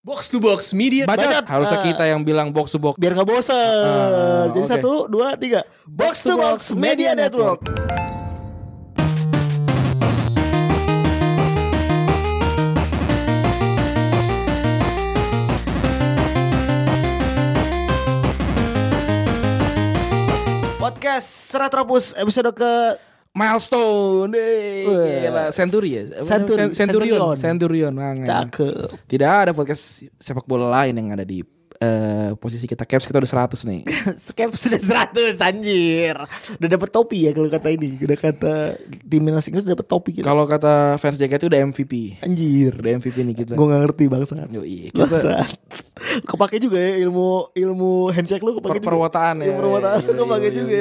Box to Box Media. Bacot. Harusnya kita yang bilang box to box. Biar gak bosan. Jadi oke. 1, 2, 3. Box to Box Media Network. Podcast Retropus episode ke Milestone. Gila. Century ya? Centurion. Cakep. Tidak ada podcast sepak bola lain yang ada di posisi kita. Caps kita udah 100 nih. Skep sudah 100 anjir. Udah dapet topi ya kalau kata ini. Udah kata timnas Inggris udah dapet topi kita. Kalau kata fans JKT udah MVP. Anjir. Udah MVP nih kita. Gue gak ngerti bangsa. Yoi, Bangsa. Kepake juga ya ilmu handshake lu kepake juga. Perwataan ya. Perwataan lu kepake juga.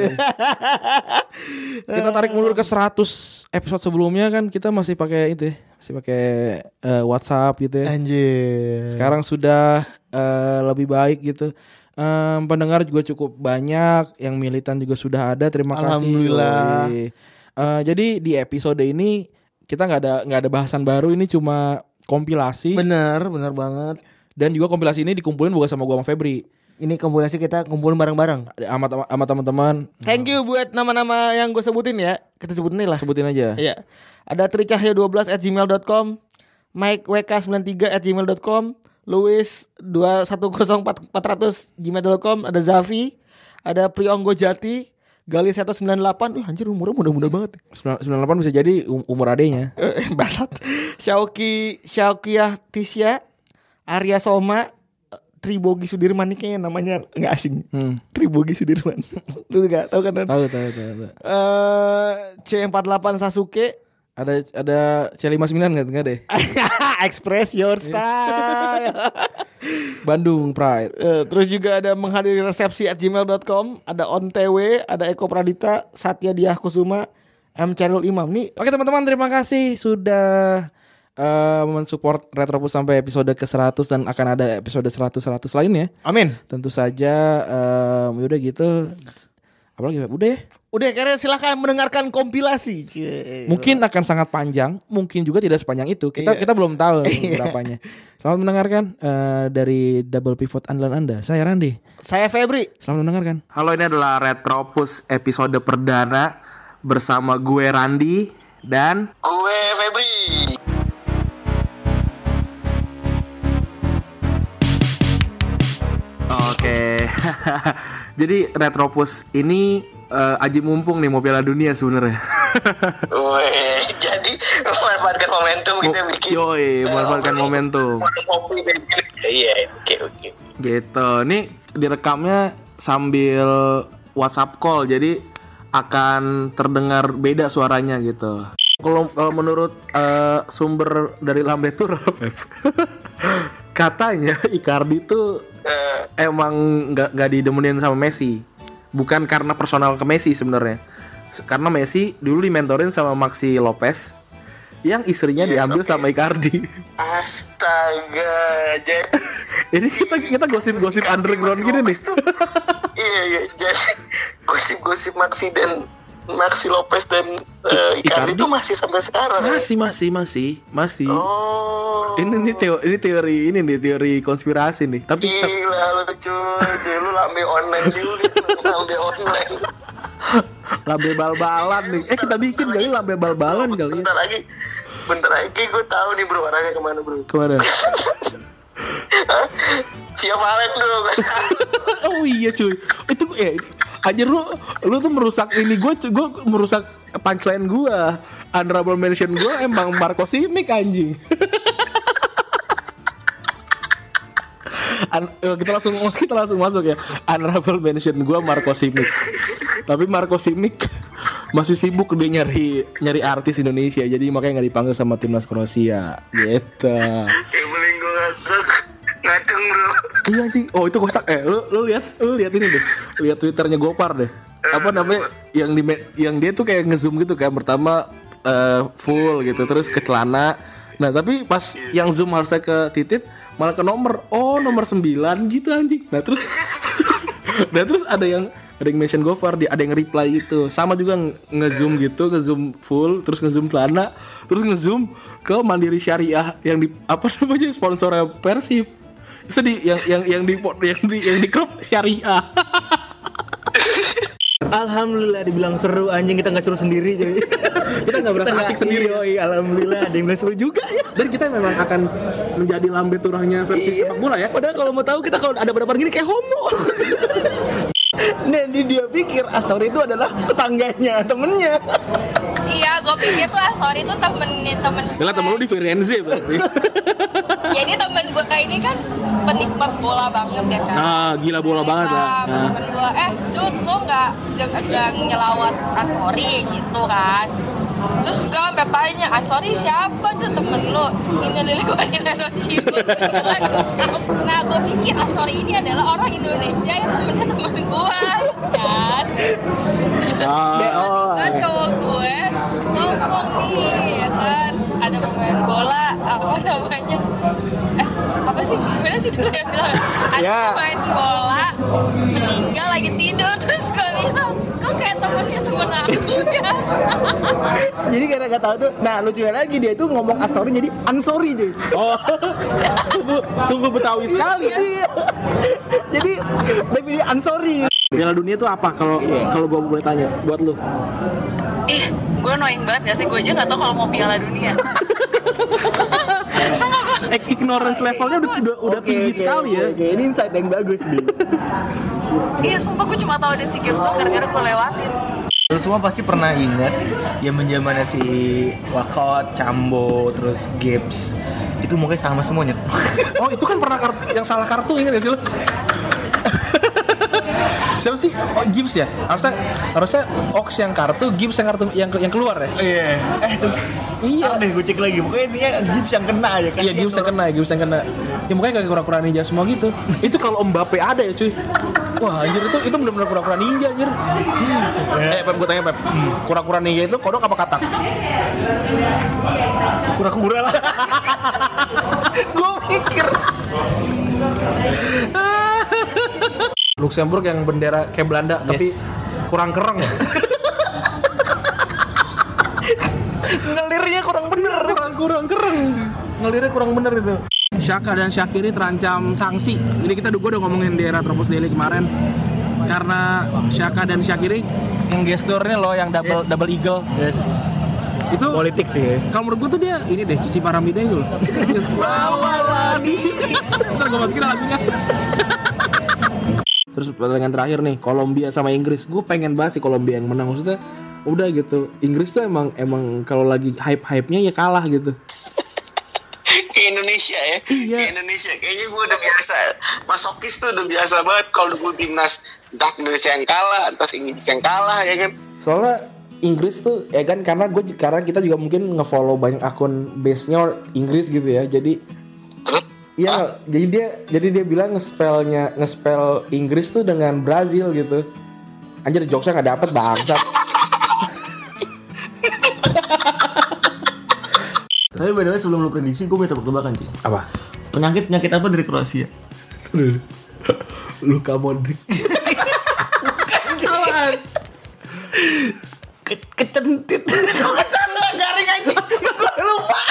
Kita tarik mundur ke 100 episode sebelumnya kan kita masih pakai itu ya. Masih pakai WhatsApp gitu ya. Anjir. Sekarang sudah lebih baik gitu. Pendengar juga cukup banyak, yang militan juga sudah ada. Terima kasih. Alhamdulillah. Jadi di episode ini kita nggak ada bahasan baru, ini cuma kompilasi. Bener banget. Dan juga kompilasi ini dikumpulin bukan sama gua sama Febri. Ini kompilasi kita kumpulin bareng-bareng. Sama teman-teman. Thank you buat nama-nama yang gue sebutin ya. Kita sebutin nih lah. Sebutin aja. Iya. Ada tricahyo12@gmail.com, Mike WK93@gmail.com, Louis 210400@gmail.com, ada Zafi, ada Prionggo Jati, Gali 198. Anjir umurnya muda-muda banget. 98 bisa jadi umur adenya. Basat. Syaukiah Tisya, Arya Soma, Tribogi Sudirman. Nih kayaknya namanya nggak asing. Tribogi Sudirman. Lu nggak tahu kan? Tahu. C48 Sasuke. Ada C59 enggak deh. Express your style. Bandung Pride. Terus juga ada menghadiri resepsi @gmail.com, ada OnTW, ada Eko Pradita, Satya Diah Kusuma, M Charul Imam. Nih, Oke teman-teman, terima kasih sudah mensupport Retropus sampai episode ke-100 dan akan ada episode 100 lainnya. amin. Tentu saja udah gitu. Apalagi udah ya. Udah karena silahkan mendengarkan kompilasi. Cie. Mungkin akan sangat panjang, mungkin juga tidak sepanjang itu. Kita belum tahu berapanya. Selamat mendengarkan dari Double Pivot andalan Anda. Saya Randi. Saya Febri. Selamat mendengarkan. Halo, ini adalah Retropus episode perdana bersama gue Randi dan Gue Febri. Oke. Jadi Retropus ini aji mumpung nih mau Piala Dunia sebenarnya. Weh, jadi memanfaatkan momentum kita bikin. Yoi, memanfaatkan momentum. Kopi dan iya, oke. Gitu. Nih direkamnya sambil WhatsApp call, jadi akan terdengar beda suaranya gitu. Kalau menurut sumber dari Lambe Tour, katanya Icardi tuh emang nggak didemenin sama Messi. Bukan karena personal ke Messi sebenarnya. Karena Messi dulu dimentorin sama Maxi Lopez yang istrinya diambil sama Icardi. Astaga, Jadi kita gosip-gosip underground gini nih. Iya, jadi gosip-gosip Maxi Lopez dan Icardi itu masih sampai sekarang. Masih. Oh. Ini teori konspirasi nih. Tapi Gila lu cuy, lu lambe online juga. Lambe online. lambe bal-balan nih. Kita bikin kali lambe bal-balan kali ya. Bentar lagi gue tahu nih bro, arahnya kemana bro. Kemana? Via Valen dong. Oh iya cuy. Itu anjir lu tuh merusak ini gue merusak punchline gue. Honorable mention gue emang Marco Simic anjing. Kita langsung masuk ya. Honorable mention gue Marco Simic. Tapi Marco Simic masih sibuk dia nyari artis Indonesia, jadi makanya nggak dipanggil sama timnas Kroasia gitu. Ya paling gue ngaceng bro. Iya anjing. Oh itu kocak. Lu lihat ini deh. Lihat Twitternya Gopar deh. Apa namanya yang dia tuh kayak ngezoom gitu kan. Pertama full gitu, terus ke celana. Nah tapi pas yang zoom harusnya ke titit, malah ke nomor 9 gitu anjing. Nah terus ada yang mention Gofar, ada yang reply gitu. Sama juga ngezoom gitu, ngezoom full, terus ngezoom celana, terus ngezoom ke Mandiri Syariah yang di sponsor Persib. Sedih yang di klub syariah. Alhamdulillah dibilang seru, anjing kita nggak seru sendiri jadi. Kita nggak berasa asik sendiri. Iya, alhamdulillah ada yang bilang seru juga ya. Dan kita memang akan menjadi lambe turahnya versi sepak bola ya. Padahal kalau mau tahu kita kalau ada berapa gini kayak homo. Dan dia pikir Astori itu adalah tetangganya, temennya. Iya, gue pikir tuh Astori itu temen gue. Gila, temen lu di Firenze berarti. Jadi temen gue ini kan penikmat bola banget ya kan. Ah, gila bola banget ya. Temen gue, Dut, lo nggak nyelawat Astori gitu kan. Terus gue sampai tanya, Astori siapa tuh temen lo? Ini Lili gue gitu. Nah, gue pikir Astori ini adalah orang Indonesia yang temennya temen gue kan. Kan cowok gue ngomong nih ya kan, ada pemain bola apa namanya, apa sih gimana sih dulu yang bilang ada pemain bola meninggal lagi tidur. Terus gue bilang kok kayak temennya temen aku ya. Jadi karena gak tahu tuh, nah lucunya lagi dia tuh ngomong Astori jadi Ansori cuy. Oh, sungguh Betawi sekali. Iya. Jadi definisi Ansori. Piala Dunia itu apa kalau gue boleh tanya buat lu? Ih, gue annoying banget gak sih, gue aja gak tau kalau mau Piala Dunia. Ignorance levelnya udah tinggi sekali ya. Oke, ini insight yang bagus nih. Iya, sumpah gue cuma tahu ada si Games gara-gara gue lewatin. Lu semua pasti pernah ingat zaman-zamannya si Wakot, Cambo, terus Gibbs. Itu mukanya sama semuanya. Oh, itu kan pernah yang salah kartu, ingat gak sih lu? Siapa sih? Oh, Gibbs ya? Harusnya Ox yang kartu, Gibbs yang keluar ya? Iya. Iya deh, gue cek lagi. Pokoknya intinya Gibbs yang kena aja kan. Iya, Gibbs yang kena. Ya mukanya kayak kura-kura ninja semua gitu. Itu kalau Mbappe ada ya, cuy. Wah, anjir itu benar-benar kura-kura ninja, anjir. Pep, gue tanya Pep. Kura-kura ninja itu kodok apa katak? Kura-kura lah. Gue mikir. Luxembourg yang bendera kayak Belanda, tapi kurang kereng ya. Ngelirnya kurang bener. Kurang kereng. Ngelirnya kurang bener itu. Xhaka dan Shaqiri terancam sanksi. Jadi gue udah ngomongin di era Tropos Daily kemarin. Karena Xhaka dan Shaqiri yang gesturnya loh yang double eagle. Yes. Itu politik sih. Kalau menurut gue tuh dia ini deh Cici Paramida itu loh. Lagi. Ntar gue masukin lagunya. Terus pertandingan terakhir nih, Kolombia sama Inggris. Gue pengen banget sih Kolombia yang menang. Maksudnya udah gitu. Inggris tuh emang kalau lagi hype-nya ya kalah gitu. Kayak Indonesia ya. Iya. Kayak Indonesia. Kayaknya gue udah biasa. Masokis tuh udah biasa banget kalau gue timnas. Entah Indonesia yang kalah, entah Inggris yang kalah ya kan. Soalnya Inggris tuh ya kan karena kita juga mungkin nge-follow banyak akun base-nya Inggris gitu ya. Jadi iya, jadi dia bilang nge-spell Inggris tuh dengan Brazil gitu. Anjir, jokesnya nggak dapet bangsat. Tapi by the way sebelum lu prediksi gue mau tebak-tebakan sih. Apa? Penyakit apa dari Kroasia? Luka Modric. Bukan. Kecentit. Garing aja. Gue lupa.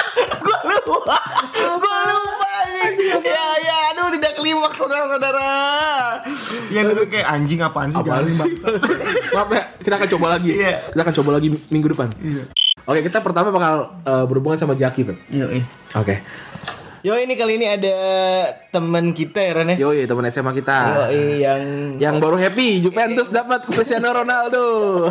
Ya, aduh tidak klimaks saudara-saudara. Yang itu kayak anjing apaan sih? Maaf ya, kita akan coba lagi. Iya. Kita akan coba lagi minggu depan. Iya. Oke, kita pertama bakal berhubungan sama Jaki, Beb. Yoi. Oke. Ini kali ini ada teman kita ya Ren ya. Yoi, teman SMA kita. Yoi, yang baru happy Juventus dapat Cristiano Ronaldo.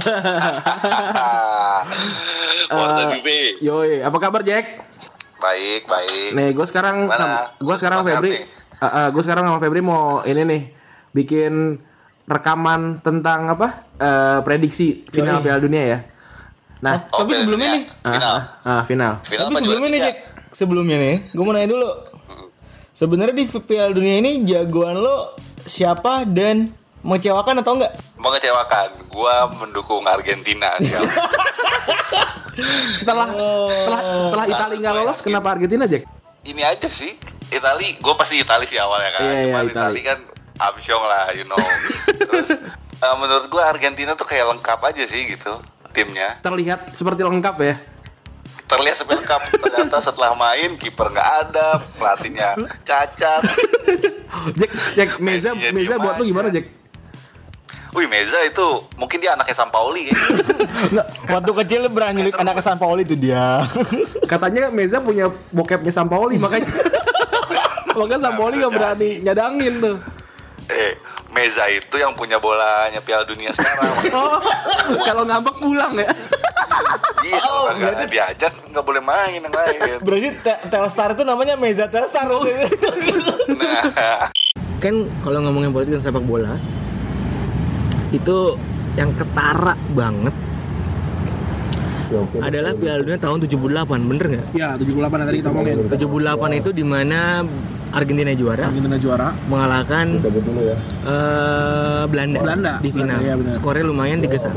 Yoi, apa kabar Jack? Baik. Nih, gue sekarang sama Febri. Gue sekarang sama Febri mau ini nih bikin rekaman tentang apa? Prediksi final Piala Dunia ya. Nah, tapi sebelumnya nih. Final. Tapi sebelumnya nih Jack. Sebelumnya nih, gue mau nanya dulu. Sebenarnya di Piala Dunia ini jagoan lo siapa dan mengecewakan atau enggak? Mengecewakan. Gua mendukung Argentina. Setelah Italia nggak lolos, kenapa Argentina, Jack? Ini aja sih. Italia, gue pasti Italia sih awalnya kan. Iya, Italia kan amsyong lah, you know. Terus menurut gue Argentina tuh kayak lengkap aja sih gitu timnya. Terlihat seperti lengkap ya. terlihat sampai lengkap. Ternyata setelah main kiper nggak ada, pelatihnya cacat. Jack, Meza Iya, buat lu gimana, Jack? Wih, Meza itu mungkin dia anaknya Sampaoli kayaknya. Waktu kecil lu berani nyulik anak Sampaoli itu dia. Katanya Meza punya bokepnya Sampaoli, makanya Sampaoli nggak berani nyadangin tuh. Meza itu yang punya bolanya Piala Dunia sekarang. Oh, kalau ngambek pulang ya. Iya, kalau nggak diajak nggak boleh main yang lain. Berarti Telstar itu namanya Meza Telstar. Nah, Kan kalau ngomongin politik dan sepak bola itu yang ketara banget adalah Piala Dunia tahun 78, bener nggak? Ya, 78 yang tadi kita omongin. 78 itu dimana Argentina juara mengalahkan Belanda di final. Belanda, ya, benar. Skornya lumayan 3-1.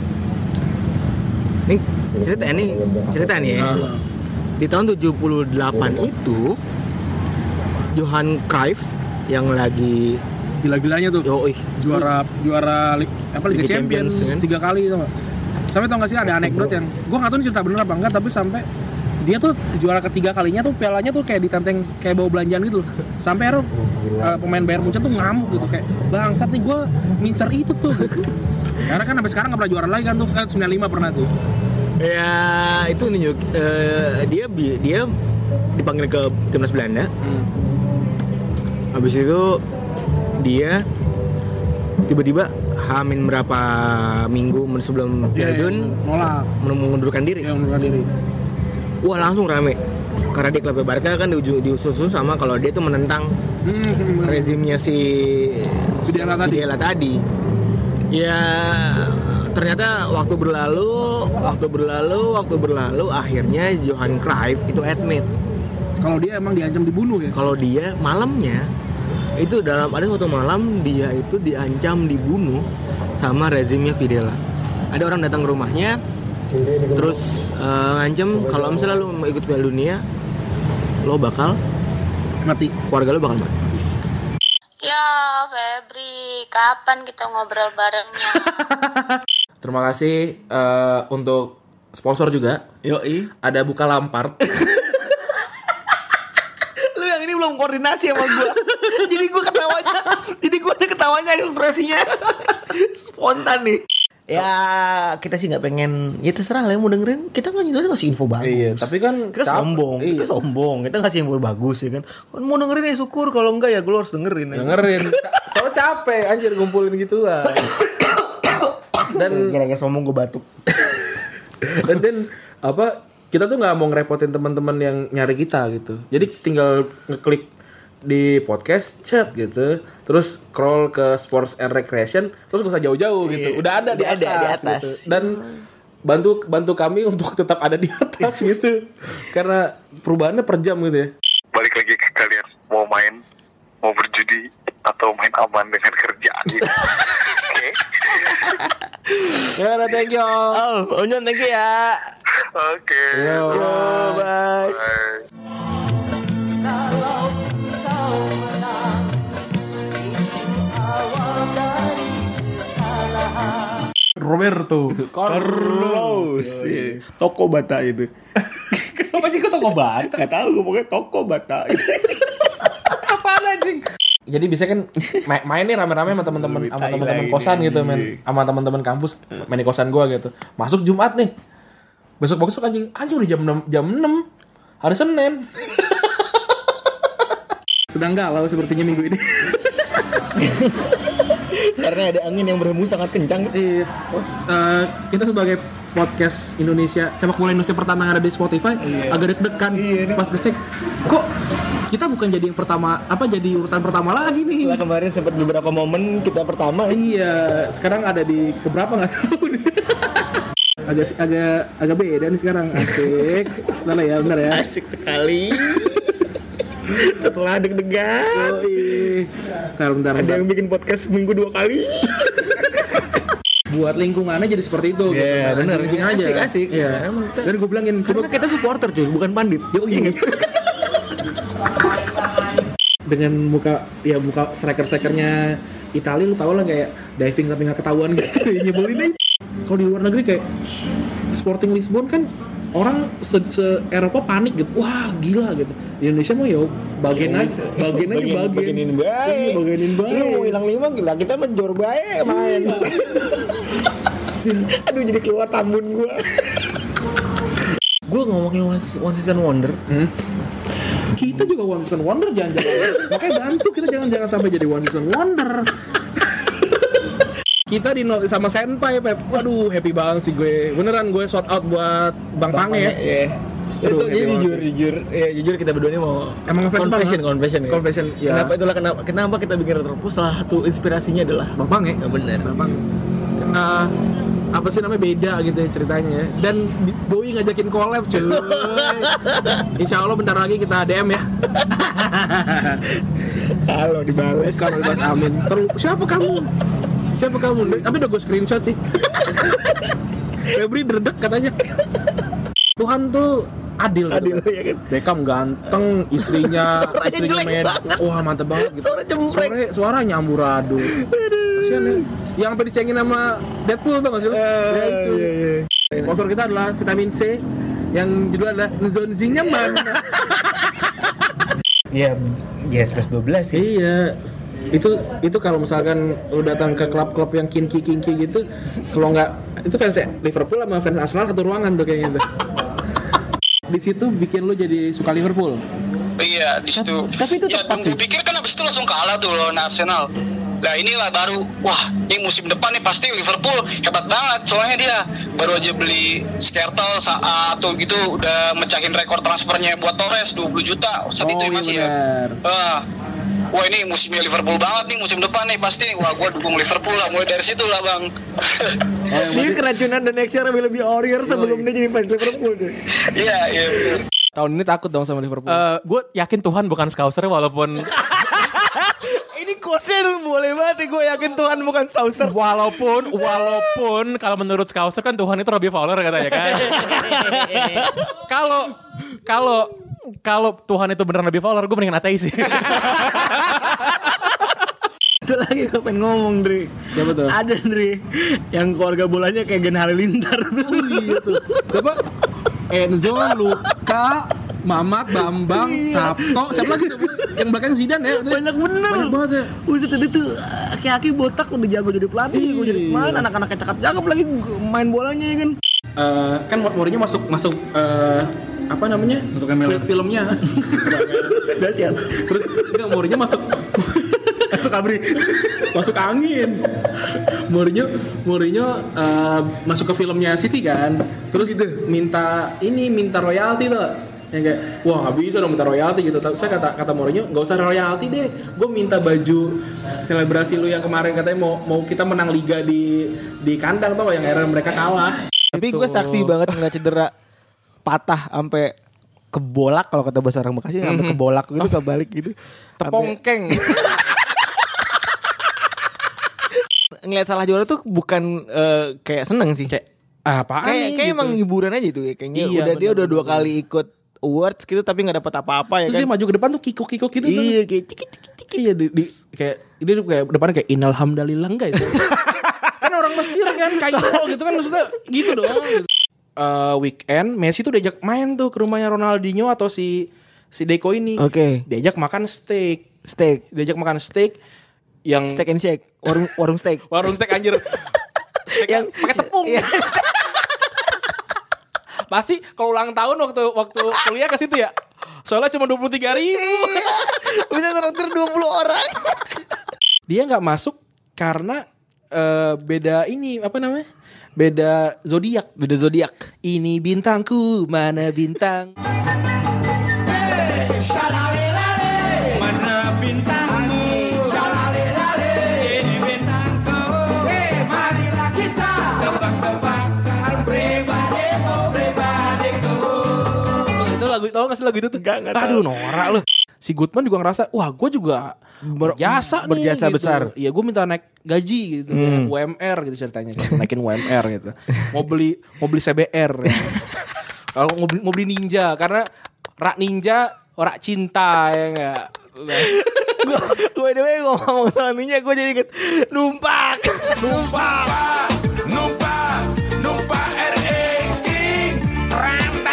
Ini cerita nih ya. Di tahun 78 itu Johan Cruyff yang lagi Gila-gilanya tuh. Juara Liga Champions kan? 3 kali tuh. Sampai tau gak sih ada anekdot yang gua nggak tahu ini cerita bener apa enggak, tapi sampai dia tuh juara ketiga kalinya tuh pialanya tuh kayak ditenteng kayak bawa belanjaan gitu. Sampai akhirnya pemain Bayern Munchen tuh ngamuk gitu kayak bangsat nih gua mincer itu tuh. Karena kan sampai sekarang nggak pernah juara lagi kan tuh, 95 pernah sih. ya itu nih dia dipanggil ke timnas Belanda. Habis itu dia tiba-tiba hamin berapa minggu sebelum Piala Dunia nolak, mengundurkan diri. Ya, mengundurkan diri. Wah, langsung rame. Karena di klub Barca kan diusus sama kalau dia tuh menentang rezimnya si Videla tadi. Ya ternyata waktu berlalu akhirnya Johan Cruyff itu admit kalau dia emang diancam dibunuh ya. kalau dia malamnya itu ada suatu malam dia itu diancam dibunuh sama rezimnya Videla. Ada orang datang ke rumahnya terus ngancam kalau misalnya lu mau ikut Piala Dunia lo bakal Mati. keluarga lo bakal mati. Ya Febri, kapan kita ngobrol barengnya? Terima kasih untuk sponsor juga. Yoi. Ada Bukalampard. Lu yang ini belum koordinasi sama gua. Jadi gua ada ketawanya ekspresinya spontan nih. Ya kita sih nggak pengen, ya terserah lah yang mau dengerin, kita kan ngasih info bagus. Iya, tapi kan kita sombong, kita ngasih info bagus ya kan. Mau dengerin ya syukur, kalau enggak ya gue harus dengerin. Soalnya capek anjir ngumpulin gituan. Dan gara-gara sombong gue batuk. dan kita tuh nggak mau ngerepotin teman-teman yang nyari kita gitu. Jadi tinggal ngeklik di podcast chat gitu, terus scroll ke sports and recreation, terus gak usah jauh-jauh gitu, udah ada di atas. Gitu. Dan bantu kami untuk tetap ada di atas gitu, karena perubahannya per jam gitu ya. balik lagi ke kalian, mau main, mau berjudi, atau main aman dengan kerjaan gitu. Oke. Ya, thank you. Onyon thank you ya. Oke. Yo, bye. Bye. Roberto Carlos. Toko Bata itu. Kenapa sih kok toko bata? Gak tahu, gue pokoknya Toko Bata itu. Apaan anjing? Jadi bisa kan main nih rame-rame sama teman-teman kosan gitu, men. Sama teman-teman kampus main di kosan gua gitu. Masuk Jumat nih. Besok anjing udah jam 6 hari Senin. Sedang galau sepertinya minggu ini. Karena ada angin yang berhembus sangat kencang. Kita sebagai podcast Indonesia, sepak bola Indonesia pertama yang ada di Spotify, agak deg-degan pas ngecek. Kok kita bukan jadi yang pertama, jadi urutan pertama lagi nih. Setelah kemarin sempat beberapa momen kita pertama. Iya, sekarang ada di keberapa nggak tahu nih. agak beda nih sekarang. Asik. Benar ya. Asik sekali. Setelah deg-degan. Bentar. Ada yang bikin podcast seminggu 2 kali. Buat lingkungannya jadi seperti itu. Iya, gitu. benar. Aja. Asik. Iya. Dan gue bilangin, Karena kita supporter cuy, bukan pandit. Dengan muka striker-strikernya Italia, lu tau lah kayak diving tapi nggak ketahuan gitu. Nyebelin aja. Kalau di luar negeri kayak Sporting Lisbon kan orang se Eropa panik gitu. Wah, gila gitu. Di Indonesia mah ya bagianin baik. Lu mau hilang 5 gila, kita menjor baik main. Aduh jadi keluar tambun gua. Gua ngomongin One Season Wonder. Kita juga One Season Wonder jangan-jangan. Makanya bantu kita jangan sampai jadi One Season Wonder. Kita di note sama Senpai, Pep. Waduh, happy banget sih gue. Beneran gue shout out buat Bang Pange ya. Aduh, jadi jujur kita berdua ini mau emang confession ya. Confession, ya. Kenapa kita bikin Retropus? Salah satu inspirasinya adalah Bang Pange. Ya benar. Bang Pange. Apa sih namanya beda gitu ya ceritanya ya. Dan Bowie ngajakin collab cuy. Insya Allah bentar lagi kita DM ya. Kalau dibales amin. Terus siapa kamu? Tapi udah gue screenshot sih. Febri derdek katanya. Tuhan tuh adil ya kan. Beckham ganteng, istrinya med. Wah, mantep banget gitu. Suara nyamburadul. Kasian ya. Yang sampai dicengin sama Deadpool tuh enggak sih lu? Ya itu. Iya. Sponsor kita adalah vitamin C yang judulnya adalah Nzonzinya mana? Iya, plus 12 sih. Iya. Itu kalau misalkan lu datang ke klub-klub yang kinky gitu, kalau nggak itu fans Liverpool sama fans Arsenal satu ruangan tuh kayaknya tuh. Di situ bikin lu jadi suka Liverpool. Iya, di situ. Tapi itu ya, tepat sih. Gue pikir kan abis itu langsung kalah tuh lawan Arsenal. Nah inilah baru, wah ini musim depan nih pasti Liverpool hebat banget. Soalnya dia baru aja beli Skrtel atau gitu udah mecahin rekor transfernya buat Torres 20 juta saat itu ya masih bener. Ya. Wah ini musimnya Liverpool banget nih musim depan nih pasti. Wah gue dukung Liverpool lah mulai dari situ lah bang. Dia keracunan the next year lebih Warrior sebelum dia jadi fans Liverpool tuh. Iya. Tahun ini takut dong sama Liverpool. Gue yakin Tuhan bukan Scouser walaupun Ini quote-nya boleh banget. Gue yakin Tuhan bukan Saucer. walaupun kalau menurut Scouser kan Tuhan itu Robbie Fowler katanya kan. Kalau Tuhan itu beneran Robbie Fowler, gue mendingan ateis sih. Itu lagi gue pengen ngomong, Dri. Ya betul. Ada, Dri, yang keluarga bolanya kayak Gen Halilintar tuh. Oh iya tuh. Coba Enzo, Luka, Mamat, Bambang, Sabto, siapa lagi tuh? Yang belakang Zidane ya? Banyak bener. Banyak banget ya. Buset, itu tuh aki-aki botak udah jago jadi pelatih. Gue jadi pemain, anak-anaknya cakep-cakep lagi main bolanya ya kan. Kan Mourinho masuk apa namanya? Masuk filmnya. Dahsyat. Terus enggak Mourinho masuk abri. Masuk angin. Mourinho masuk ke filmnya City kan. Terus gitu. minta royalti tuh. Yang kayak wah nggak bisa dong minta royalti gitu. Tapi saya kata Mourinho nggak usah royalti deh. Gue minta baju selebrasi lu yang kemarin katanya mau kita menang liga di kandang tuh yang akhirnya mereka kalah. Tapi gue saksi banget ngeliat cedera patah sampai kebolak kalau kata bahasa orang Bekasi sampai kebolak gitu kebalik gitu. Tepongkeng. Ngeliat salah juara tuh bukan kayak seneng sih. Kayak apaan nih? Kayak gitu. emang hiburan aja tuh ya. Kayaknya Iya, dia udah 2 kali ikut awards gitu tapi nggak dapat apa-apa ya. Terus kan. dia maju ke depan tuh kikuk gitu. Iya kayak ciki. Iya kayak dia tuh kayak depannya kayak innalhamdalillah guys. Kan orang Mesir kan Kairo gitu kan maksudnya gitu doang. Weekend Messi tuh diajak main tuh ke rumahnya Ronaldinho atau si Deco ini. Oke. Diajak makan steak. Diajak makan steak yang Steak and shake. Warung steak. warung steak anjir. Steak yang pakai tepung. Iya. Pasti kalau ulang tahun waktu kuliah ke situ ya. Soalnya cuma 23.000. Bisa traktir 20 orang. Dia nggak masuk karena beda ini apa namanya? Beda zodiak. Ini bintangku, mana bintang? Mana bintangmu? Ini bintangku. Marilah kita tebak-tebakan pribadiku. Itu lagu, tau gak sih lagu itu tuh? Enggak Aduh norak lu. Si Goodman juga ngerasa, wah gue juga berjasa berjasa gitu. besar. Iya gue minta naik gaji gitu, UMR gitu ceritanya, naikin UMR gitu. Mau beli CBR. Ya. Kalau mau beli Ninja karena rak Ninja, rak cinta ya enggak. Gue ngomong soal Ninja gue jadi inget numpak RE King.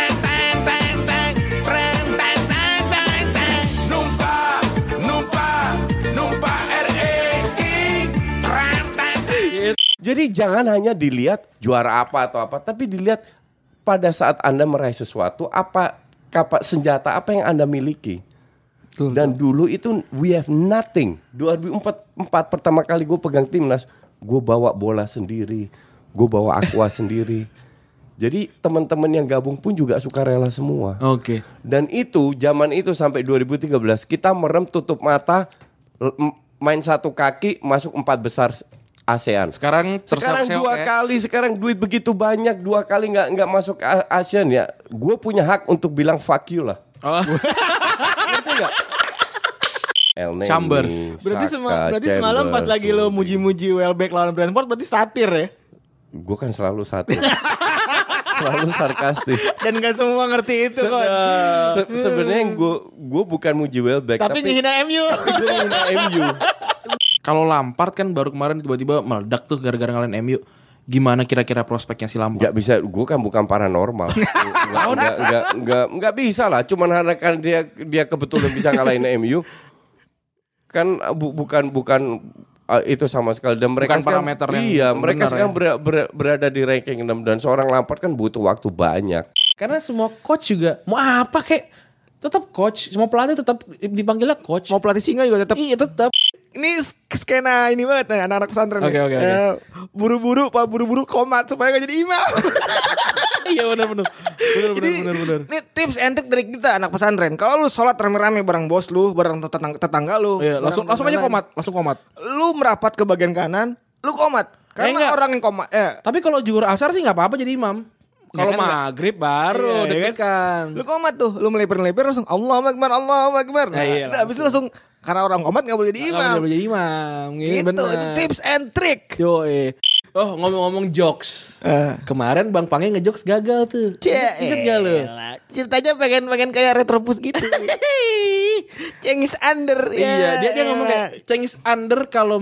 Jadi jangan hanya dilihat juara apa atau apa, tapi dilihat pada saat Anda meraih sesuatu, apa senjata apa yang Anda miliki. Dan dulu itu we have nothing. 2004 pertama kali gue pegang timnas, gue bawa bola sendiri, gue bawa aqua sendiri. Jadi teman-teman yang gabung pun juga sukarela semua. Oke. Dan itu zaman itu sampai 2013 kita merem tutup mata, main satu kaki masuk 4 besar ASEAN. Sekarang 2 kali, sekarang duit begitu banyak 2 kali nggak masuk ASEAN ya. Gue punya hak untuk bilang fuck you lah. Oh. Ngerti nggak? Chambers. Berarti semalam pas lagi lo muji-muji Welbeck lawan Brentford berarti satir ya? Gue kan selalu satir. Selalu sarkastis. Dan gak semua ngerti itu kok. Sebenarnya gue bukan muji Welbeck, tapi ngehina MU. Gue ngehina MU. Kalau Lampard kan baru kemarin tiba-tiba meledak tuh gara-gara ngalahin MU. Gimana kira-kira prospeknya si Lampard? Gak bisa, gue kan bukan paranormal. Nggak bisa lah. Cuman karena dia kebetulan bisa ngalahin MU. Kan bukan itu sama sekali. Dan mereka bukan parameter yang iya, mereka sekarang ya? berada di ranking 6 dan seorang Lampard kan butuh waktu banyak. Karena semua coach juga mau apa kek tetap coach, semua pelatih tetap dipanggilnya coach. Mau pelatih singa juga tetap. Iya tetap. Ini skena ini banget nih, anak-anak pesantren. Oke. Buru-buru komat supaya gak jadi imam. Iya benar. Ini tips and trick dari kita anak pesantren. Kalau lu sholat rame-rame bareng bos lu, bareng tetangga lu, iya, langsung aja komat. Lu merapat ke bagian kanan, lu komat. Karena orang yang komat. Tapi kalau zuhur asar sih nggak apa-apa jadi imam. Kalau maghrib baru deg-degan. Lu komat tuh, lu melipir langsung Allahu Akbar. Nah, habis itu langsung karena orang komat nggak boleh jadi imam. Nggak boleh jadi imam. Gitu, itu tips and trick. Oh ngomong jokes. Kemarin Bang Pange ngejokes gagal tuh. Ingat gak lu? Ceritanya pengen kayak Retropus gitu. Cengiz Under. Iya, dia ngomong kayak Cengiz Under kalau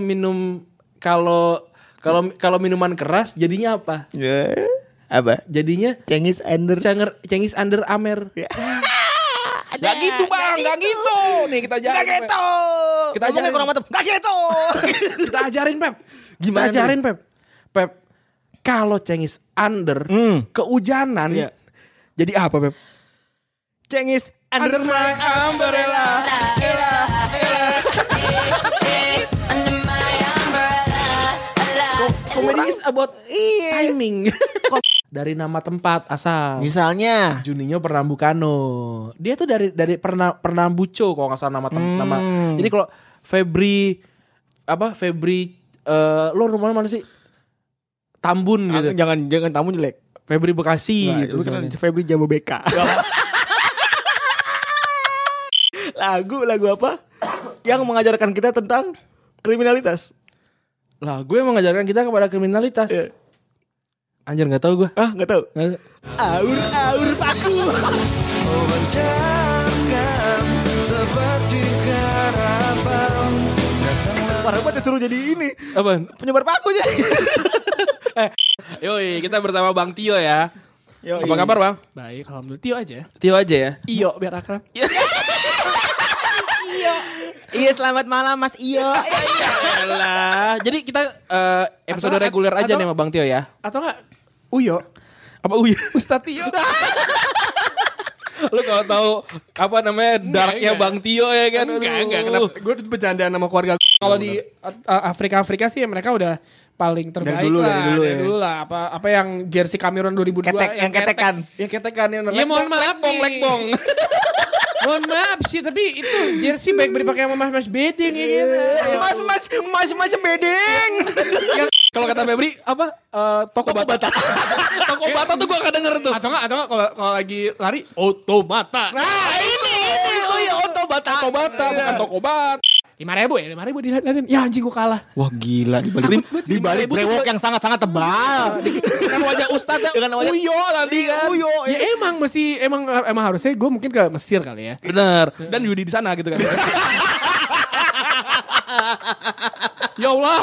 minuman keras jadinya apa? Apa? Jadinya Cengiz Under Amer. Gak gitu bang, gak gitu. Nih kita ajarin. Gak gitu. Kita ajarin kurang mantep. Gak gitu. Kita ajarin Pep. Gimana? Kita ajarin Pep. Kalau Cengiz Under kehujanan, jadi apa Pep? Cengiz Under my umbrella. Comedy is about timing. Dari nama tempat asal. Misalnya Juninho Pernambucano. Dia tuh dari Pernambuco kalau nggak salah nama. Jadi kalau Febri lo rumahnya mana sih? Tambun gitu. Jangan Tambun jelek. Febri Bekasi gitu. Kan Febri Jababeka. Lagu apa? Yang mengajarkan kita tentang kriminalitas. Lagu yang mengajarkan kita kepada kriminalitas. Anjir gak tahu gue. Gak tahu. Aur paku. Parah banget suruh jadi ini. Apaan? Penyebar paku aja. Yoi, kita bersama Bang Tio ya. Apa kabar Bang? Baik, alhamdulillah. Tio aja. Tio aja ya. Iyo biar akrab. Iya, selamat malam Mas Iyo. Yalah. Jadi kita episode reguler aja nih sama Bang Tio ya. Atau enggak Uyo? Apa Uyo? Ustaz Tio. Lu kalau tahu apa namanya darknya Bang Tio ya kan? Enggak. Kenapa? Gue bercandaan sama keluarga. Kalau di Afrika sih mereka udah paling terbaik dari dulu lah. Apa yang jersey Cameroon 2002 yang ketekan. Yang ketekan yang ya mohon maaf lekbong. Mohon maaf sih, tapi itu jersey baik dipakai sama mas bedeng ya kan. Mas bedeng. Kalau kata Febri apa? Toko bata. Toko bata tuh gua gak denger tuh. Atau enggak kalau lagi lari otomata. Nah, ini ya otobat. Toko bata bukan toko bat. 5.000 dilihatin. Ya anjing gua kalah. Wah gila Di balik brewok yang sangat-sangat tebal. Dengan wajah ustadnya Uyo tadi kan. Ya emang harusnya gue mungkin ke Mesir kali ya. Bener. Dan Yudi di sana gitu kan. Ya Allah.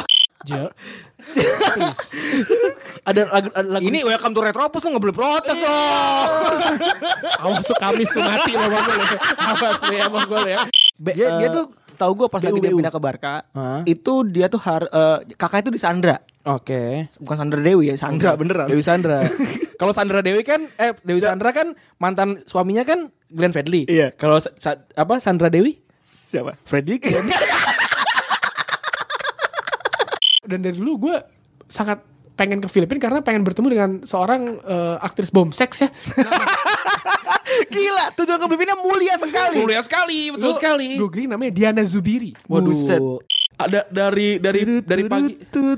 Ada lagu Ini welcome to Retropus lu gak boleh protes loh. Awas tuh Kamis tuh mati sama gue. Awas nih sama gue ya. Dia tuh setahu gue pas lagi dia pindah ke Barca, itu dia tuh kakak itu disandra. Oke. Bukan Sandra Dewi ya, Sandra beneran. Dewi Sandra. Kalau Sandra Dewi kan Dewi Sandra kan mantan suaminya kan Glenn Fredly. Iya. Kalau Sandra Dewi? Siapa? Fredly. Dan dari dulu gue sangat pengen ke Filipina karena pengen bertemu dengan seorang aktris bom seks ya. Gila, tujuan ke Filipina mulia sekali. Mulia sekali, betul sekali. Gue kira namanya Diana Zubiri. Buset. Ada dari pagi.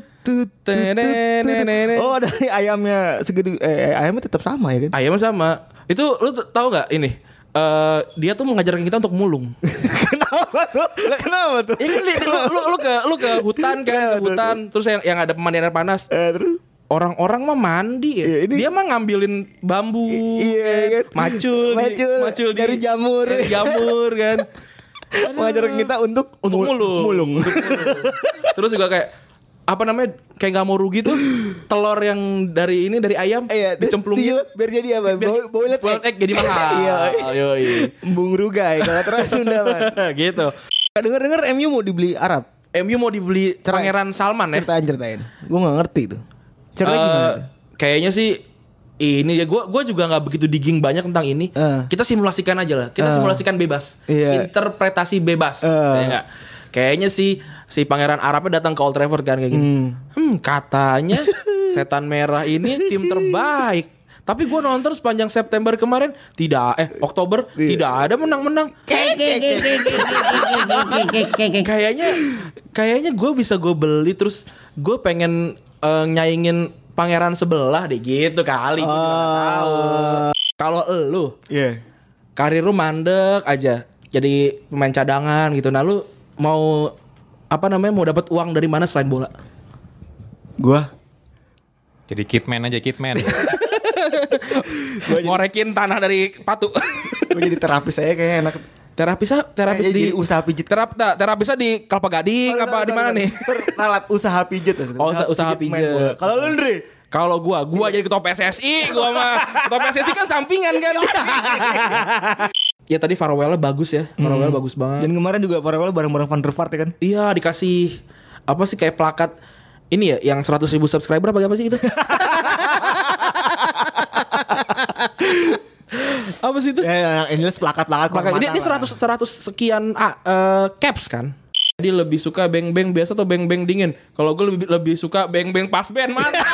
Oh, dari ayamnya segitu. Ayamnya tetap sama ya kan? Ayamnya sama. Itu lu tahu nggak ini? Dia tuh mengajarkan kita untuk mulung. Kenapa tuh? Lu ke hutan kan, terus yang ada pemandian air panas. Terus orang-orang mah mandi ya. Dia mah ngambilin bambu, kan? macul dari jamur kan. Mengajarkan kita untuk mulung. Terus juga kayak apa namanya, kayak nggak mau rugi tuh telur yang dari ayam dicemplungin biar jadi apa? Boiled egg jadi mahal. Iya. Bung Rugai kalau terus Sunda Mas. Gitu. Dengar MU mau dibeli Arab. MU mau dibeli Pangeran Salman ya. Ceritain. Gue nggak ngerti tuh. Ceritanya gimana? Kayaknya sih ini ya gue juga nggak begitu digging banyak tentang ini. Kita simulasikan aja lah. Kita simulasikan bebas. Interpretasi bebas. Kayaknya sih si Pangeran Arabnya datang ke Old Trafford kan kayak gini. Katanya Setan Merah ini tim terbaik. Tapi gue nonton sepanjang September kemarin Oktober tidak ada menang-menang. Kayaknya gue bisa gue beli terus gue pengen nyaingin pangeran sebelah deh gitu kali. Gue juga gak tahu. Kalau lu karir lu mandek aja jadi pemain cadangan gitu. Nah lu mau dapat uang dari mana selain bola? Gua jadi kitman. Ngorekin tanah dari patu. Gue jadi terapis saya kayaknya enak. Terapis di usaha pijit. Terapisnya di Kelapa Gading di mana nih? Alat usaha pijit. Usaha pijit. Kalau lu Ndre? Kalau gua jadi ketua PSSI, gua mah ketua PSSI kan sampingan kan. Ya tadi farewell-nya bagus ya. Farewell bagus banget. Dan kemarin juga farewell bareng-bareng Van der Vaart ya kan? Iya, dikasih apa sih kayak plakat ini ya yang 100.000 subscriber apa sih itu? Apa sih itu? Ya, yang jelas plakat. Ini 100 sekian caps kan. Dia lebih suka beng-beng biasa atau beng-beng dingin. Kalau gue lebih suka beng-beng pas band. Mantap.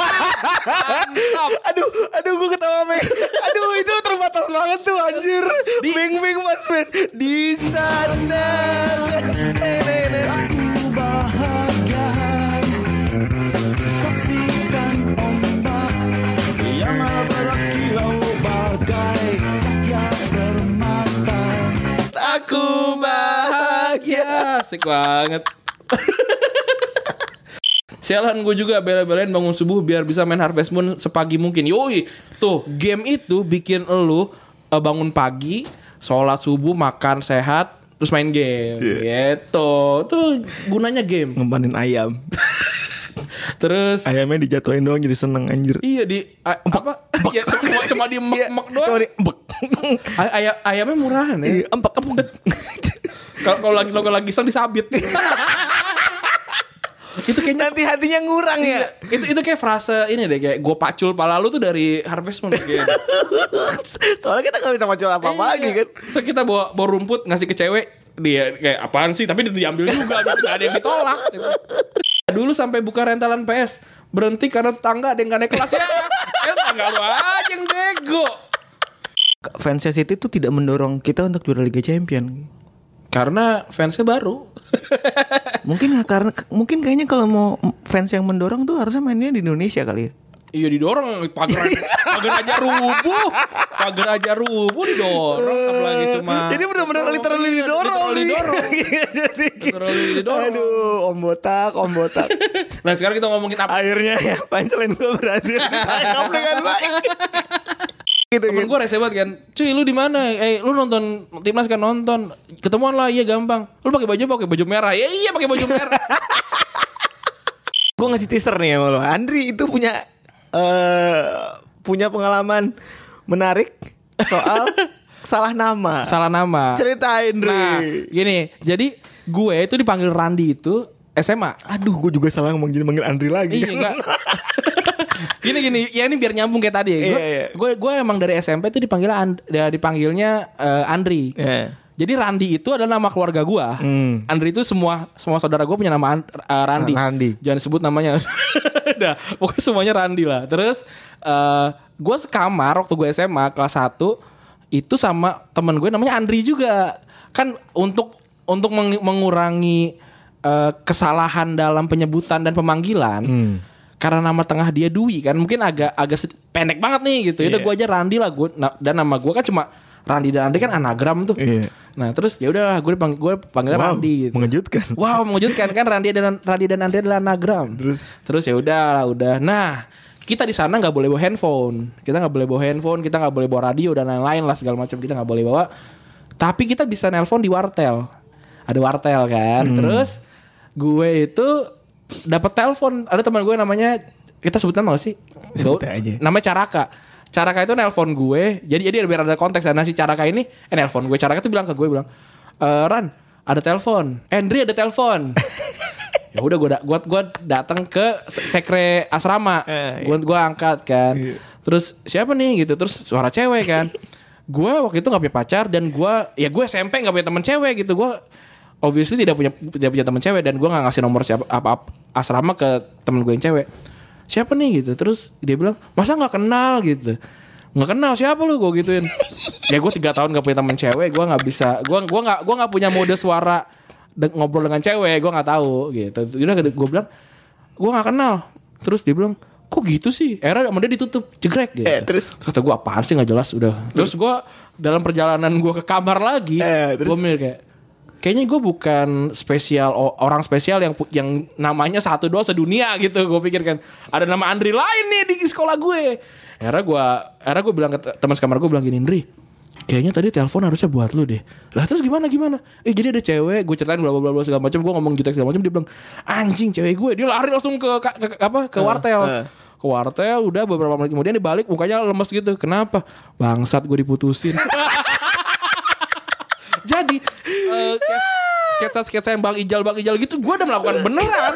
Aduh gue ketawa Beng. Aduh itu terbatas banget tuh anjir. Beng-beng pas band di sana. Aku bahagia. Saksikan ombak yang berkilau bagai cahaya permata. Aku bahagia. Asik banget. Sialan gue juga bela-belain bangun subuh biar bisa main Harvest Moon sepagi mungkin. Yoi, tuh game itu bikin elu bangun pagi, sholat subuh, makan sehat, terus main game. Gitu. Tuh gunanya game. Ngempanin ayam. Terus ayamnya dijatuhin doang jadi seneng anjir. Iya apa? Ya, cuma di mek doang. Cuma di empek. Ayamnya murahan ya. Empek. Kalau lagi sang disabit. Itu kayaknya nanti hatinya ngurang ya. Itu kayak frase ini deh, kayak gue pacul pala lu tuh dari Harvest Moon gitu. Soalnya kita gak bisa pacul apa-apa lagi kan. So kita bawa rumput ngasih ke cewek, dia kayak apaan sih, tapi diambil juga gitu. Gak ada yang ditolak gitu. Dulu sampai buka rentalan PS berhenti karena tetangga ada yang gak naik kelas ya. Tetangga lu aja yang bego. Fansnya City tuh tidak mendorong kita untuk juara Liga Champion. Karena fansnya baru. Mungkin kayaknya kalau mau fans yang mendorong tuh harusnya mainnya di Indonesia kali ya. Iya didorong, pagar aja rubuh didorong, apalagi cuma. Jadi benar-benar literally didorong. Aduh, om botak. Nah sekarang kita ngomongin apa? Akhirnya ya punchline gue berhasil ditangkap dengan baik. Gitu, temen gue rese banget kan, cuy lu di mana? Lu nonton timnas kan? Nonton, ketemuan lah. Iya gampang. Lu pakai baju merah. Ya iya pakai baju merah. Gue ngasih teaser nih sama lo. Andri itu punya pengalaman menarik soal salah nama. Ceritain, Dri. Nah, gini, jadi gue itu dipanggil Randi itu SMA. Aduh, gue juga salah ngomong jadi manggil Andri lagi. Iya enggak. Gini, ya ini biar nyambung kayak tadi. Gue emang dari SMP tuh dipanggilnya Andri. Jadi Randi itu adalah nama keluarga gue. Andri itu semua saudara gue punya nama Randi. Jangan sebut namanya. Udah, pokoknya semuanya Randi lah. Terus gue sekamar waktu gue SMA kelas 1 itu sama temen gue namanya Andri juga. Kan untuk mengurangi kesalahan dalam penyebutan dan pemanggilan. Karena nama tengah dia Dwi kan, mungkin agak pendek banget nih gitu. Udah gue aja Randi lah dan nama gue kan cuma Randi dan Andri kan anagram tuh. Nah terus ya udah gue panggilnya Randi. Gitu. Mengejutkan. Wow, mengejutkan kan Randi dan Andri adalah anagram. Terus ya udah. Nah kita di sana nggak boleh bawa handphone. Kita nggak boleh bawa radio dan lain-lain lah segala macam kita nggak boleh bawa. Tapi kita bisa nelpon di wartel. Ada wartel kan. Terus gue itu dapat telepon, ada teman gue namanya, kita sebutan apa sih? Sebut aja. Namanya Caraka itu nelpon gue. Jadi biar ada konteks. Nah si Caraka ini nelpon gue. Caraka tuh bilang ke gue Ran, ada telepon. Andri ada telepon. Ya udah gue datang ke sekre asrama. Gue angkat kan. Terus siapa nih gitu? Terus suara cewek kan. Gue waktu itu nggak punya pacar dan gue SMP nggak punya teman cewek gitu. Gue obviously tidak punya teman cewek dan gue nggak ngasih nomor siapa asrama ke temen gue yang cewek. Siapa nih gitu? Terus dia bilang masa nggak kenal gitu? Nggak kenal siapa lu? Gue gituin. Ya gue 3 tahun nggak punya teman cewek, gue nggak bisa. Gue nggak punya mode suara ngobrol dengan cewek, gue nggak tahu gitu. Udah gue bilang gue nggak kenal. Terus dia bilang kok gitu sih? Era sama dia ditutup jegrek gitu. Terus kata gue apaan sih nggak jelas udah. Terus gue dalam perjalanan gue ke kamar lagi, gue mikir kayak kayaknya gue bukan orang spesial yang namanya 1-2 sedunia gitu. Gue pikir kan ada nama Andri lain nih di sekolah gue. Akhirnya gue bilang ke teman sekamar gue bilang gini, Andri, kayaknya tadi telepon harusnya buat lu deh. Lah terus gimana? Jadi ada cewek, gue ceritain bla bla bla segala macam, gue ngomong jutek segala macam, dia bilang anjing cewek gue. Dia lari langsung ke wartel. Ke wartel, udah beberapa menit kemudian dia balik mukanya lemes gitu. Kenapa? Bangsat gue diputusin. Jadi sketsa yang Bang Ijal gitu gue udah melakukan beneran.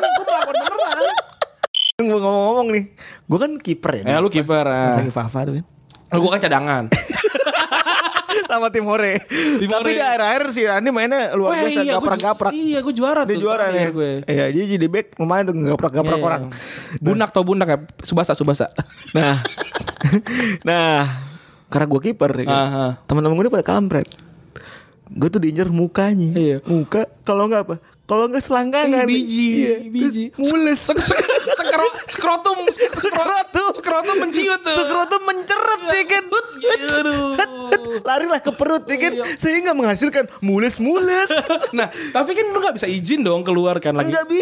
Gue ngomong nih, gue kan kiper ya. Lu kiper. Lagi Fafa tuh kan. Gue kan cadangan. Sama tim Hore. Tapi di akhir-akhir si Randi mainnya luar biasa, gaprak-gaprak. Iya, gue juara tuh. Dia juara nih gue. Iya, jadi back lumayan tuh gaprak-gaprak orang. Bunak ya, Subasa. Nah, karena gue kiper ya kan. Teman-teman gue pada kampret. Gue tuh diinjar mukanya. Muka kalau enggak apa? Kalau enggak selangkangan. Biji. Mules. Skrotum menciut tuh. Skrotum menceret ya kan. Larilah ke perut ya kan. Sehingga menghasilkan mules. Nah, tapi kan lu enggak bisa izin dong keluar kan lagi. Enggak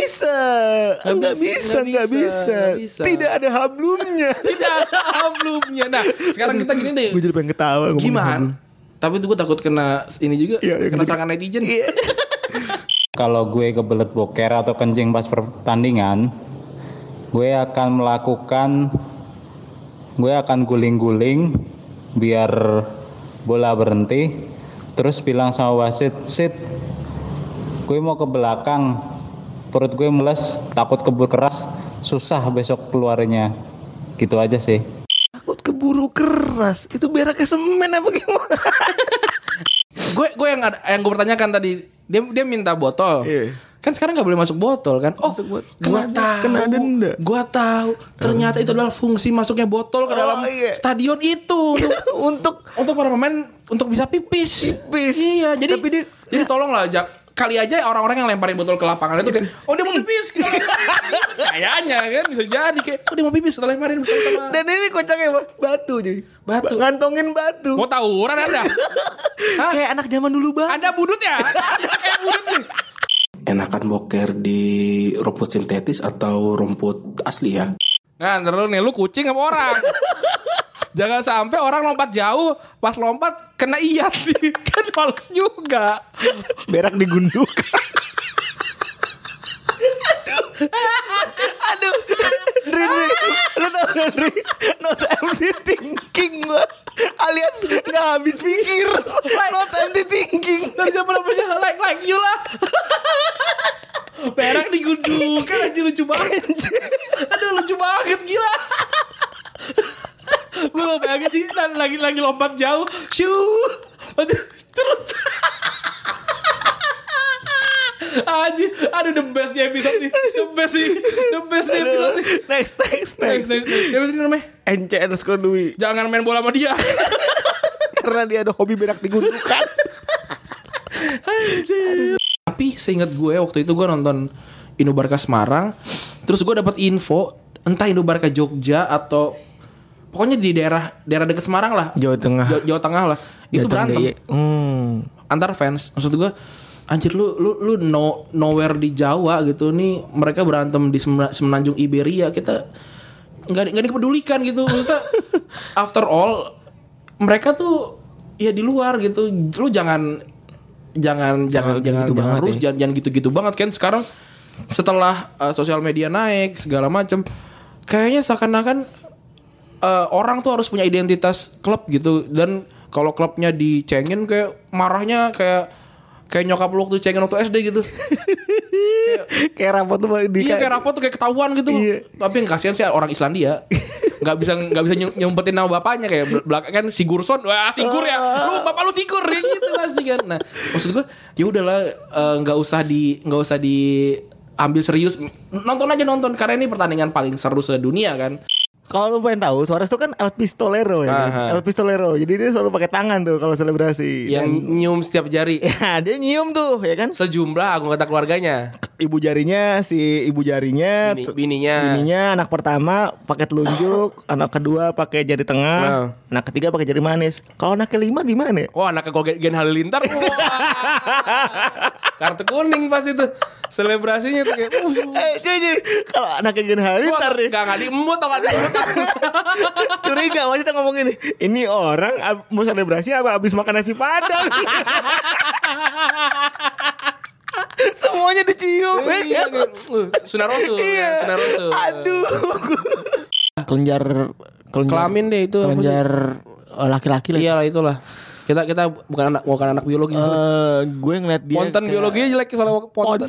bisa. Tidak ada hablumnya. Nah, sekarang kita gini deh. Gue jadi pengen ketawa. Gimana? Tapi gue takut kena ini juga, kena serangan netizen. Kalau gue kebelet boker atau kencing pas pertandingan, gue akan guling-guling biar bola berhenti, terus bilang sama wasit, "Sit, gue mau ke belakang, perut gue mules, takut keburu keras, susah besok keluarnya." Gitu aja sih. Takut keburu keras, itu beraknya semen apa gimana? Gue yang gue pertanyakan tadi, dia minta botol. Kan sekarang nggak boleh masuk botol kan? Kena denda. Gue tahu. Ternyata itu adalah fungsi masuknya botol ke dalam stadion itu untuk para pemain untuk bisa pipis. Iya. Jadi tolonglah kali aja orang-orang yang lemparin botol ke lapangan itu kayak, oh dia mau pipis. Kayaknya kan bisa jadi kayak, oh dia mau pipis setelah lemparin bersama. Dan ini kocaknya batu jadi. Batu. Ngantongin batu. Mau tawuran Anda? Kayak anak zaman dulu banget. Anda budut ya? Kayak budut nih. Enakan boker di rumput sintetis atau rumput asli ya? Nah, terus nih lu kucing apa orang? Jangan sampai orang lompat jauh, pas lompat kena iyat nih. Kan males juga. Berak digunduk. Aduh. Ri, lu tau gak Ri? Not empty thinking gua. Alias gak habis pikir. Not empty thinking. Dari siapa namanya like you lah. digundukan aja lucu banget. Aduh lucu banget gila. Gue gak bayangin sih lagi lompat jauh. Terus aduh the best di episode nih. The best di episode nih. Next. Siapa ini namanya? NC_Dwi. Jangan main bola sama dia. Karena dia ada hobi berak digundukan. Tapi seingat gue waktu itu gue nonton Indobarka Semarang. Terus gue dapat info entah Indobarka Jogja atau pokoknya di daerah dekat Semarang lah. Jawa Tengah lah. Itu berantem. Antar fans. Maksud gue anjir lu nowhere di Jawa gitu. Nih mereka berantem di semenanjung Iberia. Kita enggak dipedulikan gitu. Maksudnya after all mereka tuh ya di luar gitu. Lu jangan gitu banget kan. Sekarang setelah sosial media naik segala macam, kayaknya seakan-akan orang tuh harus punya identitas klub gitu. Dan kalau klubnya dicengin kayak marahnya kayak nyokap lu waktu cengin waktu SD gitu. kayak rapot tuh kayak rapot tuh kayak ketahuan gitu. Iya. Tapi yang kasihan sih orang Islandia. Nggak bisa nyumpetin nama bapaknya kayak belakang kan Sigurdsson. Wah, Sigur ya. Lu bapak lu Sigur ya gitu pasti kan. Nah, maksud gue ya udahlah nggak usah diambil serius. Nonton karena ini pertandingan paling seru sedunia kan. Kalau lu pengen tahu, Suarez tuh kan El Pistolero ya. El Pistolero. Jadi dia selalu pakai tangan tuh kalau selebrasi. Yang nyium setiap jari. Ya, dia nyium tuh, ya kan? Sejumlah anggota keluarganya. Ibu jarinya, bininya, anak pertama pakai telunjuk, anak kedua pakai jari tengah, anak ketiga pakai jari manis. Kalau anak kelima gimana? Wah, anaknya Gen Halilintar. Kartu kuning pas itu. Selebrasinya tuh kayak kalau anaknya Gen Halilintar nih. Enggak diemut atau enggak diemut. Curiga masih kita ngomong ini orang mau selebrasi apa habis makan nasi padang. Semuanya dicium. Iya, Sunarosu. Aduh. Kelenjar kelamin deh itu. Kelenjar laki-laki lah. Iyalah itulah. Kita bukan anak biologi. Gue ngeliat dia Ponten biologinya jelek soalnya ponten.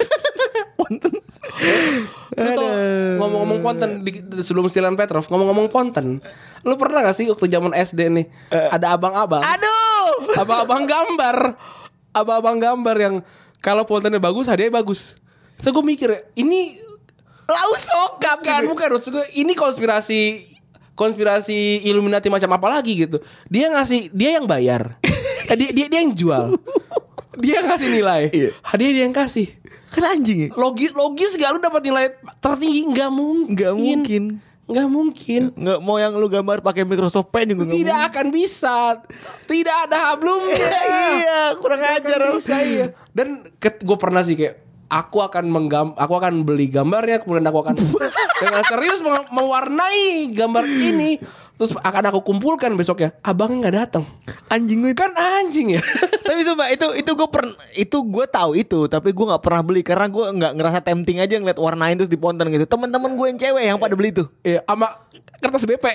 Lu tau ngomong-ngomong Ponten sebelum Stilan Petrov, ngomong-ngomong Ponten, lu pernah gak sih waktu zaman SD nih ada abang-abang? Aduh, abang-abang gambar yang kalau Pontennya bagus hadiahnya bagus. So gue mikir ini lau sokap kan, bukan maksud gue ini konspirasi Illuminati macam apa lagi gitu. Dia yang bayar, dia yang jual, dia ngasih nilai, hadiah dia yang kasih. Kan anjing ya? Logis gak lu dapat nilai tertinggi? Nggak mungkin. Nggak mau yang lu gambar pakai Microsoft Paint juga tidak akan bisa. Tidak ada hablumnya. Iya, kurang ajar. Iya. Dan gue pernah sih kayak aku akan beli gambarnya, kemudian aku akan dengan serius mewarnai gambar ini. Terus akan aku kumpulkan besoknya. Abangnya nggak datang. Anjing gue kan anjing ya. Tapi coba itu gue tahu itu, tapi gue nggak pernah beli karena gue nggak ngerasa tempting aja ngeliat warnain terus di Ponten gitu. Teman-teman gue yang cewek yang pada beli itu. Iya, sama kertas BP.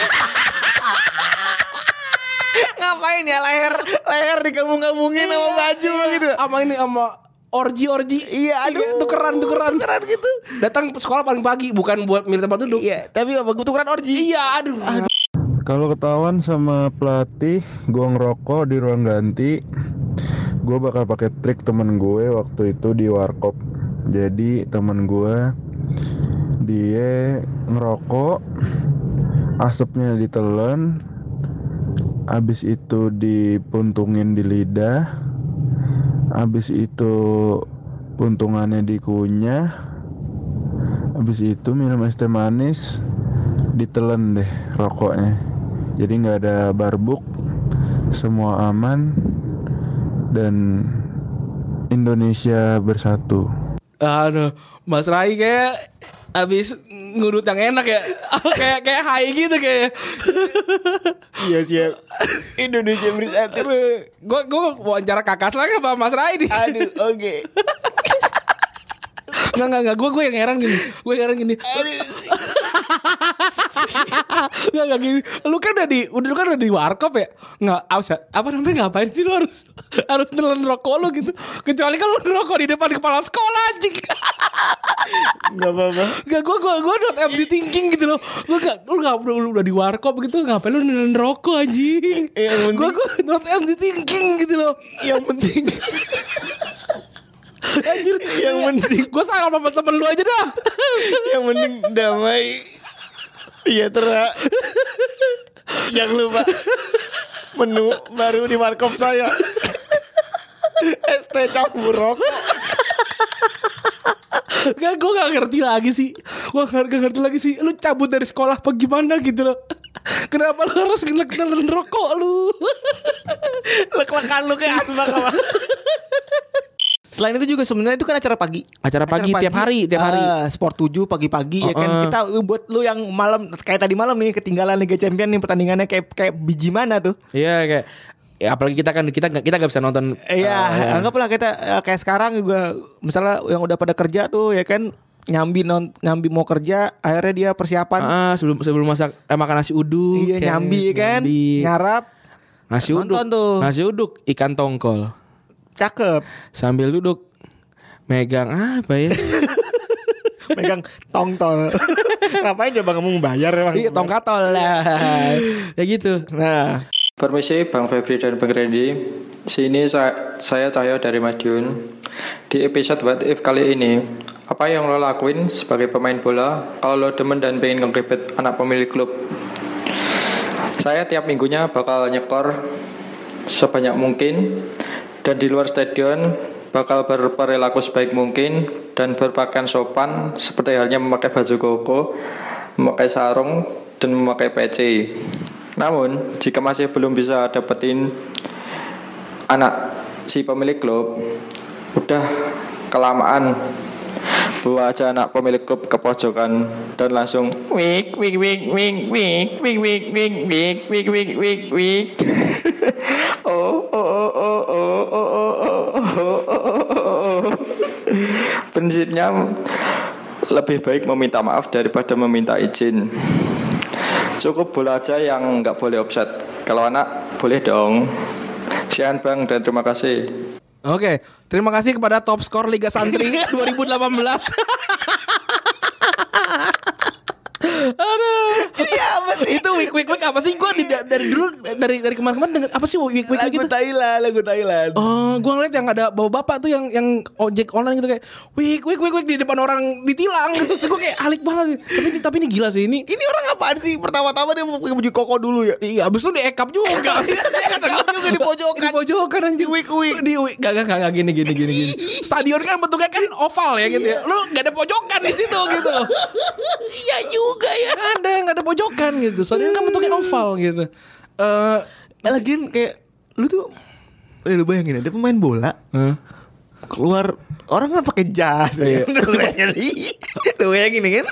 Ngapain ya leher digabung-gabungin sama baju gitu. Sama orgi. Iya, aduh, tukeran gitu. Datang sekolah paling pagi, bukan buat milih tempat duduk. Iya, tapi apa gue tukeran orgi. Iya, aduh. Kalau ketahuan sama pelatih gue ngerokok di ruang ganti, gue bakal pakai trik temen gue waktu itu di warkop. Jadi temen gue dia ngerokok, asapnya ditelen, abis itu dipuntungin di lidah, abis itu puntungannya dikunyah, abis itu minum es teh manis, ditelen deh rokoknya. Jadi nggak ada barbuk, semua aman, dan Indonesia bersatu. Aduh, Mas Rai kayak abis ngurut yang enak ya. kayak high gitu kayak. Iya siap. Indonesia bersatu. Gue wawancara Kakas lagi sama Mas Rai nih. Aduh, oke. Enggak. Gue yang heran gini. Aduh. Enggak gini. Lu kan udah di warkop ya. Enggak apa namanya ngapain sih lu harus nelen rokok lu gitu. Kecuali kalau lu ngerokok di depan kepala sekolah anjing. Enggak apa-apa. Enggak gua not empty thinking gitu loh. Lu udah di warkop gitu ngapain lu nelen rokok anjing. Gua not empty thinking gitu loh. Yang penting anjir, yang penting gue salah sama temen lu aja dah. Yang penting damai sejahtera. Jangan lupa menu baru di warkop saya. ST campur rokok. Gue gak ngerti lagi sih. Gue gak ngerti lagi sih. Lu cabut dari sekolah apa gimana gitu loh. Kenapa lu harus nelen rokok lu? Lek-lekan lu kayak asbak apa? Selain itu juga sebenarnya itu kan acara pagi. Acara pagi tiap hari. Sport 7 pagi-pagi ya kan. Kita buat lu yang malam kayak tadi malam nih ketinggalan Liga Champion nih pertandingannya kayak biji mana tuh. Iya kayak ya apalagi kita gak bisa nonton. Iya, anggaplah kita kayak sekarang juga misalnya yang udah pada kerja tuh ya kan nyambi mau kerja akhirnya dia persiapan sebelum makan nasi uduk. Iya, nyambi kan. Ngarap nasi uduk ikan tongkol. Cakep. Sambil duduk megang apa ya? Megang tongtol. Ngapain coba kamu bayar emang? Iya, tongkatol lah. Ya gitu. Nah, permisi Bang Febri dan Bang Randy. Sini saya Cahyo dari Madiun. Di episode What If kali ini, apa yang lo lakuin sebagai pemain bola kalau lo demen dan pengen nge-ribet anak pemilik klub? Saya tiap minggunya bakal nyekor sebanyak mungkin, dan di luar stadion bakal berperilaku sebaik mungkin dan berpakaian sopan seperti halnya memakai baju koko, memakai sarung, dan memakai peci. Namun jika masih belum bisa dapetin anak si pemilik klub, udah kelamaan bawa aja anak pemilik klub ke pojokan dan langsung wik wik wik wik wik wik wik wik wik wik wik wik wik. Prinsipnya lebih baik meminta maaf daripada meminta izin. Cukup bola aja yang nggak boleh offset. Kalau anak boleh dong. Sekian Bang dan terima kasih. Oke, terima kasih kepada top skor Liga Santri 2018. Aduh, ini apa sih? Itu wik apa sih? Gue dari dulu dari kemarin denger apa sih wik gitu? Lagu Thailand. Oh, gue ngeliat yang ada bapak-bapak tuh yang ojek online gitu kayak wik di depan orang ditilang gitu. Terus gue kayak alik banget. Tapi ini gila sih ini. Ini orang apaan sih? Pertama-tama dia pakai baju koko dulu ya. Iya, abis itu di-ekap juga. Ekap juga di pojokan. Di pojokan anjing. Wik. Gak gini. Stadion kan bentuknya kan oval ya gitu ya. Lu gak ada pojokan di situ gitu. Iya juga ya. Gak ada pojokan gitu. Soalnya kan bentuknya oval gitu. Lagian kayak lu tuh lu bayangin ada pemain bola keluar orang kan pakai jas ya. Lu bayangin kan?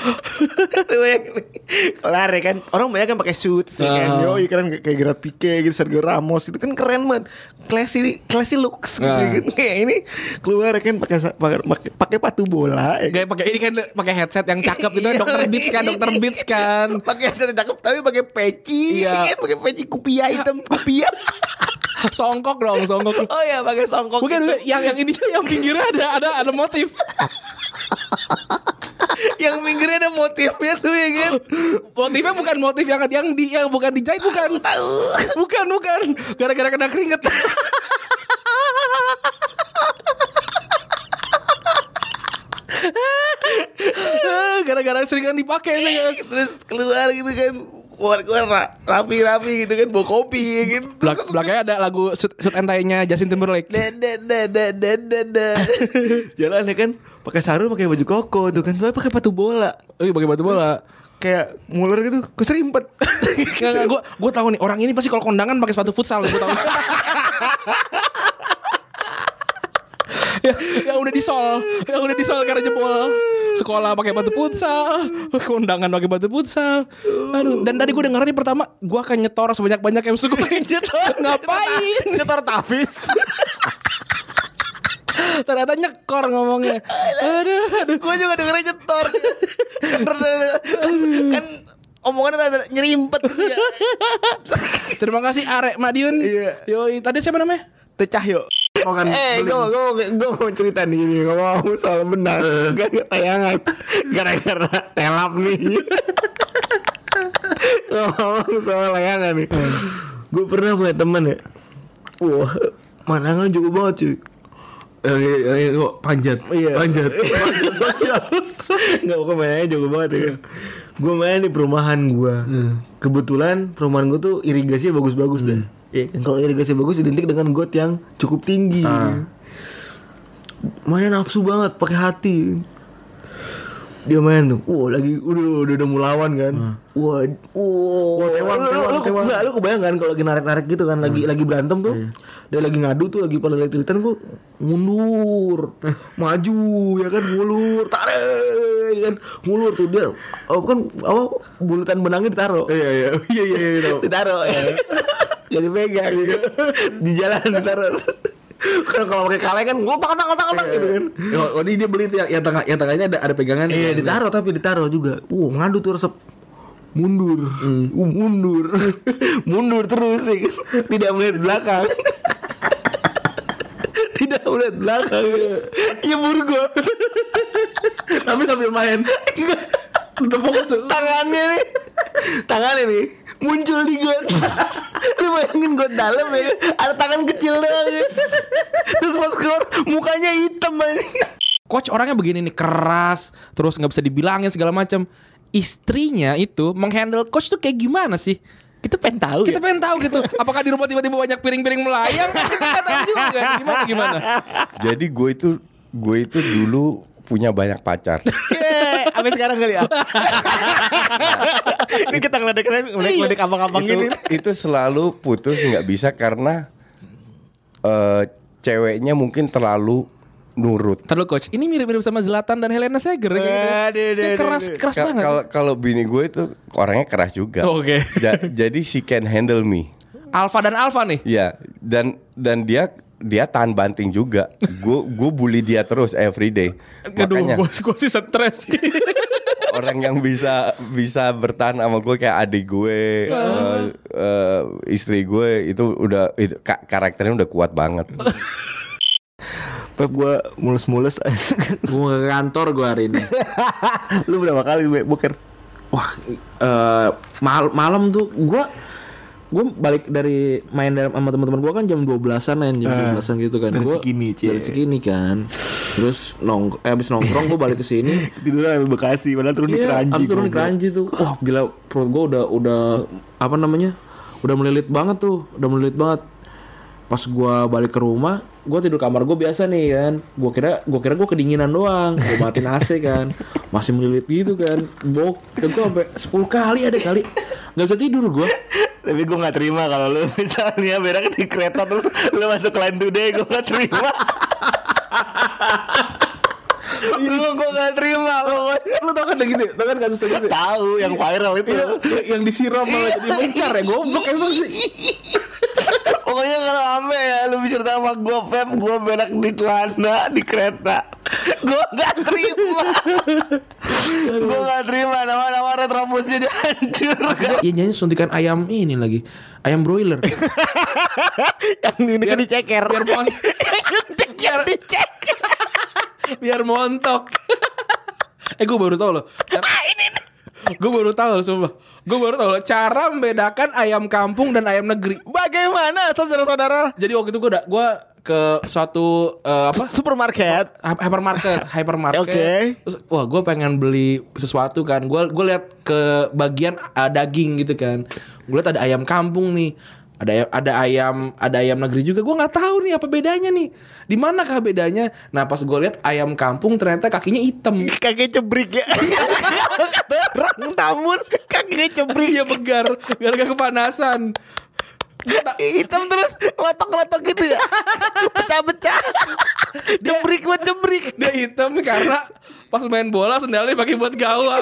Kelar ya kan. Orang banyak kan pakai suit kan. Yoi kan kayak Gerard Pique gitu, Sergio Ramos gitu kan keren banget. Classy looks gitu kan. Kayak ini keluar kan pakai sepatu bola ya. Kayak pakai ini kan pakai headset yang cakep itu Dr. Beats kan. Pakai headset yang cakep tapi pakai peci. Iya. Pakai peci kupia hitam, kupia. Songkok dong. Oh iya pakai songkok. Bukan yang ini yang pinggirnya ada motif. Yang pinggirnya ada motifnya tuh ya kan. Motifnya bukan motif yang bukan dijahit bukan. Bukan. Gara-gara kena keringet. Gara-gara seringan dipakai terus keluar gitu kan. Keluar rapi gitu kan, bawa kopi ya kan. Belakangnya ada lagu Shoot and Tie-nya Justin Timberlake. Jalan ya kan, pakai sarung, pakai baju koko tuh kan, tapi pakai sepatu bola. Oh iya pakai sepatu bola. Kayak muler gitu, keserimpet. Enggak, gue tahu nih orang ini pasti kalau kondangan pakai sepatu futsal, gue tahu. yang udah disol karena jebol. Sekolah pakai batu futsal, kondangan pakai batu futsal. Aduh, dan tadi gue denger nih pertama, gue akan nyetor sebanyak-banyak yang suka nyetor. Ngapain? Nyetor Tafis. Ternyata nyekor ngomongnya. Aduh. Gue juga dengernya nyetor. Kan omongannya ada nyerimpet gitu ya. Terima kasih Arek Madiun. Iya. Yoi, tadi siapa namanya? Tecahyo. Gue mau cerita nih ini, ngomong soal benar, gak tayangan gara-gara telap nih. Ngomong soal layangan nih. Gue pernah punya temen ya. Wah, manangan juga banget cuy. Panjat. Iya. Panjat sosial. Enggak, pokoknya mainnya jago banget ya. Gue main di perumahan gue. Kebetulan perumahan gue tuh irigasinya bagus-bagus deh. Iya, kalau irigasi bagus identik dengan got yang cukup tinggi. Mainnya nafsu banget, pakai hati. Dia main tuh, lagi udah mau lawan kan. Tewan. Enggak, lu kebayang kan kalau lagi narik-narik gitu kan, lagi berantem tuh. Dia lagi ngadu tuh, lagi pada lihat-lihatan, gue mundur, maju ya kan, ngulur, tarik kan, ngulur tuh dia. Bulatan benangnya ditaruh. Iya. Ditaruh ya. Jadi pegang gitu. Di jalan ditaruh. Kan kalau pakai kaleng kan ngotak gitu kan. Oh, ini dia beli tuh yang tengahnya ada pegangan. Iya, ditaruh juga. Ngadu tuh resep. Mundur. Mundur terus ya. Tidak melihat belakang. Nyebur gua. Tapi sambil main. Udah fokus. Tangannya nih muncul di got. Lu bayangin got dalam ya, ada tangan kecil doang ya. Terus pas keluar mukanya hitam aja. Coach orangnya begini nih, keras, terus nggak bisa dibilangin segala macam. Istrinya itu menghandle coach tuh kayak gimana sih? Kita pengen tahu gitu. Apakah di rumah tiba-tiba banyak piring-piring melayang? Kita nggak tahu juga. Gimana? Jadi gue itu dulu punya banyak pacar. Sampai sekarang kali ya. Ini kita ngeledek abang-abang ini. Itu selalu putus nggak bisa karena ceweknya mungkin terlalu nurut. Terlalu coach. Ini mirip-mirip sama Zlatan dan Helena Seger. Keras banget. Kalau bini gue itu orangnya keras juga. Oke. Jadi she can handle me. Alpha dan Alpha nih. Iya. Dan dia tahan banting juga. Gue bully dia terus every day. Makanya gue sih stres. orang yang bisa bertahan sama gue kayak adik gue, istri gue itu karakternya udah kuat banget. Pep, gue mulus-mulus. Gue ke kantor gue hari ini. Lu berapa kali boker? Wah, malam tuh gue balik dari main sama teman-teman gue kan jam 12-an gitu kan. Dari Cikini kan. Terus abis nongkrong gue balik ke sini. Tidur di Bekasi, padahal turun di Keranji. Harus turun di Keranji tuh. Wah, gila, perut gue udah udah melilit banget. Pas gue balik ke rumah, gue tidur kamar gue biasa nih kan. Gue kira gue kedinginan doang. Gue matiin AC kan, masih melilit gitu kan. Gue sampai 10 kali nggak bisa tidur gue. Tapi gue nggak terima kalau lu misalnya berak di kereta terus lu masuk Line Today, gue nggak terima. Gue nggak terima. Lu tau kan gitu? Tau kan kasus gitu? Tahu yang viral itu. Yang disiram malah jadi mencar ya. Goblok emang sih. Pokoknya kalau ame ya lu bisa sama gue, Pep, gue berak di celana di kereta. Gue nggak terima. Nama-nama retrobusnya dihancur. Iya, nyanyi suntikan ayam ini lagi, ayam broiler. Yang ini kan diceker. Biar montok. Gue baru tahu loh. Gue baru tahu loh, sumpah. Gue baru tahu loh cara membedakan ayam kampung dan ayam negeri. Bagaimana, saudara-saudara? Jadi waktu itu gue ke suatu supermarket, hypermarket. Oke. Terus gue pengen beli sesuatu kan. Gue lihat ke bagian daging gitu kan. Gue lihat ada ayam kampung nih. Ada ayam negeri juga. Gue nggak tahu nih apa bedanya nih. Di manakah bedanya? Nah, pas gue lihat ayam kampung ternyata kakinya hitam. Kakinya cebrik ya. Kata orang tamun kakinya cebrik. Ya begar, gara-gara kepanasan. Hitam terus letok-letok gitu ya. Pecah-pecah. Cebrik. Dia hitam karena pas main bola sendalnya pakai buat gawang.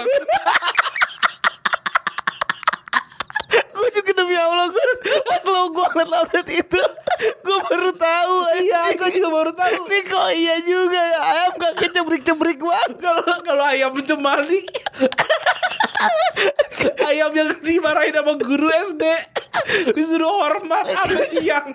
Gue juga demi Allah, pas lo gue ngeliat update itu, gue baru tahu. Iya, gue juga baru tahu. Nih kok iya juga ya, ayam kaki cebrik-cebrik banget. Kalau ayam cemali Ayam yang dimarahin sama guru SD disuruh hormat sampai siang.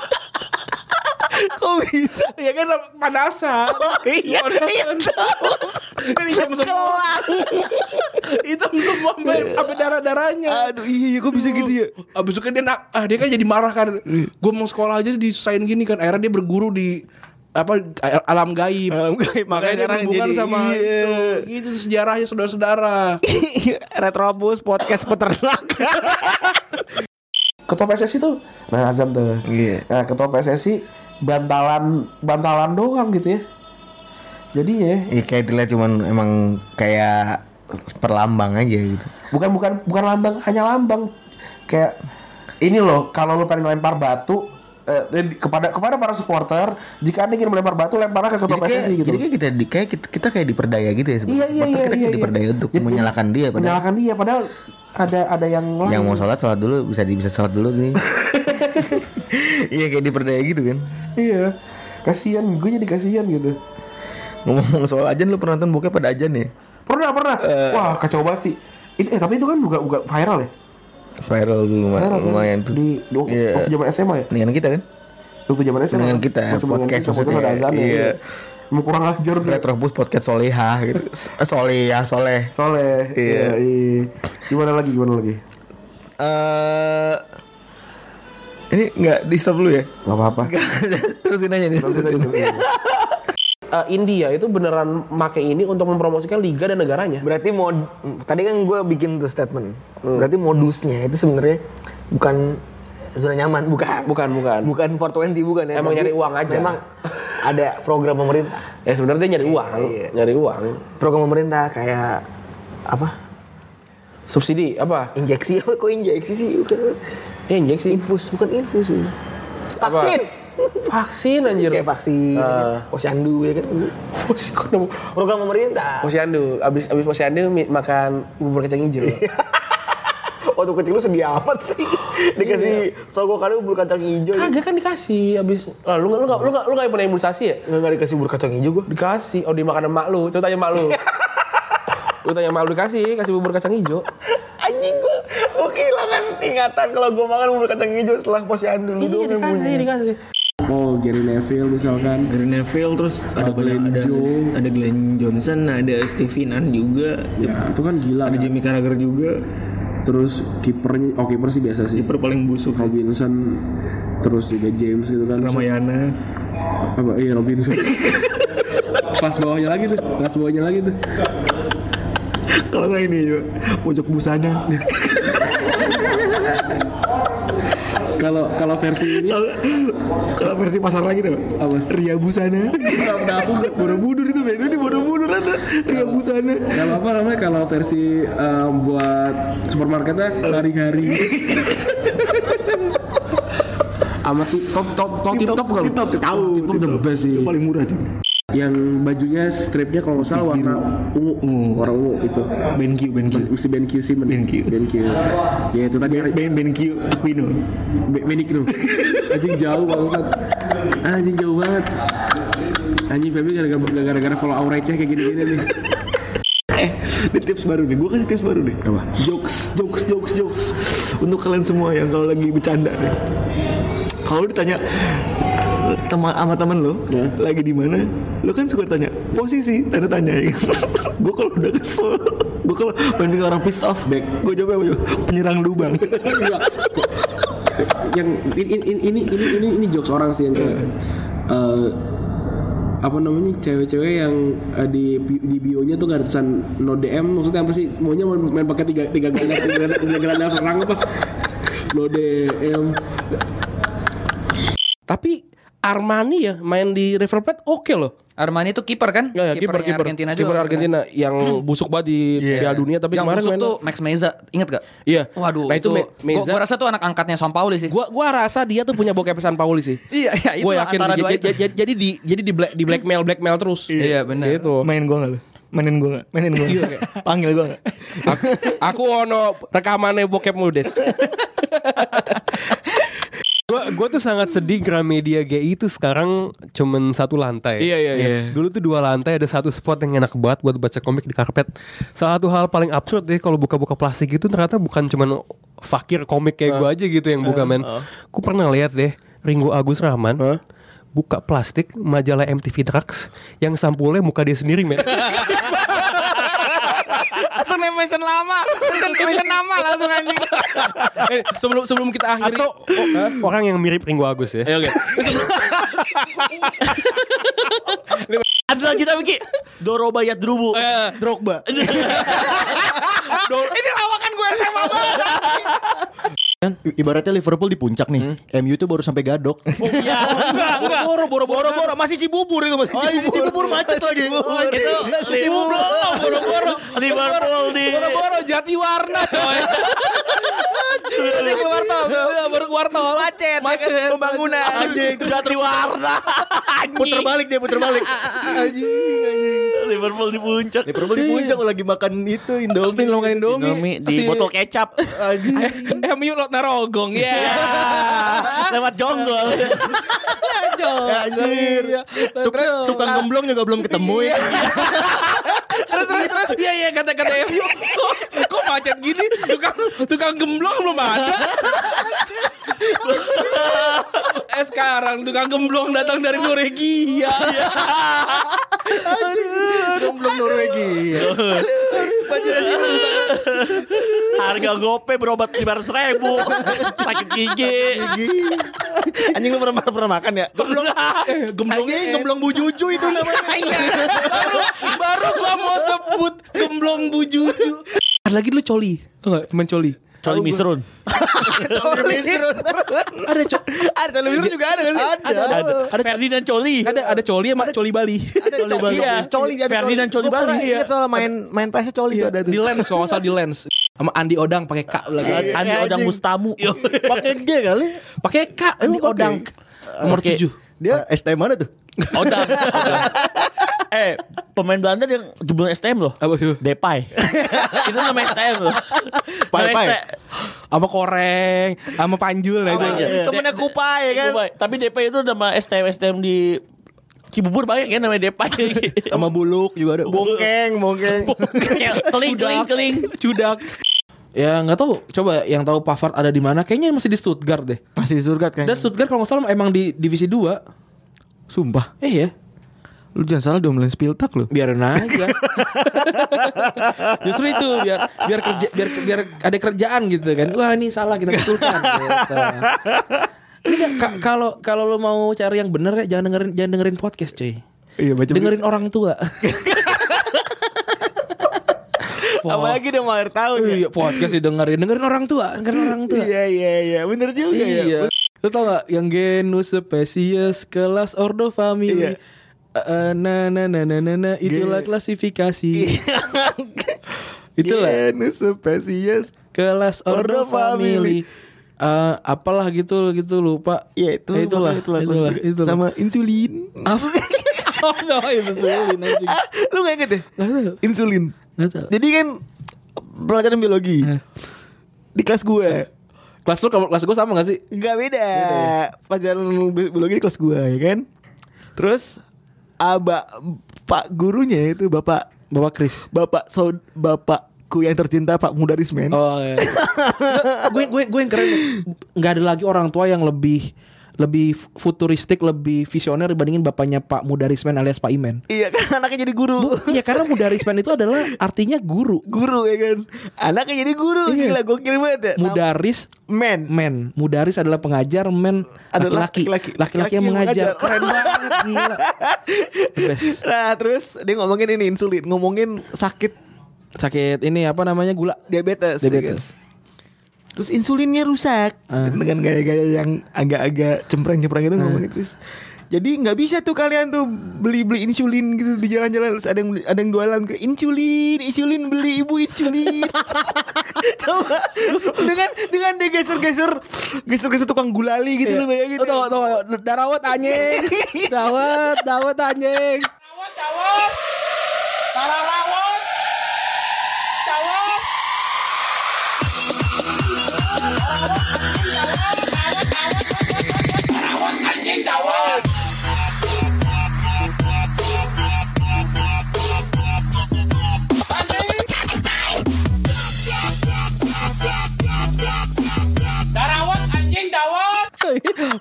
Kok bisa? Ya kan panasan. Iya. Kan hitam semua. Hitam semua sampai darah-darahnya. Aduh iya kok bisa gitu ya? Abis itu kan dia kan jadi marah kan. Gue mau sekolah aja disusahin gini kan. Akhirnya dia berguru di alam gaib. Makanya dia berhubungan sama itu sejarahnya saudara-saudara. Retrobus podcast peternak. Ketua PSSI tuh azan tuh. Iya. Nah, ketua PSSI bantalan doang gitu ya. Jadi ya kayak dilihat cuman emang kayak perlambang aja gitu. Bukan lambang, hanya lambang. Kayak ini loh, kalau lu pengen lempar batu kepada para supporter, jika Anda ingin melempar batu, lemparlah ke ketua PSSI gitu. Jadi kita kayak diperdaya gitu ya sebenarnya. Iya. Diperdaya untuk menyalahkan dia padahal ada yang lain. Yang mau sholat dulu bisa sholat dulu gitu. Iya kayak diperdaya gitu kan. Iya. Kasihan, gue jadi kasihan gitu. Ngomong soal ajan, lu pernah nonton bokep pada ajan ya? Pernah. Wah, kacau banget sih. Tapi itu kan juga viral ya? Viral dulu lumayan tuh. Waktu zaman SMA ya? Dengan kita kan? Waktu zaman SMA. Dengan kita podcast maksudnya ada azan ya. Iya. Mau kurang ajar tuh. Retrobus podcast Solehah gitu. Soleh. Iya. Gimana lagi? Ini nggak di stop dulu ya? Nggak apa-apa. Terusin aja nih. India itu beneran make ini untuk mempromosikan liga dan negaranya. Berarti tadi kan gue bikin tuh statement. Berarti modusnya itu sebenarnya bukan zona nyaman, bukan 420 bukan ya. Emang nyari uang aja. Memang ada program pemerintah. Ya sebenarnya dia nyari uang, nyari uang. Program pemerintah kayak apa? Subsidi apa? Injeksi. Kok injeksi sih? Injeksi. Infus, bukan infus. Vaksin. Vaksin anjir. Kayak vaksin. Posyandu ya kan. Program pemerintah. Posyandu. Abis posyandu makan bubur kacang hijau. Waktu kecil lu sedih amat sih. Dikasih sogokan bubur kacang hijau. Kagak kan dikasih abis. Lu enggak pernah imunisasi ya? Enggak dikasih bubur kacang hijau gua. Dikasih. Oh dimakan sama mak lu. Coba tanya mak lu. Lu tanya mak lu kasih bubur kacang hijau. Anjing gua kehilangan ingatan kalau gua makan bubur kacang hijau setelah posyandu. Dikasih. Oh, Gary Neville misalkan. Gary Neville, terus ada Glenn Johnson, ada Stevie Nan juga. Ya, itu kan gila. Ada Jimmy Carragher juga. Terus kiper sih biasa sih. Kiper paling busuk. Robinson, terus juga James gitu kan. Ramayana. Apa? Iya Robinson. Pas bawahnya lagi tuh. Kalau nggak ini juga pojok busana. Kalau versi ini, kalau versi pasar lagi tuh apa? Ria Busana. Borobudur itu beda di Borobudur ada Ria Busana. Kalau apa namanya kalau versi buat supermarketnya hari-hari. Sama top kalau tahu top the best sih. Itu paling murah tuh. Yang bajunya stripnya kalau nggak salah warna ungu itu BenQ ya itu tadi BenQ Aquino Benigno anjing jauh banget anjing Feby gara-gara follow Aureceh kayak gini-gini nih. Ini tips baru nih, gue kasih tips baru nih. Apa? Jokes untuk kalian semua yang kalau lagi bercanda nih. Kalau ditanya sama teman lo lagi di mana, lo kan suka tanya posisi, tanda tanya ya. Gue kalau udah kesel, gue kalau pengen orang pissed off, gue jawab penyerang lubang. Yang ini jokes orang sih yang kayak apa namanya cewek-cewek yang di bio-nya tuh gak ada tulisan no DM, maksudnya apa sih, maunya main pakai tiga gelandang serang apa no DM. Tapi Armani ya main di River Plate oke loh. Armani itu kiper kan? Ya, kiper Argentina juga. Kiper Argentina yang busuk banget di Piala Dunia, tapi yang kemarin busuk main tuh Max Meza, inget gak? Iya. Waduh, nah itu Meza. Gua rasa tuh anak angkatnya Sampaoli sih. Gua rasa dia tuh punya bokep Sampaoli sih. Iya, itu gua yakin jadi di blackmail terus. Iya, benar. Gitu. Mainin gue nggak lu? Mainin gue. Panggil gue nggak? Aku ono rekamannya bokep lu Des. Gue tuh sangat sedih Gramedia GI itu sekarang cuman 1 lantai. Iya. Dulu tuh 2 lantai, ada 1 spot yang enak banget buat baca komik di karpet. Salah satu hal paling absurd deh kalau buka-buka plastik itu ternyata bukan cuman fakir komik kayak gue aja gitu yang buka men. Gue pernah lihat deh Ringo Agus Rahman buka plastik majalah MTV Drugs yang sampulnya muka dia sendiri men. Langsung mention lama, mention nama langsung anjing. Sebelum kita akhiri atau orang yang mirip Ringo Agus ya. Oke. Ada lagi tapi Ki Doroba Yadrubu Drogba. Ini lawakan gue SMA banget. Ibaratnya Liverpool di puncak nih. MU tuh baru sampai Gadok. Iya. Enggak. Boro-boro masih Cibubur itu masih. Cibubur macet lagi. Itu Boro-boro Liverpool di Boro-boro Jatiwarna coy. Baru keluar tol. Macet. Pembangunan. Jatiwarna. Puter balik. Liverpool di puncak. Lagi makan itu Indomie. Di botol kecap. MU lot narogong ya. Lewat jonggol. Anjir. Tukang gemblong juga belum ketemu ya. Terus iya kata MU kok macet gini, tukang gemblong belum ada. Sekarang tukang gemblong datang dari Norwegia. Gemblong Norwegia. Harga gope berobat 500.000. Sakit gigi. Anjing lu pernah makan ya? Gemblong Bu Juju itu namanya. Iya. Baru gua mau sebut gemblong Bu Juju. Ada lagi lu coli. Enggak, teman coli. Coli Misrun. Ada Coli Misrun juga ada kan sih? Ada Ferdinand Coli. Ada Coli sama Coli Bali. Coli Ferdinand Coli Bali. Ingat soal main PS Coli itu ada di Lens kalau nggak salah di Lens. Sama Andi Odang pakai K lagi. Andi Odang Mustamu. Pakai G kali. Pakai K Andi Odang. Nomor 7. Dia STM mana tuh? Odang. Pemain Belanda yang jebol STM loh. Apa itu? Depay. Itu namanya STM loh. Pai. Sama Koreng, sama Panjul lah itu. Temennya Kupai kan. Tapi Depay itu nama STM di Cibubur banyak kan namanya Depay. Sama Buluk juga ada. Bongkeng. Keling. Cudak. Ya nggak tahu. Coba yang tahu Pavard ada di mana? Kayaknya masih di Stuttgart deh. Masih di Stuttgart kayaknya. Dan Stuttgart kalau nggak salah emang di divisi 2. Sumpah. Iya. Lu jangan salah diomelin Spiltak lu. Biarin aja. Justru itu biar ada kerjaan gitu kan. Wah ini salah kita betulkan. Gitu. Kalau lu mau cari yang bener ya jangan dengerin podcast cuy. Iya, dengerin orang tua. Apalagi udah mau akhir tahun ya. Iya, podcast dengerin orang tua. Iya, bener juga ya. Lu tau gak yang genus spesies kelas ordo family. Itulah klasifikasi. Itulah genus spesies kelas ordo family. Apalah gitu lupa. Ya itulah. Sama insulin. Apa? Oh, insulin anjing. Lu gak inget deh? Gak tahu. Insulin. Jadi kan pelajaran biologi di kelas gue. Kelas gue sama gak sih? Gak beda. Pelajaran biologi di kelas gue ya kan. Terus Pak gurunya itu Bapak Kris. Bapakku yang tercinta Pak Mudarismen. Oh iya. gue yang keren. Gak ada lagi orang tua yang lebih futuristik, lebih visioner dibandingin bapaknya Pak Mudarismen alias Pak Imen. Iya kan anaknya jadi guru. Iya karena Mudarismen itu adalah artinya guru. Guru ya kan. Anaknya jadi guru. Iya. Gila gokil banget ya. Mudaris men. Mudaris adalah pengajar, men laki-laki yang mengajar. Keren banget gila. The best. Nah terus dia ngomongin ini insulin, ngomongin sakit ini apa namanya gula, diabetes. Ya. Terus insulinnya rusak dengan gaya-gaya yang agak-agak cempreng-cempreng gitu ngomongin terus. Jadi nggak bisa tuh kalian tuh beli insulin gitu di jalan-jalan. Terus ada yang jualan ke insulin beli ibu insulin. Coba dengan dia geser tukang gulali gitu. Lu bayangin. Tuh darawat anjing. Dawat anjing. Dawat.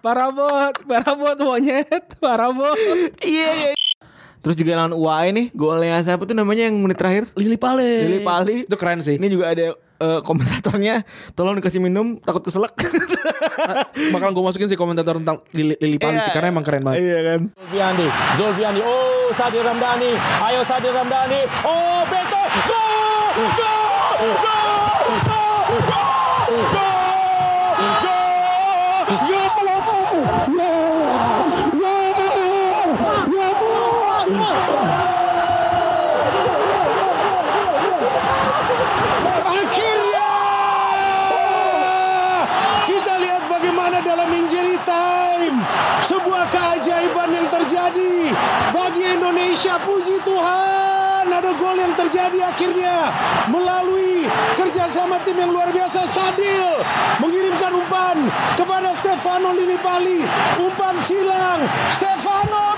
Parabot monyet, parabot. Iya. Terus juga lawan UAE nih, golnya siapa tuh namanya yang menit terakhir? Lili Pali. Itu keren sih. Ini juga ada komentatornya, tolong dikasih minum, takut keselak. Bakal gue masukin sih komentator tentang Lili Pali sih, karena emang keren banget. Iya kan. Zulfiandi. Oh, Sadir Ramdhani. Ayo Sadir Ramdhani. Oh, Beto. Go! Akhirnya kita lihat bagaimana dalam injury time sebuah keajaiban yang terjadi bagi Indonesia. Puji Tuhan, ada gol yang terjadi akhirnya melalui kerjasama tim yang luar biasa. Sadil mengirimkan umpan kepada Stefano Lillipali, umpan silang Stefano.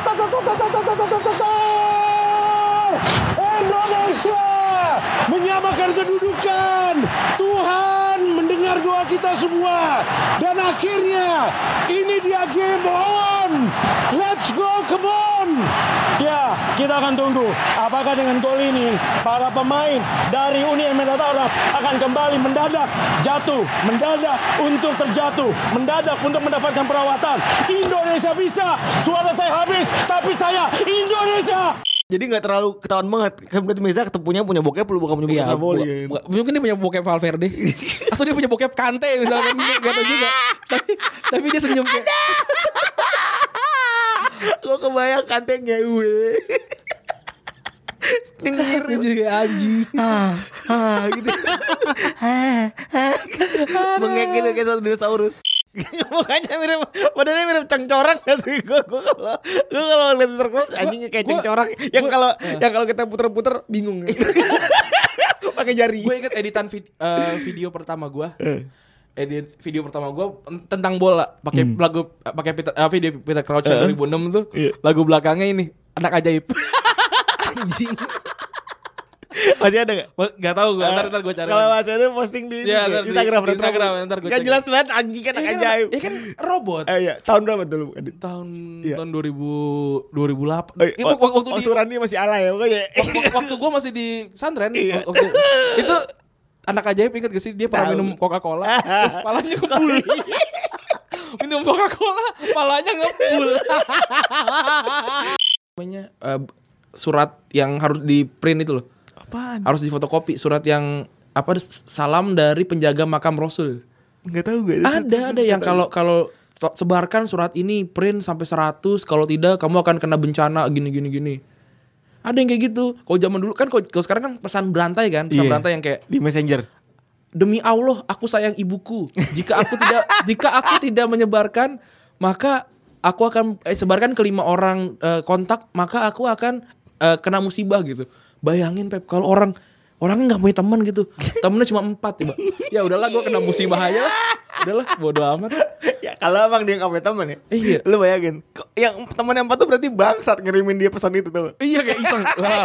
Indonesia menyamakan kedudukan. Tuhan mendengar doa kita semua, dan akhirnya ini dia, game on. Let's go, come on. Ya, kita akan tunggu apakah dengan gol ini para pemain dari Uni Emirat Arab akan kembali mendadak jatuh, mendadak untuk terjatuh, mendadak untuk mendapatkan perawatan. Indonesia bisa. Suara saya habis, tapi saya Indonesia. Jadi nggak terlalu ketahuan banget. Kan berarti Meza ketemunya punya bokep, lu bukan punya bokep volley. Mungkin dia punya bokep Valverde. Atau dia punya bokep Kante misalkan, enggak tahu juga. Tapi dia senyum kayak. Gue kebayang Kante ngewe. Dengar juga anjing. Gitu. Mengek gitu kayak satu dinosaurus. Mukanya mirip, badannya mirip cengcorang gak sih? Gue kalau lihat terus anjingnya kayak cengcorang. Yang kalau kita puter-puter bingung. Pakai jari. Gue inget editan video pertama gue. Video pertama gue tentang bola, pakai lagu, pakai video Peter Crouch 2006 tuh. Lagu belakangnya ini Anak Ajaib. Anjing. Masih ada gak? Gak tau gue, ntar gue cari. Kalau masih ada posting di Instagram ntar gue cari. Gak jelas banget, anjing kan ajaib. Ya kan robot. Iya, tahun berapa dulu? Tahun 2008. Waktu Surani masih alay ya pokoknya. Waktu gue masih di pesantren. Itu Anak Ajaib, ingat gak sih? Dia pernah minum Coca-Cola, terus palanya ngebul. Minum Coca-Cola, palanya ngebul. Namanya surat yang harus di print itu loh. Apaan? Harus difotokopi, surat yang apa, salam dari penjaga makam Rasul. Enggak tahu gue. Ada yang kalau sebarkan surat ini, print sampai 100, kalau tidak kamu akan kena bencana gini. Ada yang kayak gitu. Kalau zaman dulu kan, kalau sekarang kan pesan berantai kan, berantai yang kayak di Messenger. Demi Allah, aku sayang ibuku. Jika aku tidak menyebarkan, maka aku akan sebarkan ke 5 orang kontak, maka aku akan kena musibah gitu. Bayangin Pep, kalau orangnya nggak punya teman gitu, temennya cuma 4 tiba. Ya udahlah, gue kena musibah aja lah. Udahlah, bodo amat. Ya kalau emang dia nggak punya teman ya. Iya. Lu bayangin, yang teman yang 4 tuh berarti bangsat ngirimin dia pesan itu tuh. Iya, kayak iseng.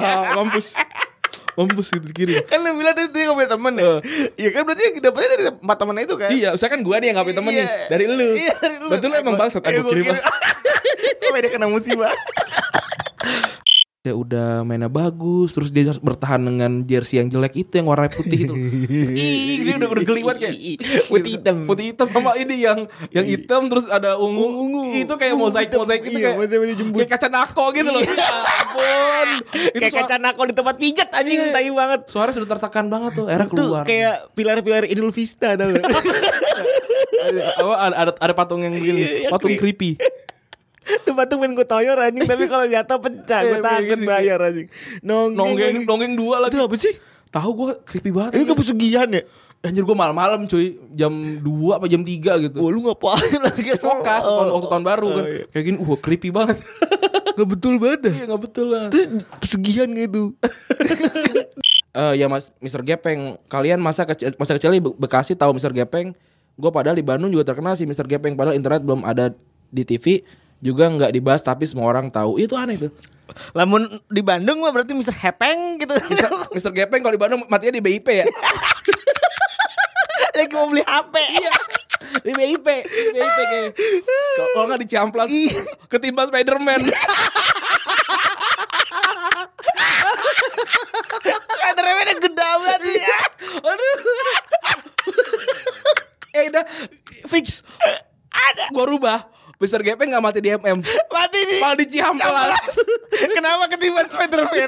Mampus gitu kirim. Kan lu bilang dia nggak punya teman ya. Iya kan, berarti yang dapetnya dari 4 teman itu kan. Iya, misalkan gue nih yang nggak punya teman nih, dari lu. Iya, dari lu. Betul emang bangsat. Aku kirim. Sampai dia kena musibah. Ya udah mainnya bagus, terus dia bertahan dengan jersey yang jelek itu, yang warna putih itu. Dia udah geliwat kayak putih hitam sama ini yang hitam terus ada ungu. Itu kayak mozaik gitu, kayak kayak kaca nako gitu loh. Ya ampun. Kayak kaca nako di tempat pijat anjing, tai banget. Suara sudah tertekan banget tuh, era keluar. Kayak pilar-pilar Idul Vista tau. Ada patung yang begini, patung creepy. Tuh patung pengen gue toyor anjing, tapi kalau jatuh pecah, gue takut bayar anjing. Nonggeng 2 lagi. Itu apa sih? Tahu gue creepy banget. Ini kepesugihan ya? Anjir, gue malam-malam cuy, jam 2 apa jam 3 gitu. Wah, lu ngapain lagi? Fokus waktu tahun baru kan. Iya. Kayak gini, creepy banget. Gak betul banget. Iya, gak betul lah. Terus pesugihan gitu. Ya Mas Mr. Gepeng, kalian masa kecil di Bekasi tahu Mr. Gepeng? Gue padahal di Bandung juga terkenal sih Mr. Gepeng, padahal internet belum ada di TV. Juga nggak dibahas tapi semua orang tahu. Itu aneh tuh. Lamun di Bandung mah berarti Mr. Hepeng gitu. Mr. Gepeng kalau di Bandung matinya di BIP ya. Lagi mau beli HP. Iya. Di BIP kayak. Kalau nggak di Ciamplas ketimbang Spiderman. Spiderman-nya gede banget ya. Aduh. Udah fix. Ada. Gua rubah. Mr. GP nggak mati di MM. Mati di. Malah di Ciamplas. Kenapa ketimbang Spiderman?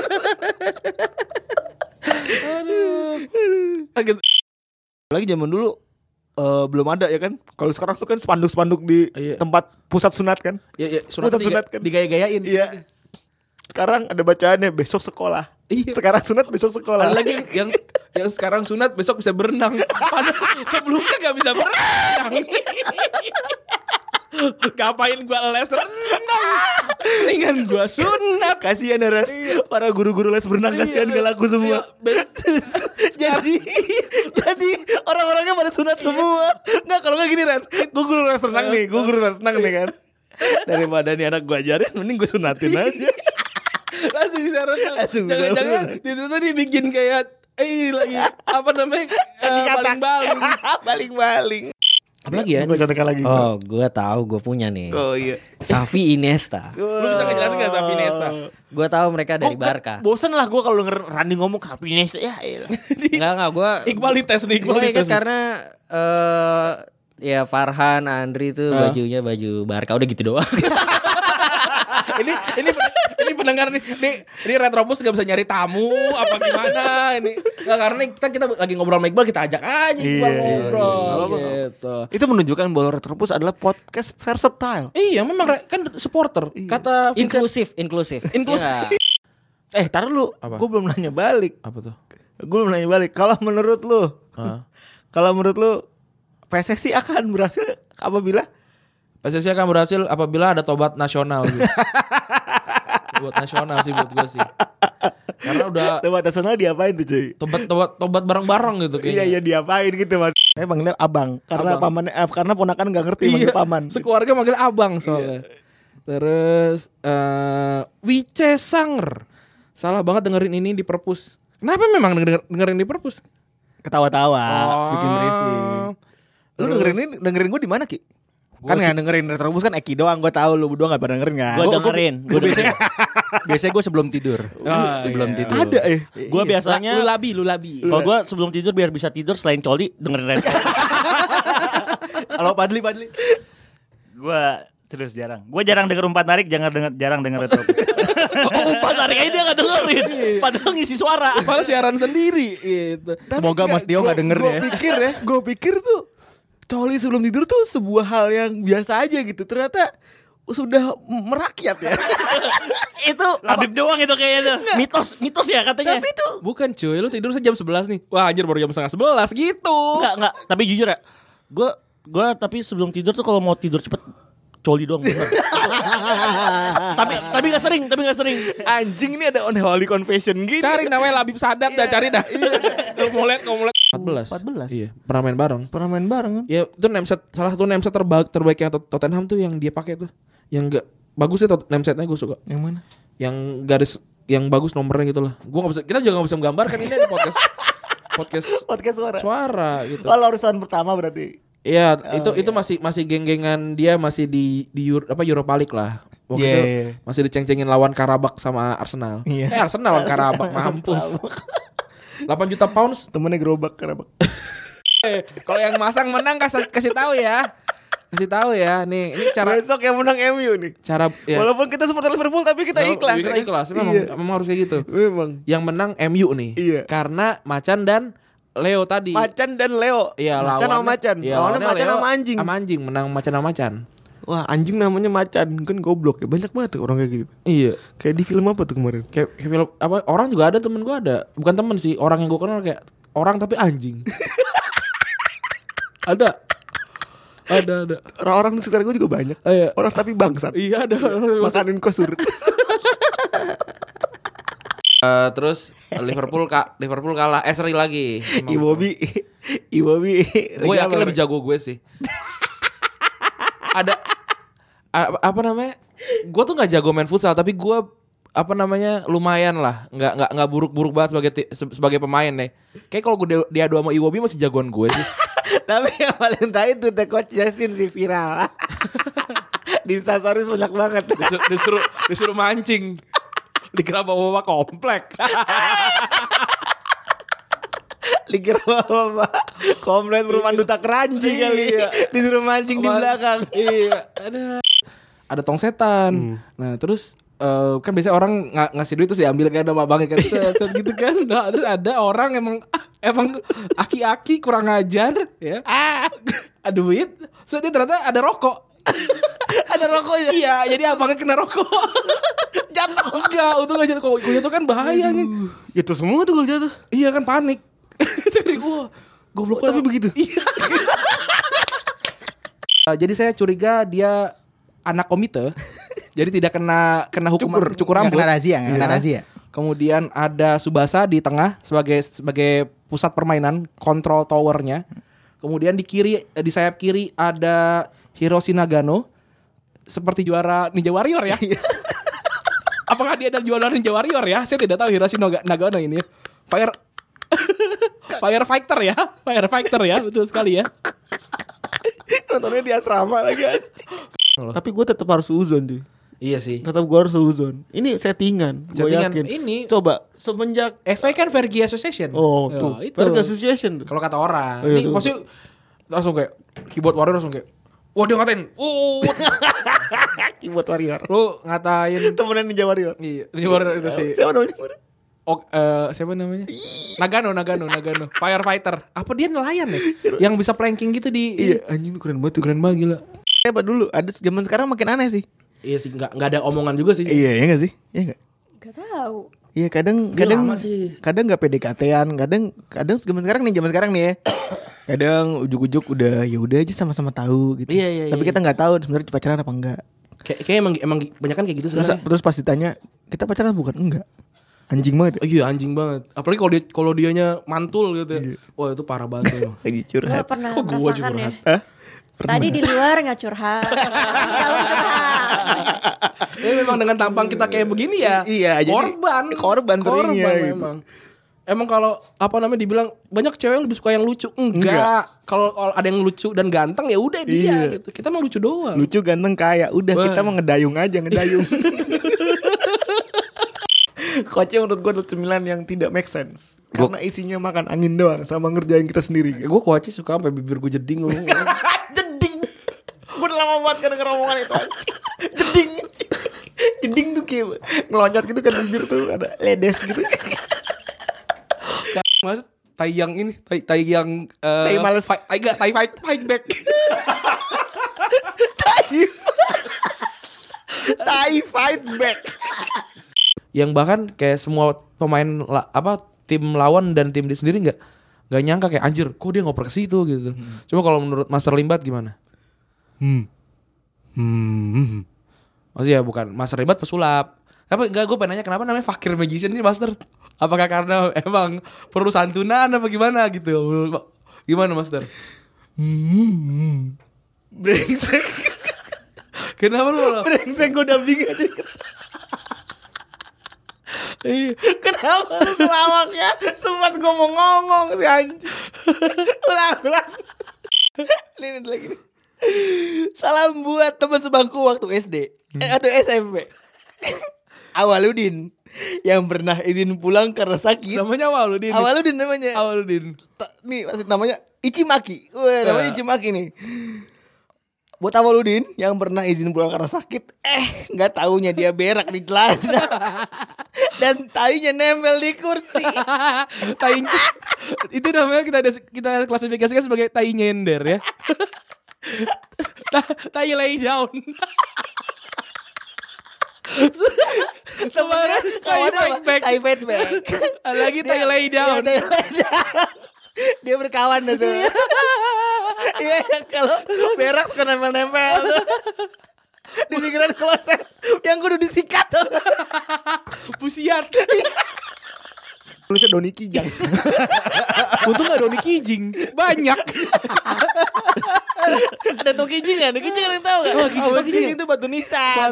Aduh. Lagi zaman dulu belum ada ya kan. Kalau sekarang tuh kan spanduk-spanduk di tempat pusat sunat kan. Iya, Pusat sunat kan digaya-gayain. Iya. Sekarang ada bacaannya besok sekolah. Iya. Sekarang sunat besok sekolah. Ada lagi yang sekarang sunat besok bisa berenang. Padahal sebelumnya nggak bisa berenang. Ngapain gua les renang? Mendingan gua sunat. Kasihan ya para guru-guru les berenang, kasihan gak laku semua. jadi orang-orangnya pada sunat semua. Nggak, kalau nggak gini Ren, gue guru les renang nih, kan. Daripada nih anak gue ajarin, mending gue sunatin aja. Langsung bisa renang. Jangan-jangan itu tadi bikin kayak lagi apa namanya baling-baling. Apa lagi ya? Oh, gue tahu, gue punya nih. Oh iya. Xavi Iniesta. Lu bisa ngejelasin nggak Xavi Iniesta? Gue tahu mereka dari Barca. Bosan lah gue kalau denger Randy ngomong Xavi Iniesta ya. Enggak gue. Iqbalitas. Gue ingat karena ya Farhan, Andri tuh bajunya baju Barca, udah gitu doang. ini pendengar nih Retrobus gak bisa nyari tamu apa gimana ini nggak, karena kita lagi ngobrol sama Iqbal, kita ajak aja Iqbal ngobrol gitu. Itu menunjukkan bahwa Retrobus adalah podcast versatile. Iya memang kan supporter kata inklusif. Tar dulu, gue belum nanya balik. Apa tuh? Gue belum nanya balik. Kalau menurut lu PSSI akan berhasil apabila ada tobat nasional gitu. Tobat nasional sih buat gue sih. Karena udah tobat nasional diapain tuh cuy? Tobat bareng-bareng gitu kayaknya. Iya diapain gitu Mas. Saya manggilnya abang karena paman karena ponakan enggak ngerti manggil paman. Sekeluarga manggil abang soalnya. Terus Wice Sanger. Salah banget dengerin ini di perpus. Kenapa memang dengerin di perpus? Ketawa-tawa, bikin berisik. Lu dengerin gue di mana Ki? Kan nggak dengerin Retrobus kan Eki doang, gue tahu lu berdua nggak pada dengerin kan? Gue dengerin. Biasanya gue sebelum tidur. Tidur. Ada Gue biasanya lu labi. Kalau gue sebelum tidur biar bisa tidur selain coli dengerin Retrobus. Kalau Padli. Gue terus jarang. Gue jarang denger umpan tarik, jarang denger Retrobus. Umpan tarik aja dia nggak dengerin. Padahal ngisi suara. Padahal siaran sendiri gitu. Semoga Mas Dio nggak denger ya. Gue pikir tuh coli sebelum tidur tuh sebuah hal yang biasa aja gitu. Ternyata sudah merakyat ya. Itu Labib doang itu kayaknya. Mitos ya katanya. Tapi itu bukan cuy, lu tidur jam 11 nih. Wah anjir baru jam 10:30 gitu. Enggak, tapi jujur ya. Gue tapi sebelum tidur tuh kalau mau tidur cepet coli doang. tapi enggak sering. Anjing, ini ada unholy confession gitu. Cari namanya Labib Sadap dah, cari dah. Mau lihat 14. Iya, pernah main bareng kan? Ya, itu nameset, salah satu nameset terbaik yang Tottenham tuh yang dia pakai tuh. Yang enggak bagus sih namesetnya, gue suka. Yang mana? Yang garis yang bagus nomornya gitu lah. Kita juga enggak bisa menggambarkan ini di podcast suara gitu. Kalau harus tahun pertama berarti. Iya, itu masih geng-gengan dia masih di Europa League lah. Waktu itu masih diceng-cengin lawan Karabakh sama Arsenal. Arsenal lawan Karabakh, mampus. 8 juta pounds temennya gerobak Karabakh. Kalau yang masang menang kasih tahu ya. Nih, ini cara besok yang menang MU nih. Cara ya. Walaupun kita supporter Liverpool tapi kita ikhlas. Kita ikhlas. Memang harus kayak gitu. Memang. Yang menang MU nih. Iya. Karena Macan dan Leo tadi. Macan dan Leo. Iya, Macan sama Macan. Lawannya Macan sama Anjing. Sama Anjing, menang Macan sama Macan. Wah, Anjing namanya Macan, kan goblok ya. Banyak banget tuh orang kayak gitu. Iya. Kayak di film apa tuh kemarin? Kayak film apa? Orang juga ada, temen gue ada. Bukan temen sih, orang yang gue kenal kayak orang tapi anjing. Ada. Orang-orang di sekitar gue juga banyak. Orang tapi bangsat. Iya, ada. Makanin kosur. Terus Liverpool kalah. Seri lagi. Iwobi. Gue yakin lebih jago gue sih. Ada apa namanya? Gue tuh nggak jago main futsal, tapi gue apa namanya lumayan lah, nggak buruk-buruk banget sebagai pemain deh. Kayak kalau gue diadu sama Iwobi masih jagoan gue sih. Tapi yang paling tahu itu The Coach Justin sih viral. Di Instastories banyak banget. Disuruh mancing. Dikira bawa komplek. Dikira bawa komplek perumahan Duta Keranji kali ya. Disuruh mancing di belakang. Iya. Ada tong setan. Nah terus kan biasanya orang ngasih duit terus diambil kayak nama abangnya kan set gitu kan. Nah, terus ada orang emang aki-aki kurang ajar ya. Ada duit, so dia ternyata ada rokok. Ada rokoknya. Iya, jadi abangnya kena rokok. Jatuh. Enggak, untung gak jatuh. Kalau jatuh kan bahaya nih. Itu semua tuh kalau jatuh. Iya kan panik. Dari gua goblok tapi begitu. Iya. Jadi saya curiga dia anak komite. Jadi tidak kena hukuman cukur rambut. Kena razia. Kemudian ada Subasa di tengah sebagai pusat permainan, kontrol towernya. Kemudian di sayap kiri ada Hiroshi Nagano seperti juara Ninja Warrior ya. Apakah dia adalah juara Ninja Warrior ya? Saya tidak tahu Hiroshi Nagano ini. Firefighter ya, betul sekali ya. Nontonnya di asrama lagi. Tapi gue tetap harus uzon tuh. Iya sih. Tetap gue harus uzon. Ini settingan. Gue yakin. Ini coba semenjak FA kan Vergi Association. Oh tuh. Vergi Association tuh. Kalau kata orang. Ini pasti langsung kayak keyboard warrior langsung kayak. Wah dia ngatain. Keyboard warrior. Lu ngatain temenan Ninja Warrior. Iya. Ninja Warrior itu sih. Siapa namanya? Siapa namanya? Nagano. Firefighter. Apa dia nelayan ya? Yang bisa planking gitu di. Iya. Anjing keren banget tuh. Keren banget gila. Apa dulu? Ada zaman sekarang makin aneh sih. Iya sih, nggak ada omongan juga sih. Iya nggak sih? Iya nggak? Gak tahu. Iya kadang nggak PDKT-an, kadang zaman sekarang nih ya. Kadang ujuk-ujuk udah aja sama-sama tahu gitu. Iya. Tapi kita nggak tahu sebenarnya pacaran apa enggak. Kayak emang banyak kan kayak gitu sebenarnya. Terus pas ditanya kita pacaran bukan? Enggak. Anjing banget. Iya anjing banget. Apalagi kalau dianya mantul gitu ya. Wah itu parah banget tuh. Lagi curhat. Lo pernah gua merasakan curhat. ya? Tadi di luar nggak curhat, dalam curhat. Ya memang dengan tampang kita kayak begini ya. Iya. Korban seringnya gitu. Emang kalau dibilang banyak cewek yang lebih suka yang lucu. Enggak. Kalau ada yang lucu dan ganteng ya udah dia gitu. Kita mau lucu doang. Lucu ganteng kaya. Udah kita mau ngedayung aja Coachnya menurut gue adalah cemilan yang tidak make sense. Karena isinya makan angin doang sama ngerjain kita sendiri. Gue coachnya suka sampai bibir gue jeding loh. Jeding. Gue udah lama banget kan denger omongan itu. Jeding tuh kayak ngeloncat gitu kan bibir tuh ada ledes gitu. Maksud tai yang ini, tai yang tai males. Tai fight back. Tai fight back. Yang bahkan kayak semua pemain tim lawan dan tim dia sendiri nggak nyangka kayak anjir kok dia ngoper ke situ gitu. Coba kalau menurut Master Limbat gimana? Maksudnya bukan Master Limbat pesulap. Tapi gue pengen nanya kenapa namanya Fakir Magician ini Master? Apakah karena emang perlu santunan apa gimana gitu? Gimana Master? Brengsek. Kenapa lu? Brengsek gue udah bingung aja. Kenapa lu selawaknya sempat gue mau ngomong sih anjing. Ulang. Ini lagi nih. Salam buat teman sebangku waktu SD atau SMP. Awaludin yang pernah izin pulang karena sakit. Namanya Awaludin. Namanya. Nih namanya Ichimaki. Namanya Ichimaki nih. Buat Awaludin yang pernah izin pulang karena sakit, nggak taunya dia berak di celana dan tainya nempel di kursi. Itu namanya kita klasifikasikan sebagai tai nyender ya. Tai lay down. Kemarin tai fight back. Lagi tai lay down. Dia berkawan tuh. Iya kalau berak suka nempel-nempel di pinggiran kloset yang kudu disikat tuh. Pusiat. Tulisnya Doni Kijang. Untung gak Doni Kijing. Banyak. Ada tuh kijing kan? Kijing yang tahu kan? Kijing itu batu nisan.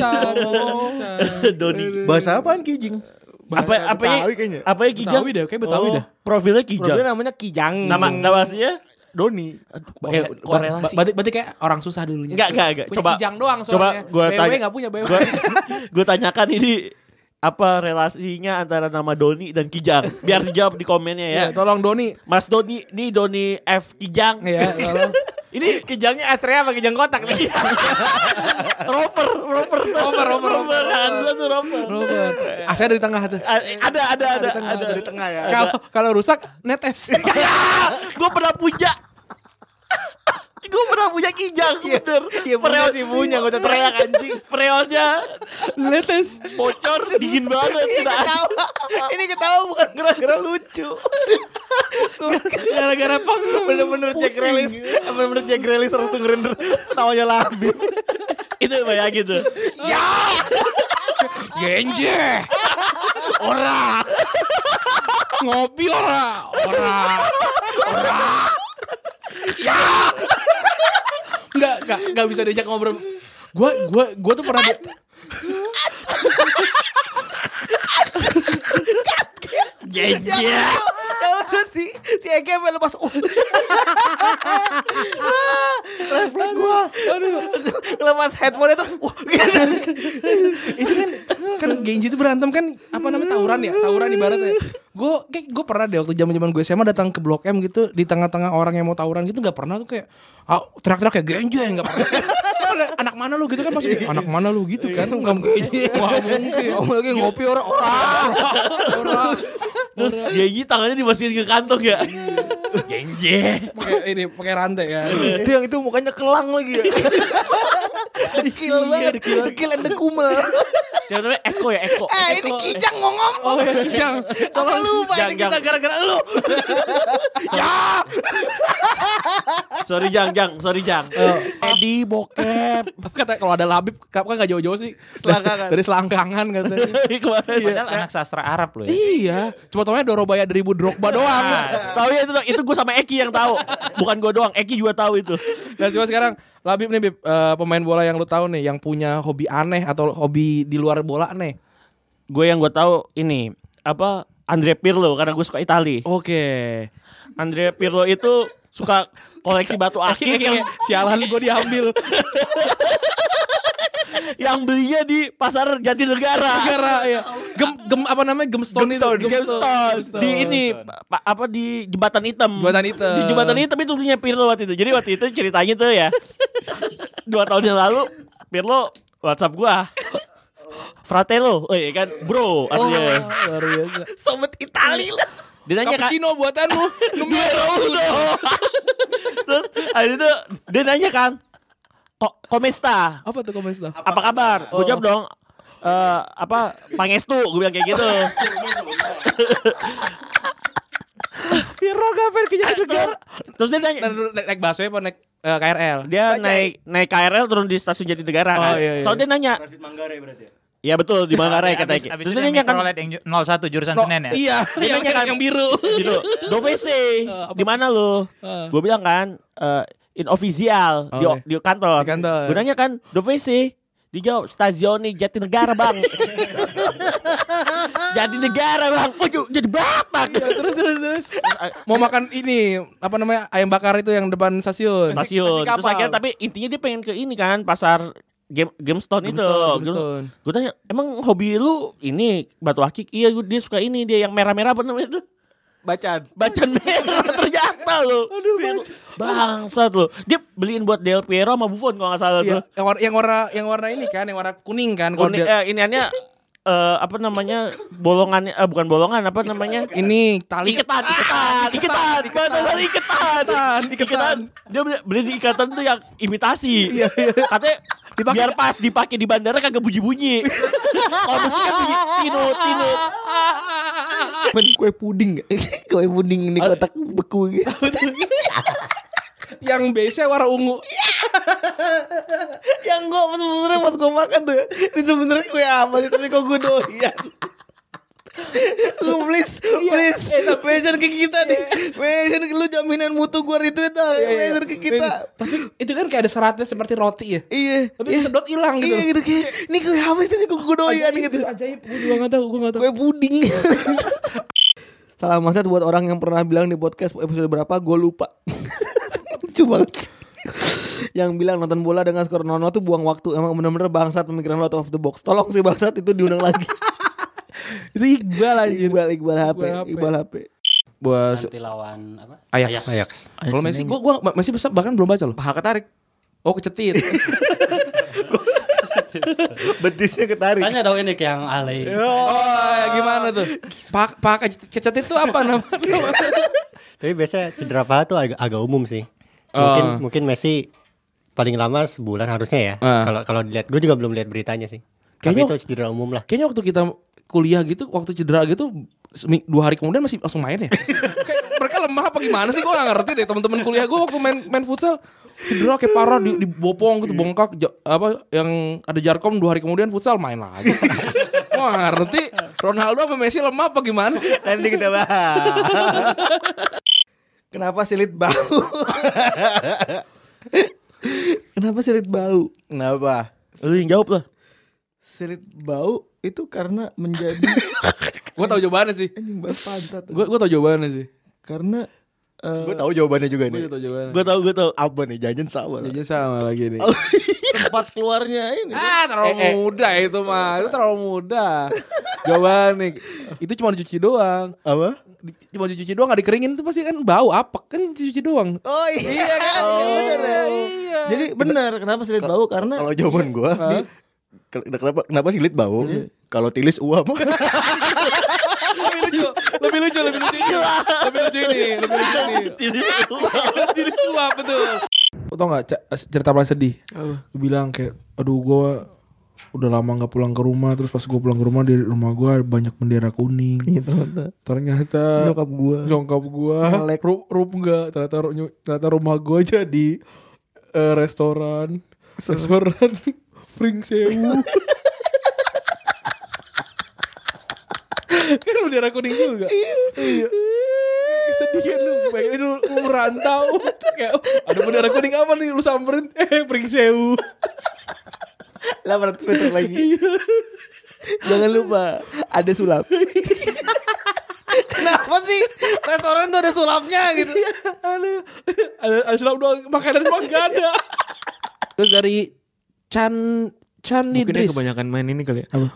Doni. Bahasa apaan kijing? Apa ya kijang? Betawi deh, kayak Betawi dah. Profilnya kijang. Profilnya namanya kijang. Nama aslinya Doni. korelasi. Berarti kayak orang susah dulunya. Enggak. Punya Coba kijang doang Coba soalnya. gua BW tanya. enggak punya BW. Gue tanyakan ini apa relasinya antara nama Doni dan Kijang? Biar dijawab di komennya ya. Iya, tolong Doni. Mas Doni, ini Doni F Kijang. Iya, tolong. Ini kijangnya Astrea apa kijang kotak nih? Rover. Anduan tuh Rover. Asnya dari tengah tuh. Ada Di tengah ya. Kalau rusak netes. Gue pernah punya. Kijang, bener. Iya punya sih punya, gak usah teriak anjing. Freonnya netes, bocor, dingin banget. Ini ketawa bukan gara-gara lucu. Gara-gara bener-bener Jack Relis harus dengerin ketawanya Labib. Itu bayangin tuh. Ya. Genje. Ora. Ngopi ora. Ya. Enggak bisa diajak ngobrol. Gua tuh pernah Genje. Terus si Ege lepas. Refleks gua. Lepas headphone itu. itu kan Genji itu berantem kan apa namanya tawuran ibaratnya. Gue pernah deh waktu zaman gue SMA datang ke Blok M gitu di tengah-tengah orang yang mau tawuran gitu nggak pernah tuh kayak teriak-teriak kayak Genji nggak pernah. Anak mana lu gitu kan pasti anak mana lu gitu kan nggak mungkin. Lagi ngopi orang. Terus Genji tangannya dimasukin ke kantong ya. Genji. Pakai rantai ya. Itu yang itu mukanya kelang lagi ya. Dekil banget. Dekil and the kumel. Siapa namanya? Eko. Ini Kijang mau ngomong. Oh ya Kijang. Tolong lupa ini kita gara-gara lu. Ya. Sorry Jang. Edi bokep. Kata kalau ada Labib kan nggak jauh-jauh sih. Selangkangan. Dari selangkangan katanya. Padahal anak sastra Arab loh ya. Iya. Cuma taunya Dorobaya dari Drogba doang. Tahu ya itu gue sama Eki yang tahu. Bukan gue doang. Eki juga tahu itu. Nah coba sekarang Labib nih Bib, pemain bola yang lu tahu nih yang punya hobi aneh atau hobi di luar bola nih. Gue yang gue tahu ini apa Andrea Pirlo karena gue suka Itali. Oke. Andrea Pirlo itu suka koleksi batu akik yang sialan gue diambil. Yang belinya di pasar Jatinegara. Ya. Gemstone. Di ini apa di Jembatan Hitam. Di Jembatan Hitam itu punya Pirlo waktu itu. Jadi waktu itu ceritanya tuh ya 2 tahun yang lalu Pirlo WhatsApp gua. Fratello, kan bro artinya. Luar biasa. Sobat Itali lah. Dia nanya cappuccino buatanmu. Terus hari itu dia nanya kan, Komesta. Apa tuh Komesta? Apa kabar? Gue jawab dong. Pangestu, gue bilang kayak gitu. Pirlo gafer ke Jatinegara. Terus dia nanya naik busway apa naik KRL? Dia naik KRL turun di stasiun Jatinegara kan. Iya. Soalnya dia nanya. Transit Manggarai berarti ya? Iya betul di Manggarai katanya. Terus Terus dia nanya kan yang 01 jurusan Senen ya? Iya, dia nanya kan yang biru. Gitu. Dovc. Di mana lu? Gue bilang kan in official di kantor. Gue nanya kan Dovc. Dijawab stasiun Jatinegara bang. Jatinegara bang. Oh jadi bapak. Terus. Mau makan ini apa namanya ayam bakar itu yang depan stasiun. Terus akhirnya tapi intinya dia pengen ke ini kan pasar Gemstone itu. Gue tanya emang hobi lu ini batu akik? Iya dia suka ini dia yang merah-merah apa namanya itu? Bacan merah ternyata lo. Aduh bangsat lo. Dia beliin buat Del Piero sama Buffon kalau nggak salah tuh. Yang warna ini kan, yang warna kuning kan. Kuning, iniannya apa namanya bolongan bukan bolongan apa namanya ini tali iketan. Dia beli di ikatan tuh yang imitasi. Katanya biar pas dipakai di bandara kagak bunyi-bunyi. Kalau mesti kan bunyi tinut. Men kue puding ini kotak beku gitu. Yang biasa warna ungu. Yang gue sebenernya pas gue makan tuh ya, ini sebenernya kue apa sih, tapi kok gue doyan. Please mention ke kita deh. Mention lu jaminan mutu gua retweet dah. Mention ke kita. Tapi itu kan kayak ada seratnya seperti roti ya. Iya. Tapi sedot hilang gitu. Iya gitu kayak ini gue apa sih ini gue doyan gitu. Ajaib, gue juga gak tahu. Gue puding. Salam maksud buat orang yang pernah bilang di podcast episode berapa gue lupa. Coba yang bilang nonton bola dengan skor 0-0 tuh buang waktu. Emang bener-bener bangsat pemikiran lo out of the box. Tolong sih bangsat itu diundang lagi. Itu Iqbal anjir. Iqbal HP. Buat nanti lawan apa? Ajax. Kalau Messi gua Messi bahkan belum baca loh. Paha ketarik. Oh, kecetit. Betisnya ketarik. Tanya dong ini ke yang alay. Gimana tuh? Paha kecetit itu apa namanya? Tapi biasanya cedera paha tuh agak umum sih. Mungkin Messi paling lama sebulan harusnya ya. Kalau dilihat, gue juga belum lihat beritanya sih. Kayaknya itu cedera umum lah. Kayaknya waktu kita kuliah gitu, waktu cedera gitu 2 hari kemudian masih langsung main ya. Kayak mereka lemah apa gimana sih? Gue gak ngerti deh. Teman-teman kuliah gue waktu main futsal cedera kayak parah, dibopong gitu, bongkak yang ada jarkom 2 hari kemudian futsal main lagi. Gue gak ngerti Ronaldo apa Messi lemah apa gimana. Nanti kita bahas. Kenapa silit bau? Kenapa silit bau? Kenapa? Lu yang jawab lah. Silit bau itu karena menjadi. Gue tahu jawabannya sih. Anjing bahas pantat. Gue tahu jawabannya sih. Karena gue tahu jawabannya juga nih. Gue tahu. Apa nih? Jajan sama. Jajan sama lagi nih. Tempat keluarnya ini. Terlalu muda itu mah. Itu terlalu muda. Jawabannya itu cuma dicuci doang. Apa? Cuma dicuci doang, gak dikeringin itu pasti kan bau apek kan dicuci doang. Oh iya kan? Bener ya. Iya. Jadi benar kenapa silit bau karena kalau jawaban gue kenapa silit bau? Kalau tilis uap. Lebih lucu ini. Tilis uap betul. Lo tau gak cerita paling sedih? Gue bilang kayak aduh gue udah lama gak pulang ke rumah. Terus pas gue pulang ke rumah, di rumah gue banyak bendera kuning. Ternyata nyokap gue rup gak. Ternyata rumah gue jadi restoran Pring Sewu. Kan bendera kuning juga. Iya. Sedih kan lu. Bayangin lu merantau. Kayak ada bendera kuning apa nih lu samperin? Pring Sewu. 800 meter lagi. Jangan lupa ada sulap. Kenapa sih restoran tuh ada sulapnya gitu? Ada sulap doang, makanan mah gak ada. Terus dari Chan Idris. Mungkin kebanyakan main ini kali ya. Apa?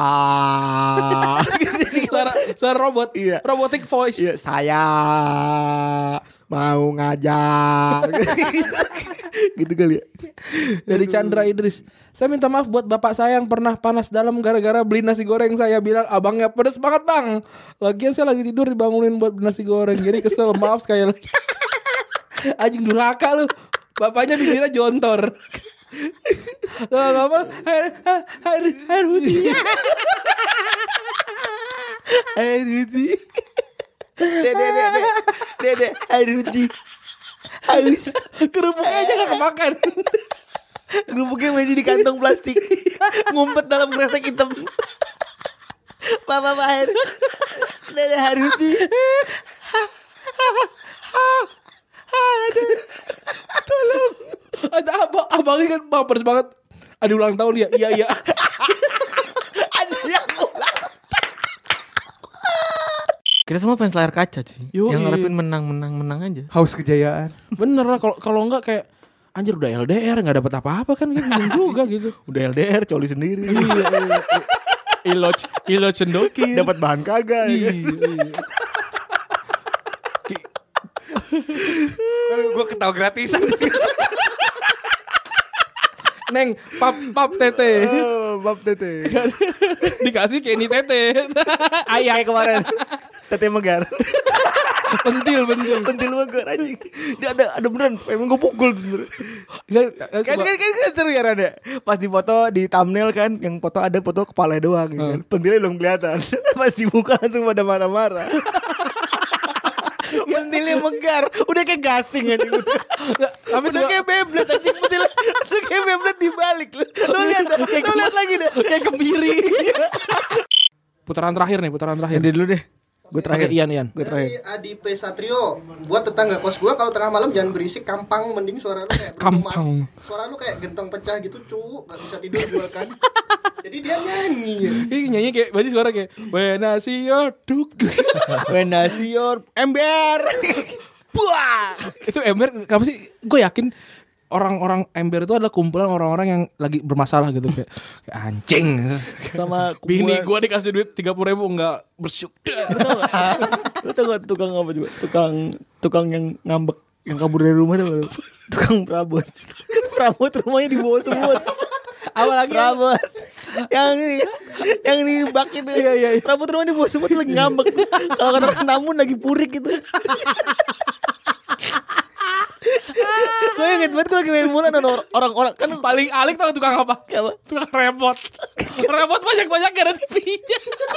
Suara robot. Iya. Robotic voice. Iya, saya mau ngajar. Gitu kali ya. Dari Chandra Idris. Saya minta maaf buat bapak saya yang pernah panas dalam gara-gara beli nasi goreng. Saya bilang abangnya pedes banget bang. Lagian saya lagi tidur dibangunin buat beli nasi goreng. Jadi kesel, maaf sekali lagi. Anjing durhaka lu. Bapaknya bibirnya jontor. Gak apa air putih. Air putih. Dede air putih. Haus. Kerupuknya aja gak kemakan. Kerupuknya masih di kantong plastik. Ngumpet dalam kresek hitam. Papa air. Dede air putih. Tolong. Ada abangnya kan baper banget. Ada ulang tahun dia. Iya. Ada yang ulang tahun. Kita semua fans layar kaca sih. Yang ngarepin menang aja. Haus kejayaan. Bener lah, kalau enggak kayak anjir udah LDR enggak dapat apa-apa kan gitu juga gitu. Udah LDR coli sendiri. Iya. Ilo cendoki. Dapat bahan kagak. Iya. Gue ketawa gratisan. Neng, pap tete. Pap tete. Dikasih Kenny tete. Ayah kemarin. Tete megar. Pentil megar anjing. Dia ada beneran. Emang gue pukul sebenarnya. Kan seru ya ada. Pas di foto di thumbnail kan, yang foto ada foto kepala doang kan. Pentilnya belum kelihatan. Pas dibuka langsung pada marah-marah. Pentilnya megar, udah kayak gasing aja. Tapi udah kayak Beyblade anjing pentilnya. Udah kayak Beyblade dibalik. Lu lihat lagi deh. Kayak kebiri. Putaran terakhir. Dia dulu deh. Gue terakhir. Oke, Ian. Gue terakhir. Adi P Satrio, buat tetangga kos gue kalau tengah malam jangan berisik, kampang, mending suara lu kayak Bruno Mars. Suara lu kayak gentong pecah gitu, gak bisa tidur gue kan. Jadi dia nyanyi. Nyanyi kayak berarti suara kayak when I see your duk. When I see your ember. Buah. Itu ember kenapa sih? Gue yakin orang-orang ember itu adalah kumpulan orang-orang yang lagi bermasalah gitu kayak anjing. Sama bini gue dikasih duit 30.000 enggak bersyukur. Lu tau gak tukang apa juga? Tukang yang ngambek, yang kabur dari rumah tuh. Tukang perabot. Perabot rumahnya di bawah semut. Apa lagi? Perabot. Yang di bak itu. Iya. Perabot rumahnya di bawah semut lagi ngambek. Kalau kata tamu lagi purik gitu. Gue inget banget gue lagi main bola dan orang-orang kan paling alik tau tukang apa? Tukang repot. Repot banyak-banyak gak ada TV-nya.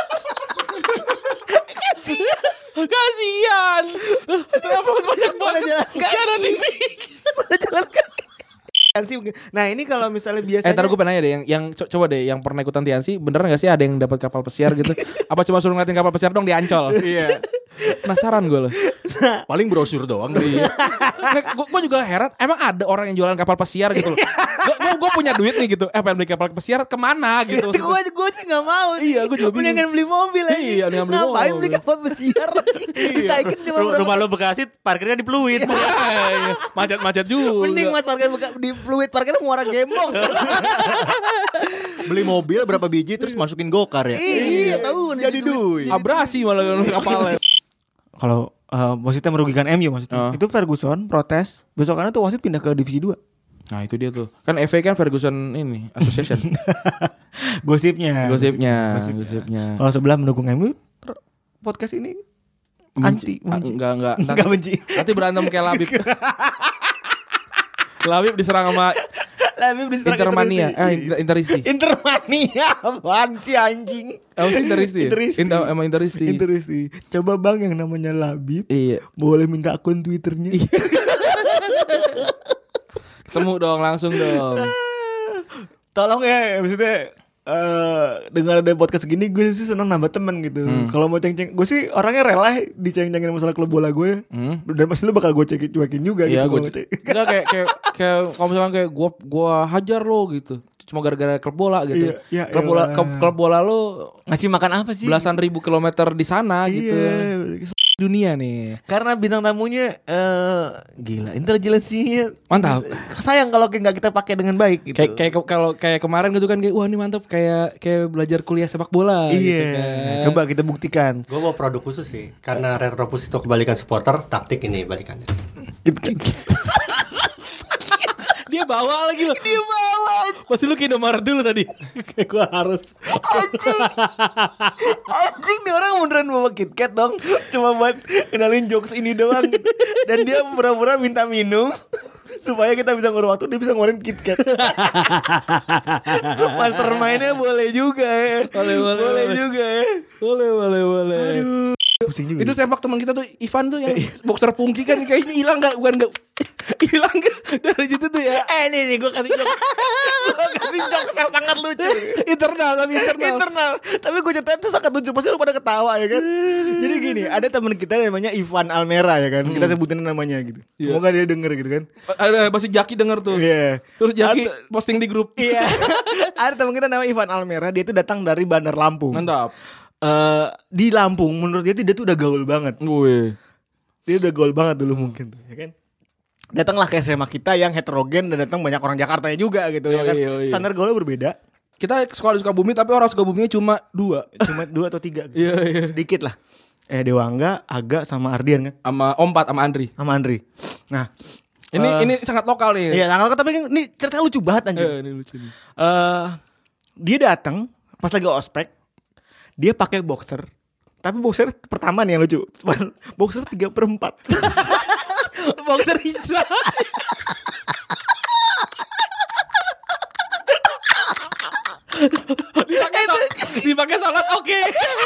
Kasian. Repot banyak-banyak gak ada TV. Mana jalan kaki. Nah ini kalau misalnya biasanya ntar gue pengen nanya deh yang coba deh yang pernah ikutan Tiansi beneran gak sih ada yang dapat kapal pesiar gitu? Apa cuma suruh ngeliatin kapal pesiar dong di Ancol? Iya. Penasaran gue loh. Paling brosur doang dari. Gue juga heran, emang ada orang yang jualan kapal pesiar gitu loh. Gue punya duit nih gitu, pengen beli kapal pesiar kemana gitu? Gue sih nggak mau. Iya, gue juga bingung. Mendingan beli mobil aja. Iya, mendingan beli mobil. Ngapain beli kapal pesiar? Ditaikin cuma Rumah lo Bekasi, parkirnya di Pluit. Macet-macet juga. Mending mas parkir di Pluit, parkirnya Muara Gembong. Beli mobil berapa biji terus masukin gokar ya? Iya, tahu jadi duit. Abrasi malah kapalnya. Kalau wasitnya merugikan MU maksudnya. Itu Ferguson protes, besokannya tuh wasit pindah ke divisi 2. Nah itu dia tuh. Kan FA kan Ferguson ini Association. Gosipnya. Kalau sebelah mendukung MU, podcast ini anti. Enggak. Enggak benci. Nanti berantem kayak Labib. Labib diserang sama Intermania. Interisti. Intermania apaan sih anjing? Interisti. Emang Interisti. Coba bang yang namanya Labib. Iya. Boleh minta akun Twitternya. Ketemu dong langsung dong. Tolong ya maksudnya dengan ada podcast gini gue sih seneng nambah temen gitu. Kalau mau ceng-ceng, gue sih orangnya rela diceng-cengin masalah klub bola gue. Dan pasti lu bakal gue cuekin juga iya, gitu. Enggak kayak kalau misalkan kayak gue hajar lo gitu. Cuma gara-gara klub bola gitu. Iya, klub bola lo ngasih makan apa sih? Belasan ribu kilometer di sana gitu. Dunia nih. Karena bintang tamunya gila, intelijensinya mantap. Sayang kalau nggak kita pakai dengan baik gitu. Kayak kemarin gitu kan kayak wah ini mantap kayak belajar kuliah sepak bola iya. gitu kan. Coba kita buktikan. Gue mau produk khusus sih. Karena Retropus itu kebalikan supporter, taktik ini balikannya. Dia bawa lagi loh. Dia bawa. Pasti lu ke Indomaret dulu tadi. Kayak gue harus. Anjing nih orang beneran bawa KitKat dong. Cuma buat kenalin jokes ini doang. Dan dia pura-pura minta minum supaya kita bisa ngurus waktu, dia bisa ngeluarin KitKat. Mastermind-nya boleh juga ya. Boleh juga ya. Boleh. Aduh. Pusing juga. Itu sempak teman kita tuh Ivan tuh yang boxer pungki kan kayaknya hilang enggak? Bukan enggak. Hilang enggak dari situ tuh ya. Nih gue kasih jokes. Gue kasih jokes yang sangat lucu. Internal. Tapi gue ceritain tuh sangat lucu. Pasti lu pada ketawa ya kan. Jadi gini, ada teman kita namanya Ivan Almera ya kan. Kita sebutin namanya gitu. Semoga dia denger gitu kan. Ada pasti Jaki denger tuh. Iya. Terus Jaki posting di grup. Iya. Ada teman kita namanya Ivan Almera. Dia tuh datang dari Bandar Lampung. Mantap. Di Lampung menurut dia tuh udah gaul banget. Dia udah gaul banget dulu mungkin tuh, ya kan. Datanglah ke SMA kita yang heterogen dan datang banyak orang Jakarta juga gitu ya kan. Standar gaulnya berbeda. Kita sekolah di Sukabumi tapi orang Sukabuminya cuma 2. Cuma 2 atau 3 gitu. Iya. Sedikit lah. Dewangga, Aga sama Ardian kan. Sama Ompat sama Andri. Nah, ini sangat lokal nih. Iya, sangat lokal tapi ini ceritanya lucu banget anjir. Ini lucu nih. Dia datang pas lagi ospek. Dia pakai boxer. Tapi boxer pertama nih yang lucu. Boxer 3/4. Boxer hijrah. Dipakai salat oke.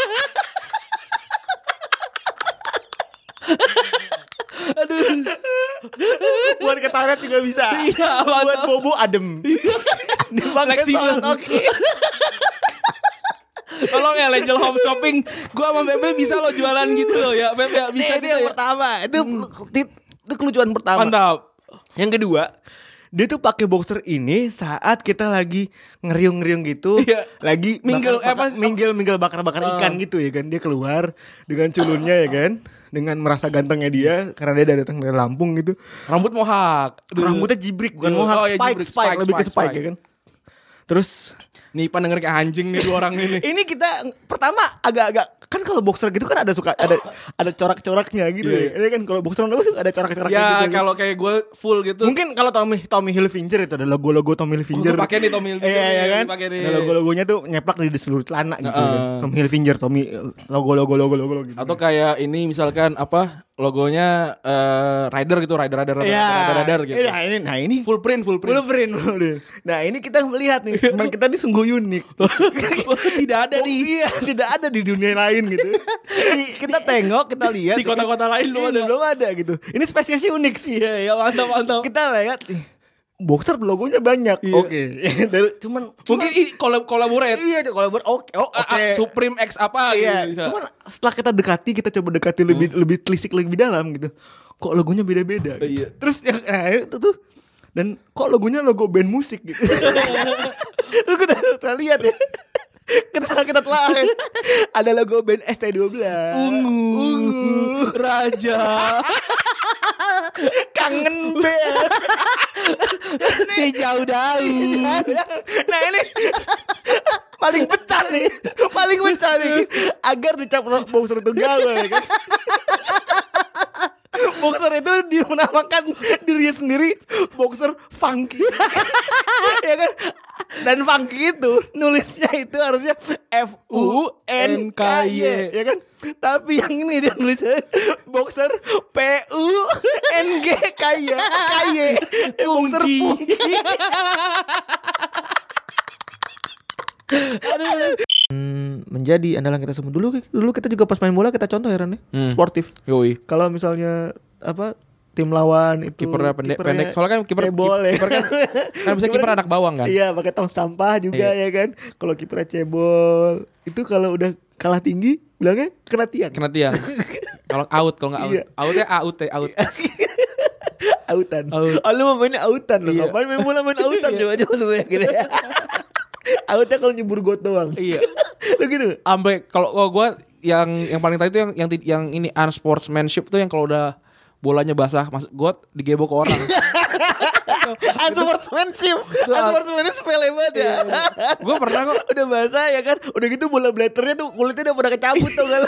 Aduh. Buat ke toilet juga bisa. Iya, buat bobo adem. Dipakai salat oke. Tolong ya Angel Home Shopping, gua sama Bebe bisa lo jualan gitu loh ya. Bebe ya bisa itu yang pertama. Itu kelucuan pertama. Mantap. Yang kedua, dia tuh pakai boxer ini saat kita lagi ngeriung-ngeriung gitu, lagi minggil bakar-bakar ikan gitu ya kan. Dia keluar dengan culunnya ya kan, dengan merasa gantengnya dia karena dia datang dari Lampung gitu. Rambut mohak, rambutnya jibrik bukan mohak, spike, lebih ke spike ya kan. Terus nih denger kayak anjing nih dua orang ini. Ini kita pertama agak-agak kan kalau boxer gitu kan ada corak-coraknya gitu ya kan. Kalau boxer ada corak-coraknya ya, gitu. Kalau kayak gue full gitu. Mungkin kalau Tommy Hilfiger itu ada logo-logo Tommy Hilfiger. Gue pakai nih Tommy Hilfiger. Iya kan. Ada logo-logonya tuh nyeplak di seluruh celana gitu kan. Tommy Hilfiger, logo gitu. Atau kayak ini misalkan apa logonya rider gitu, rider gitu. Nah ini full print. Nah ini kita melihat nih, teman kita ini sungguh unik. Tidak ada di dunia lain gitu. Kita tengok, kita lihat di kota-kota lain belum ada gitu. Ini spesiesnya unik sih. Iya, mantap. Kita lihat boxer logonya banyak. Oke. Cuman mungkin kolaborate. Iya, kolaborate. Oke. Supreme X apa gitu. Cuman setelah kita coba dekati lebih telisik lebih dalam gitu. Kok logonya beda-beda gitu. Iya. Terus itu tuh dan kok logonya logo band musik gitu. Terus kita lihat ya. Kita telah ada logo band ST12 Ungu Raja Kangen band Hijau daun. Nah ini paling pecah nih agar dicap boxer itu galau ya kan. Boxer itu dinamakan dirinya sendiri boxer funky. Ya kan? Dan funky itu nulisnya itu harusnya FUNKY ya kan? Tapi yang ini dia nulisnya boxer PUNGKY. Boxer funky. Menjadi andalan kita semua. Dulu kita juga pas main bola kita contoh ya Ran, sportif. Kalau misalnya tim lawan itu kipernya pendek. Soalnya kan kiper kan bisa kiper anak bawang kan. Iya, pakai tong sampah juga ya kan. Kalau kipernya cebol, itu kalau udah kalah tinggi bilangnya kena tiang. Kalau nggak out. Outnya out. Autan. Oh, lu mainnya autan lu. Ngapain main bola main autan coba lu ya gitu ya. Outnya kalau nyebur got doang. Iya. Lu gitu. Sampai kalau gue yang paling tadi itu yang ini unsportsmanship tuh yang kalau udah bolanya basah, gue digebok ke orang. Unsportsmanship sepele banget ya. Gue pernah kok. Udah basah ya kan. Udah gitu bola blatternya tuh kulitnya udah pada kecabut tau gak.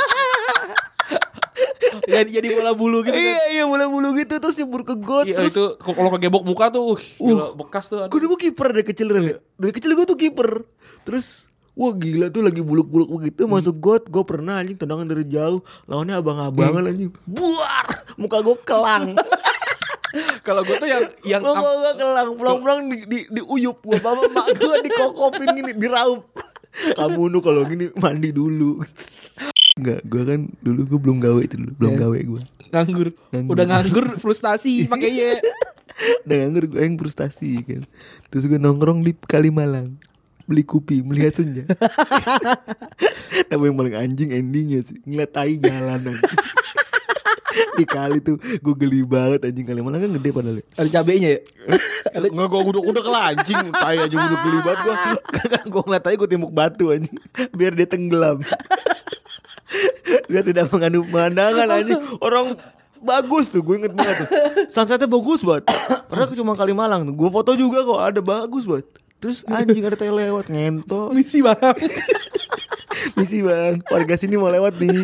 Jadi bola bulu gitu kan. Iya bola bulu gitu terus nyebur ke got. Iya itu kalau kegebok muka tuh bekas tuh. Gue kiper dari kecil Dari kecil gue tuh kiper. Terus wah gila tuh lagi buluk-buluk begitu masuk got. Gue pernah anjing tendangan dari jauh. Lawannya abang-abangan anjing. Buar. Muka gue kelang. Kalau gue tuh yang muka gue kelang. Pulang-pulang diuyup. Gue bapak mak gue dikokopin gini. Diraup. Kamu nu kalau gini mandi dulu. Enggak, gue kan dulu gue belum gawe itu dulu. Belum gawe gue. Nganggur. Udah nganggur frustasi pakai ye. Udah nganggur gue yang frustasi kan. Terus gue nongkrong di Kalimalang. Beli kopi, melihat senja. Tapi yang paling anjing endingnya sih ngeliat tai jalanan. Di kali tuh gue geli banget anjing. Kalimalang kan gede padahal. Ada cabenya ya? Nggak, gue udah kela anjing. Tai aja udah geli banget gue. Gue ngeliat tai gue timbuk batu anjing. Biar dia tenggelam. Dia tidak mengandung pemandangan anjing. Orang bagus tuh, gue inget banget tuh. Sunsetnya bagus banget. Padahal cuma Kalimalang tuh. Gue foto juga kok, ada bagus banget. Terus anjing ada tai lewat ngentot. Misi bang. Warga sini mau lewat nih.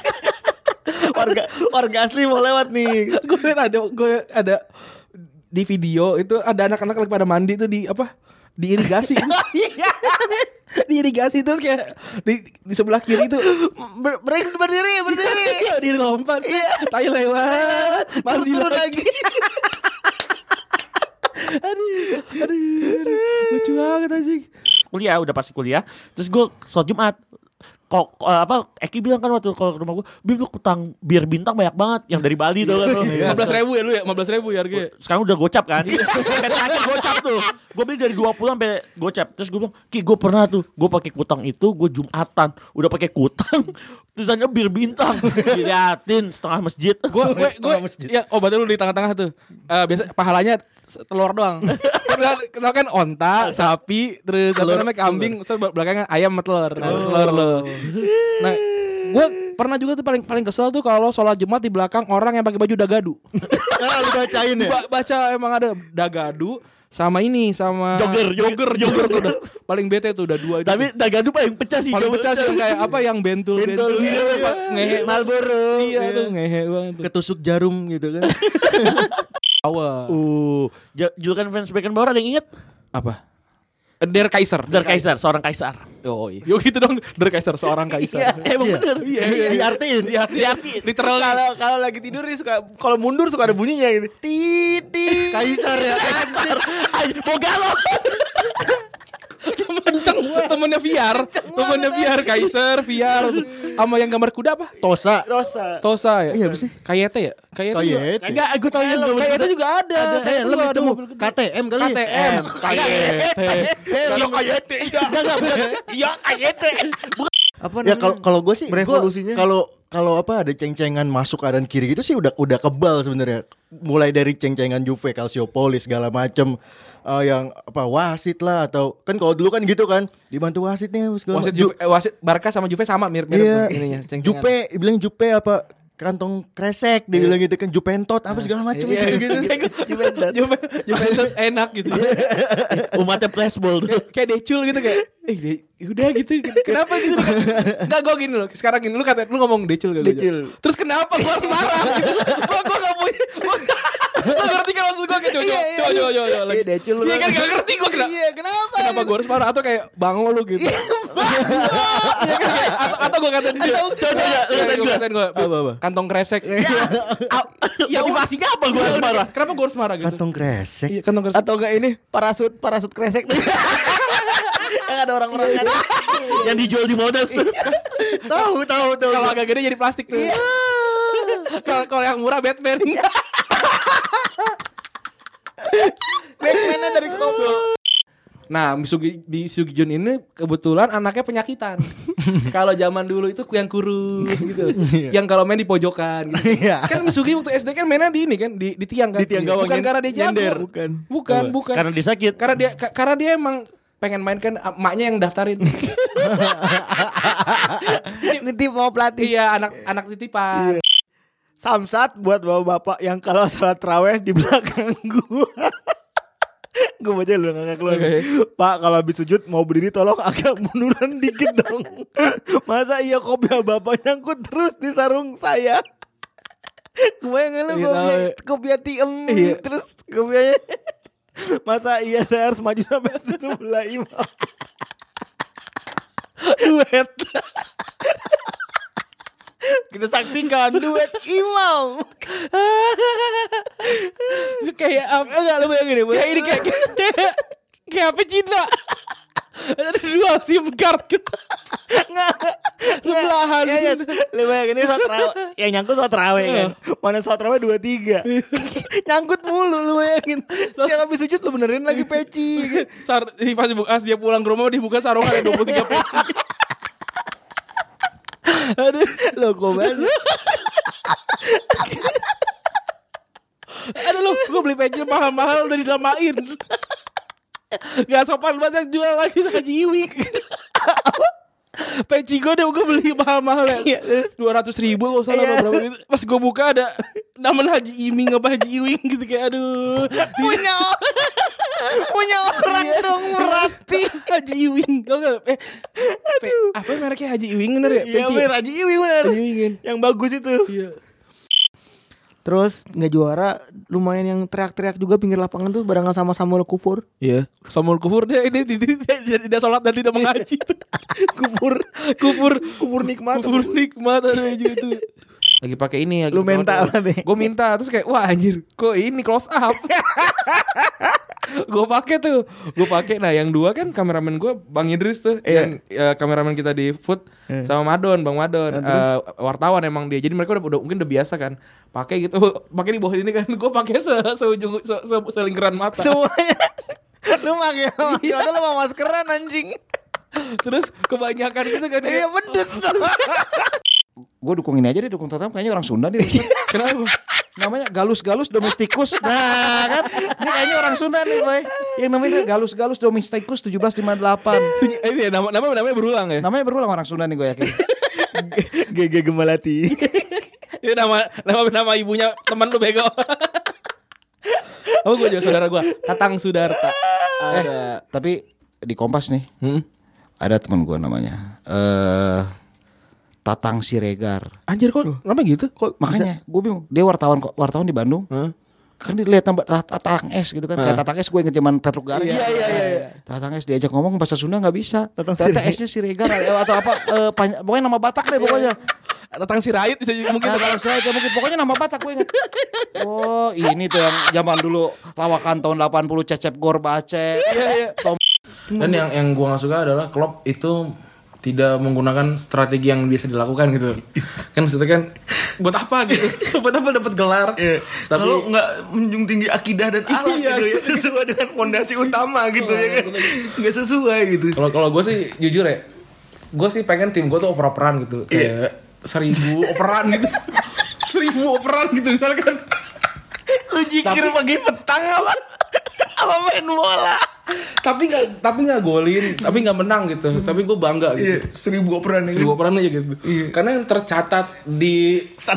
Warga asli mau lewat nih. Gue ada di video itu ada anak-anak lagi pada mandi tuh di apa? Di irigasi. Di irigasi terus kayak di sebelah kiri itu berdiri. Dia lompat. Tai lewat. Mandi lagi. Aduh, lucu banget anjing. Kuliah, udah pasti kuliah. Terus gue sholat Jumat. Eki bilang kan waktu kalau ke rumah gue, Bim lu utang bir bintang banyak banget yang dari Bali tuh kan. 15.000 ya lu ya, 15.000 ya harganya. Sekarang udah gocap kan. Sampai terakhir gocap tuh. Gue beli dari 20 sampai gocap. Terus gue bilang, Ki gue pernah tuh, gue pakai kutang itu, gue Jumatan udah pakai kutang. Tulisannya bir bintang. Diliatin setengah masjid. Gue ya obatnya lu di tengah-tengah tuh. Biasa pahalanya telur doang. Kenal kan onta, sapi, terus apa namanya kambing, terus belakangnya ayam sama telur. Telur lo. Nah, gue pernah juga tuh paling kesel tuh kalau sholat Jumat di belakang orang yang pakai baju dagadu. Lu bacain ya? Baca emang ada dagadu sama ini sama jogger tuh udah paling bete tuh udah 2 itu. Tapi dagadu paling pecah sih. Paling pecah sih yang kayak apa yang bentul gitu. Ngehe Marlboro. Iya tuh ngehe banget tuh. Ketusuk jarum gitu kan. Julukan Franz Beckenbauer ada yang inget? Apa? Der Kaiser, seorang kaisar. Oh iya. Yo gitu dong, Der Kaiser seorang kaisar. Emang bener. Iya. Diartiin. Literal. Kalau lagi tidur nih kalau mundur suka ada bunyinya gitu. Titi. Kaisar ya. Kaisar. Boga lo. Temennya VR Kaiser VR sama yang gambar kuda apa? Tosa ya. Iya bersih. Kayete ya? Kayete. Enggak, gue tahu yang Kayete juga ada. Lebih ada mobil KTM kali. KTM. Kayete. Enggak. Iya, Kayete. Apa ya kalau gue sih revolusinya kalau apa ada ceng-cengan masuk kanan kiri gitu sih udah kebal sebenarnya. Mulai dari ceng-cengan Juve, Calciopoli segala macem yang apa wasit lah atau kan kalau dulu kan gitu kan dibantu wasitnya segala wasit Barca sama Juve sama mirip ininya. Jupe bilang Jupe apa kantong kresek dia bilang gitu kan Jupentot apa segala macam gitu. Juventus enak gitu. Umatnya flashball tuh. Kayak decul gitu kayak udah gitu. Kenapa gitu? Enggak gue gini loh. Sekarang gini lu ngomong decul gak? Decul. Terus kenapa gue harus marah gitu? Gue gak punya. Lu ngerti kan maksud gue kayak coba lagi. Decul lu. Iya kan gak ngerti gue kenapa? Kenapa gue harus marah atau kayak bango lu gitu? Atau gue katain dia. Coba. Kantong kresek. Ya motivasinya apa gue harus marah? Kenapa gue harus marah gitu? Kantong kresek. Iya, kantong kresek. Atau enggak ini parasut kresek. Yang ada orang-orang kan yang dijual di Modas tuh. Tahu. Kalau agak gede jadi plastik tuh. Kalau yang murah Batman. Batman-nya dari Kobo. Nah, Misugi Jun ini kebetulan anaknya penyakitan. Kalau zaman dulu itu yang kurus gitu. Yang kalau main di pojokan gitu. Kan Misugi waktu SD kan mainnya di ini kan di tiang kan. Di tiang gawang. Bukan karena dia jago. Bukan. Karena dia sakit. Karena dia emang pengen main kan emaknya yang daftarin. Nitip mau pelatih. Iya, anak titipan. Samsat buat bapak-bapak yang kalau salat tarawih di belakang gua. Gue baca lu ngakak lu. Pak kalau habis sujud mau berdiri tolong agak munduran dikit dong. Masa iya kopiah bapak nyangkut terus di sarung saya. Gue ngeluh kopiah tiem terus kopiahnya. Masa iya saya harus maju sampai sebelah imam. Duet. Kita saksikan duet imam. Kayak apa? Enggak lu bayangin deh. Kayak ini kayak apa Cina? Ada dua SIM card gitu. Sebelahan. Lu bayangin ini sholat tarawih. Yang nyangkut sholat tarawih kan. Mana sholat tarawih 2-3. Nyangkut mulu lu bayangin. Setiap habis sujud lu benerin lagi peci. Pas dia pulang ke rumah dibuka sarung ada 23 peci. Aduh, loko banget. Aduh lu, gue beli peci mahal-mahal udah dilamain. Gak sopan banget yang jual lagi Haji Iwing. Peci gue beli mahal-mahal ya 200.000 gak usah lah berapa gitu. Pas gue buka ada nama Haji Iming apa Haji Iwing gitu kayak aduh. Punya orang dong berarti Haji Iwing. Apa mereknya Haji Iwing bener ya? Iya bener Haji Iwing bener. Yang bagus itu. Iya. Terus nggak juara lumayan yang teriak-teriak juga pinggir lapangan tuh barengan sama Samuel Kufur. Iya. Samuel Kufur dia sholat dan tidak mengaji. Kufur nikmat ada juga itu. Lagi pakai ini lu minta apa nih? Gue minta terus kayak wah anjir kok ini close up. Gue pakai. Nah, yang 2 kan kameramen gue Bang Idris tuh, yang kameramen kita di Food sama Bang Madon, wartawan emang dia. Jadi mereka udah mungkin udah biasa kan. Pakai gitu, pakai di bawah ini kan. Gue pakai seujung selingkaran mata. Semuanya. Lu pakai lu mau maskeran anjing. Terus kebanyakan gitu kan. Iya pedes tuh. Gue dukung ini aja deh, dukung Tottenham kayaknya orang Sunda deh. Kenapa? Namanya Galus Domesticus. Nah kan, ini kayaknya orang Sunda nih boy. Yang namanya Galus Domesticus 1758. Ini namanya berulang ya? Namanya berulang orang Sunda nih gue yakin. GG Gemalati. Itu nama ibunya teman lu bego. Gue juga saudara gue, Tatang Sudarta. Tapi di Kompas nih, ada teman gue namanya Tatang Siregar. Anjir kok namanya gitu? Kok makanya gue bingung. Dia wartawan di Bandung. Kan dilihat Tatang S gitu kan. Kayak Tatang S gue inget zaman Petruk Garing. Iya. Tatang S diajak ngomong bahasa Sunda gak bisa. Ternyata S-nya Siregar atau apa pokoknya nama Batak deh pokoknya. Tatang Sirait bisa mungkin. Tatang Sirait mungkin pokoknya nama Batak gue inget. Oh ini tuh yang zaman dulu lawakan tahun 80 Cecep Gorbace. Iya. Dan yang gue gak suka adalah Klopp itu tidak menggunakan strategi yang biasa dilakukan gitu. Kan maksudnya kan buat apa gitu? Buat apa dapat gelar? Tapi kalau nggak menjunjung tinggi akidah dan akhlak gitu ya, sesuai dengan fondasi utama gitu ya kan. Nggak sesuai gitu. Kalau gue sih jujur ya, gue sih pengen tim gue tuh oper-operan gitu. Kayak 1000 operan gitu. 1000 operan gitu misalkan. Lu jikir pagi petang apa? Apa main bola? Tapi nggak golin, tapi nggak menang gitu. Tapi gue bangga gitu. 1000 operan ya. 1000 operan aja gitu. Karena yang tercatat di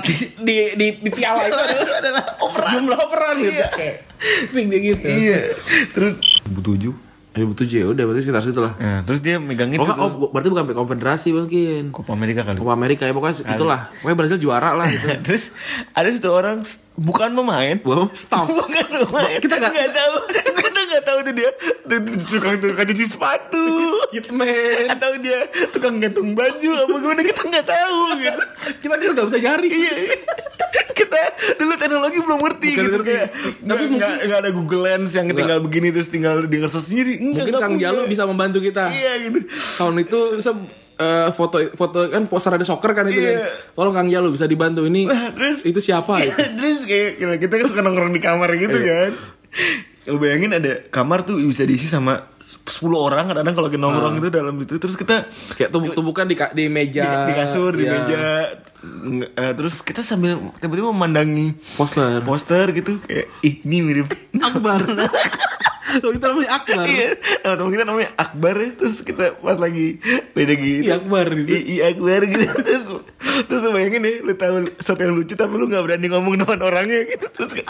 piala itu adalah operan. Jumlah operan gitu. Kayak gitu. Iya. Terus 2007 ya udah berarti sekitar situ lah. Nah, terus dia megang itu. Berarti bukan konfederasi mungkin. Copa America kali. Copa America ya pokoknya itulah. Pokoknya Brazil juara lah gitu. Terus ada satu orang bukan pemain, staff. Bukan pemain. Kita nggak tahu. Kita nggak tahu tuh dia tukang cuci sepatu, hitman, atau dia tukang gantung baju apa gimana kita nggak tahu gitu. Kita nggak bisa nyari. Iya. Kita dulu teknologi belum ngerti gitu kayak. Tapi nggak ada Google Lens yang tinggal begini terus tinggal di ngeses sendiri. Mungkin Kang Jalu bisa membantu kita. Iya gitu. Tahun itu bisa foto kan poster ada soccer kan itu kan. Tolong Kang Jalu bisa dibantu ini. Terus itu siapa? Iya, terus kayak kita kan suka nongkrong di kamar gitu kan. Lu bayangin ada kamar tuh bisa diisi sama 10 orang kadang-kadang kalau nongkrong itu dalam itu. Terus kita kayak tumbuk-tumbukan di meja, di kasur, di meja. Terus kita sambil tiba-tiba memandangi poster gitu kayak ini mirip Akbar. Kita namanya Akbar. Iya, teman kita namanya Akbar. Terus kita pas lagi beda gitu. Akbar gitu. Akbar gitu. Terus lu bayangin deh, lu tahu sesuatu yang lucu tapi lu nggak berani ngomong depan orangnya gitu. Terus kayak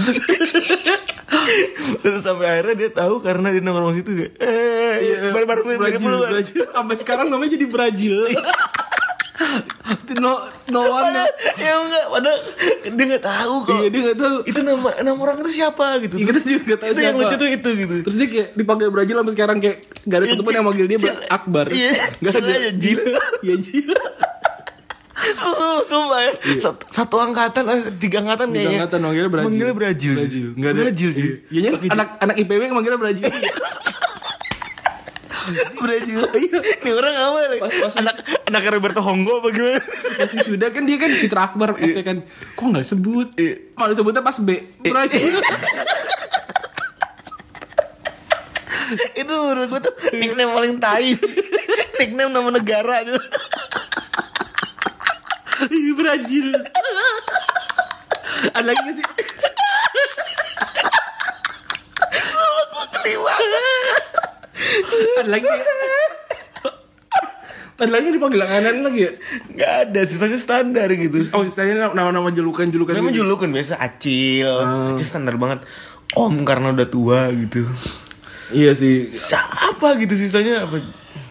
terus sampai akhirnya dia tahu karena dia nongkrong situ kayak baru Brazil. Sampai sekarang namanya jadi Brazil. No one ya enggak, padahal dia nggak tahu kok. Iya, dia nggak tahu itu nama orang itu siapa gitu. Kita juga nggak tahu itu siapa. Yang lucu tuh itu gitu. Terus dia kayak dipanggil Brazil sampai sekarang kayak nggak ada satupun yang manggil dia Akbar. Iya, nggak ada ya Jil. Ya Jil. Sumpah ya. Satu angkatan, 3 angkatan kayaknya. 3 angkatan manggilnya Brazil. Enggak ada Brazil. Iya, anak IPB manggilnya Brazil. Brazil. Ini orang apa nih? Anak Roberto Honggo apa gimana? Masih sudah kan dia kan Fitra Akbar kan. Kok enggak disebut? Malah disebutnya pas B. Brazil. Itu menurut gue tuh nickname paling tai. Nickname nama negara gitu. Brazil. Ada lagi gak sih? Aku keliwat. Ada lagi dipanggil langganan lagi ya? Gak ada, sisanya standar gitu. Oh, sisanya nama-nama julukan. Nama gitu. julukan biasa Acil. Acil standar banget. Om karena udah tua gitu. Iya sih. Siapa gitu sisanya apa?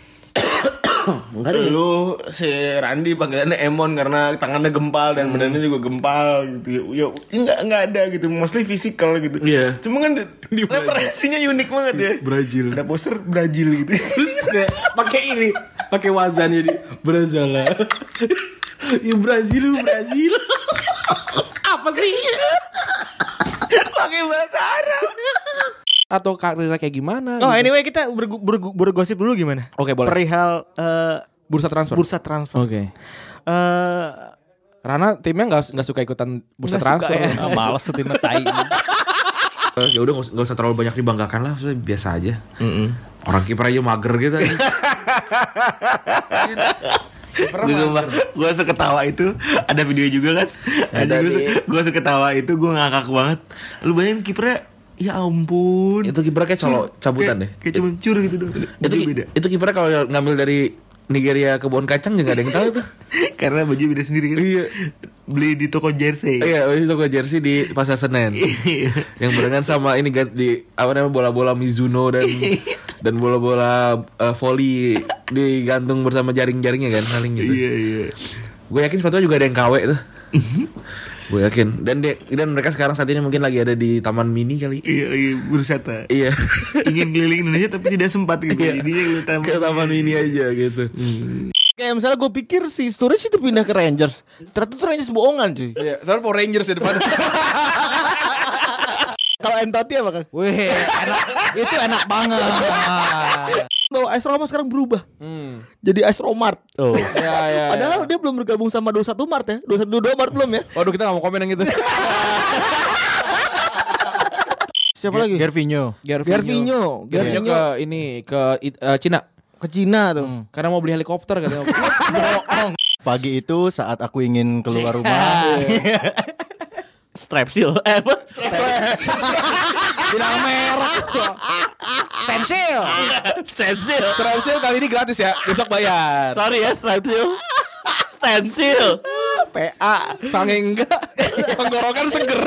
Lu si Randi panggilannya Emon karena tangannya gempal dan badannya juga gempal gitu. Ya enggak ada gitu, mostly physical gitu. Iya. Cuma kan referensinya unik banget ya. Brazil. Ada poster Brazil gitu. Terus kayak pakai wazan jadi Brazil. Ya Brazil. Apa sih? Pakai bahasa Arab. atau karirnya kayak gimana? Oh, gitu. anyway kita bergosip dulu gimana? Oke, boleh. Perihal bursa transfer. Bursa transfer. Oke. Rana timnya nggak suka ikutan bursa Nggak transfer. suka, ya. Males tuh timnya tai. Ya udah nggak usah terlalu banyak dibanggakan lah, maksudnya biasa aja. Orang kiper aja mager gitu. Gue seketawa itu ada video juga kan. Gue seketawa itu gue ngakak banget. Lu bayangin kipernya, ya ampun. Itu kipernya kayak colok cabutan deh. Kayak cuma cur gitu dong. Itu kipernya kalau ngambil dari Nigeria ke Kebun Kacang juga ada yang tahu tuh. Karena baju beda sendiri kan. Iya. Beli di toko jersey. Iya, beli di toko jersey di Pasar Senen. Yang barengan sama ini di apa namanya bola-bola Mizuno dan bola-bola volley digantung bersama jaring-jaringnya kan saling gitu. Iya. Gue yakin sepatunya juga ada yang KW tuh. Gue yakin. Dan mereka sekarang saat ini mungkin lagi ada di Taman Mini kali. Iya, lagi berwisata. Iya. Ingin keliling Indonesia tapi tidak sempat gitu. Jadinya ke Taman Mini aja gitu. Kayak misalnya gue pikir si Sturridge itu pindah ke Rangers. Ternyata itu Rangers bohongan cuy. Iya, terus Power Rangers di depan. Kalau Entoti apa kan? Wih, itu enak banget. Bahwa AS Roma sekarang berubah. Jadi AS Romart. Oh. Ya. Padahal dia belum bergabung sama 21 Maret ya. 22 Maret belum ya. Waduh, kita gak mau komen yang gitu. Siapa lagi? Gervinho ke ini ke Cina. Ke Cina tuh. Karena mau beli helikopter katanya. Pagi itu saat aku ingin keluar rumah. Strepsil. Apa? Bilang merah. Stensil. Strepsil kali ini gratis ya. Besok bayar. Sorry ya, Stensil. PA. Sange enggak. Tenggorokan seger.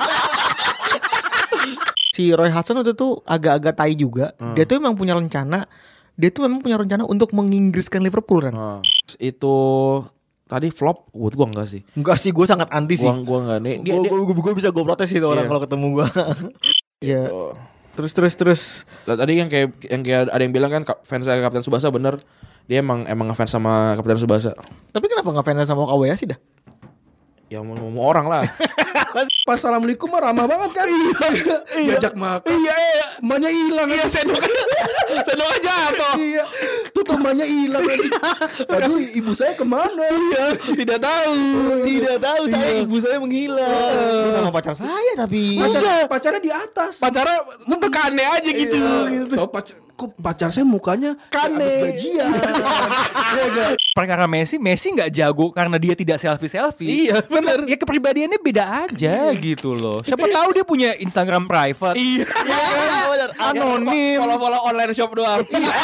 Si Roy Hudson waktu itu agak-agak tai juga. Dia tuh memang punya rencana untuk menginggriskan Liverpool kan. Itu tadi flop, buat gua enggak sih. Enggak sih, gue sangat anti sih. Gua enggak nih. Gue bisa gue protes itu orang kalau ketemu gue. Iya. Terus. Tadi yang kayak ada yang bilang kan fans Kapten Tsubasa bener. Dia emang ngefans sama Kapten Tsubasa. Tapi kenapa nggak fans sama Okawayashi dah? Ya mau orang lah. Pas assalamualaikum mah ramah banget kan. Diajak makan. Iya, emaknya hilang. Iya, sendoknya jatuh. Iya, tuh temannya hilang. Aduh, ibu saya kemana? Iya, tidak tahu. Saya ibu saya menghilang. Sama pacar saya tapi. Pacarnya di atas. Pacarnya tuh kane aja gitu. Kok pacar saya mukanya kane. Habis gajian. Perkara Messi nggak jago karena dia tidak selfie. Iya, benar. Ya kepribadiannya beda aja gitu loh. Siapa tahu dia punya Instagram private. Iya, benar. Anonim. Follow online shop doang.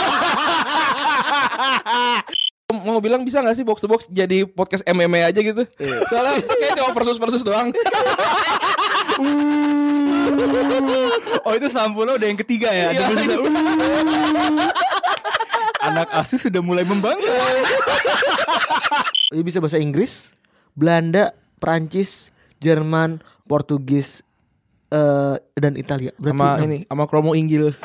Mau bilang bisa gak sih box to box jadi podcast MMA aja gitu? Soalnya kayak cuma versus doang. Oh itu Sampulnya udah yang ketiga ya. Anak asuh sudah mulai membangga. Dia bisa bahasa Inggris, Belanda, Prancis, Jerman, Portugis, dan Italia. Sama Kromo Inggil.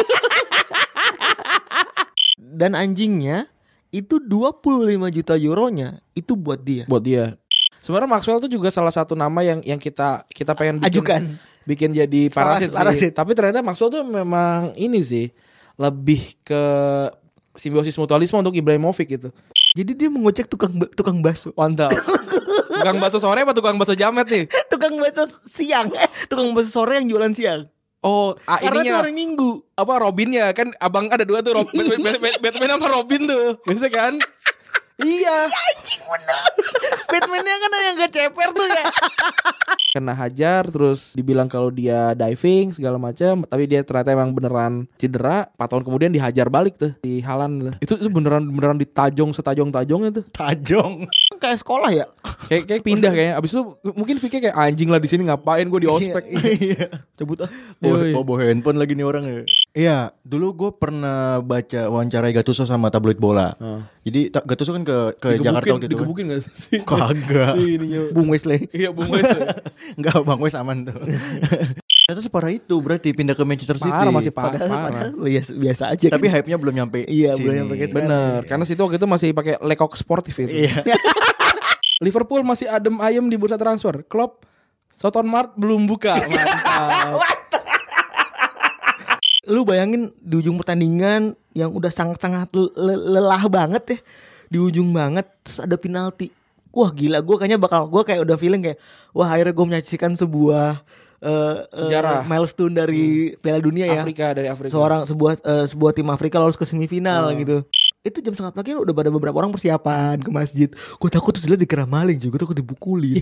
Dan anjingnya itu 25 juta euronya itu buat dia. Sebenarnya Maxwell tuh juga salah satu nama yang kita pengen bikin jadi parasit. Tapi ternyata Maxwell tuh memang ini sih lebih ke simbiosis mutualisme untuk Ibrahimovic gitu. Jadi dia mengocek tukang bakso. Mantap. Tukang bakso sore apa tukang bakso jamet nih? Tukang bakso siang. Tukang bakso sore yang jualan siang. Oh, karena ininya itu hari Minggu. Apa Robinnya kan abang ada dua tuh Batman sama Robin tuh. Biasa kan? Iya. Anjing bener. Batman-nya kan yang gak ceper tuh ya. Kena hajar terus dibilang kalau dia diving segala macam, tapi dia ternyata emang beneran cedera. 4 tahun kemudian dihajar balik tuh di Haaland. Itu beneran ditajong setajong-tajongnya tuh. Tajong. Kayak sekolah ya. Kayak pindah kayaknya. Abis itu mungkin pikir kayak anjing lah di sini ngapain gue di ospek. Iya. Cabut ah. Bawa handphone lagi nih orang ya. Iya, dulu gue pernah baca wawancara Gattuso sama tabloid bola. Jadi Gattuso kan ke Jakarta waktu itu. Digebukin gak sih? Kagak. Bung Wesley. Iya, Bung Wesley. Enggak, Bang Wes aman tuh. Ternyata separah itu berarti pindah ke Manchester City. Masih parah. Biasa aja. Tapi hype-nya belum nyampe. Iya, sini. belum nyampe ke bener, karena situ waktu itu masih pakai lekok sportif itu. Iya. Liverpool masih adem ayem di bursa transfer. Klopp Soton Mart belum buka. Mantap. lu bayangin di ujung pertandingan yang udah sangat-sangat lelah banget ya, di ujung banget terus ada penalti. Wah gila, gue kayak udah feeling kayak wah akhirnya gue menyaksikan sebuah sejarah milestone dari Piala Dunia ya. Dari Afrika. Sebuah tim Afrika lolos ke semifinal gitu. Itu jam 5:30 pagi udah pada beberapa orang persiapan ke masjid. Gue takut terus lihat dikira maling juga, takut dibukulin.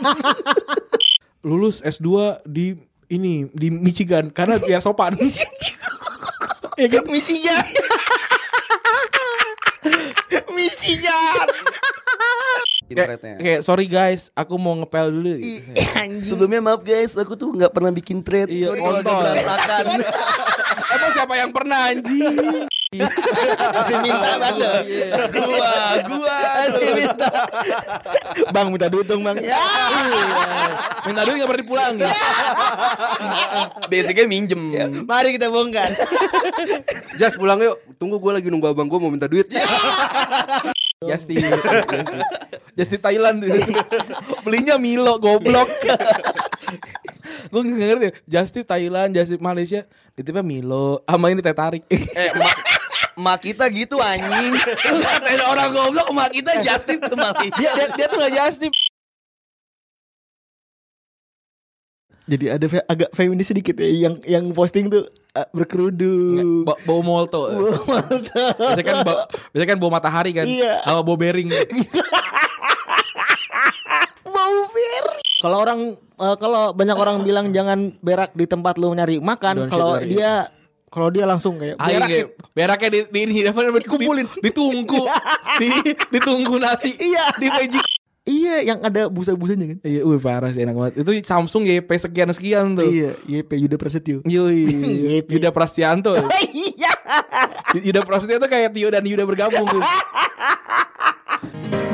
Lulus S2 di Michigan karena biar sopan. Ya kan Michigan. Kayak sorry guys, aku mau ngepel dulu. Sebelumnya maaf guys, aku tuh nggak pernah bikin thread. Iya, berantakan. Emang siapa yang pernah anjing? Masih minta banget. Gua masih minta. Bang minta duit dong bang. Minta duit nggak pernah dipulangin. Basicnya minjem. Mari kita bongkar. Jas pulang yuk. Tunggu gue lagi nunggu abang gue mau minta duit. Just di Thailand tuh. Belinya Milo goblok. Gue gak ngerti. Just di Thailand, Just di Malaysia, ditipnya Milo sama ini teh tarik. Emak kita gitu anjing. Ada orang goblok, emak kita just tip ke Malaysia. Dia tuh gak just tip. Jadi ada agak feminis sedikit ya, yang posting tuh berkerudung, bau molto. Biasanya kan bau matahari kan, iya. Sama bau bering. Bau bering. Kalau banyak orang bilang jangan berak di tempat lu nyari makan, kalau dia langsung kayak beraknya di ini dikumpulin, ditunggu nasi, iya di magic. Iya, yang ada busa-busanya kan. Iya, parah sih, enak banget. Itu Samsung YP sekian tuh. Iya, YP Yuda Prasetyo. Yuda Prastianto. Iya. Yuda Prasetyo tuh kayak Tio dan Yuda bergabung tuh.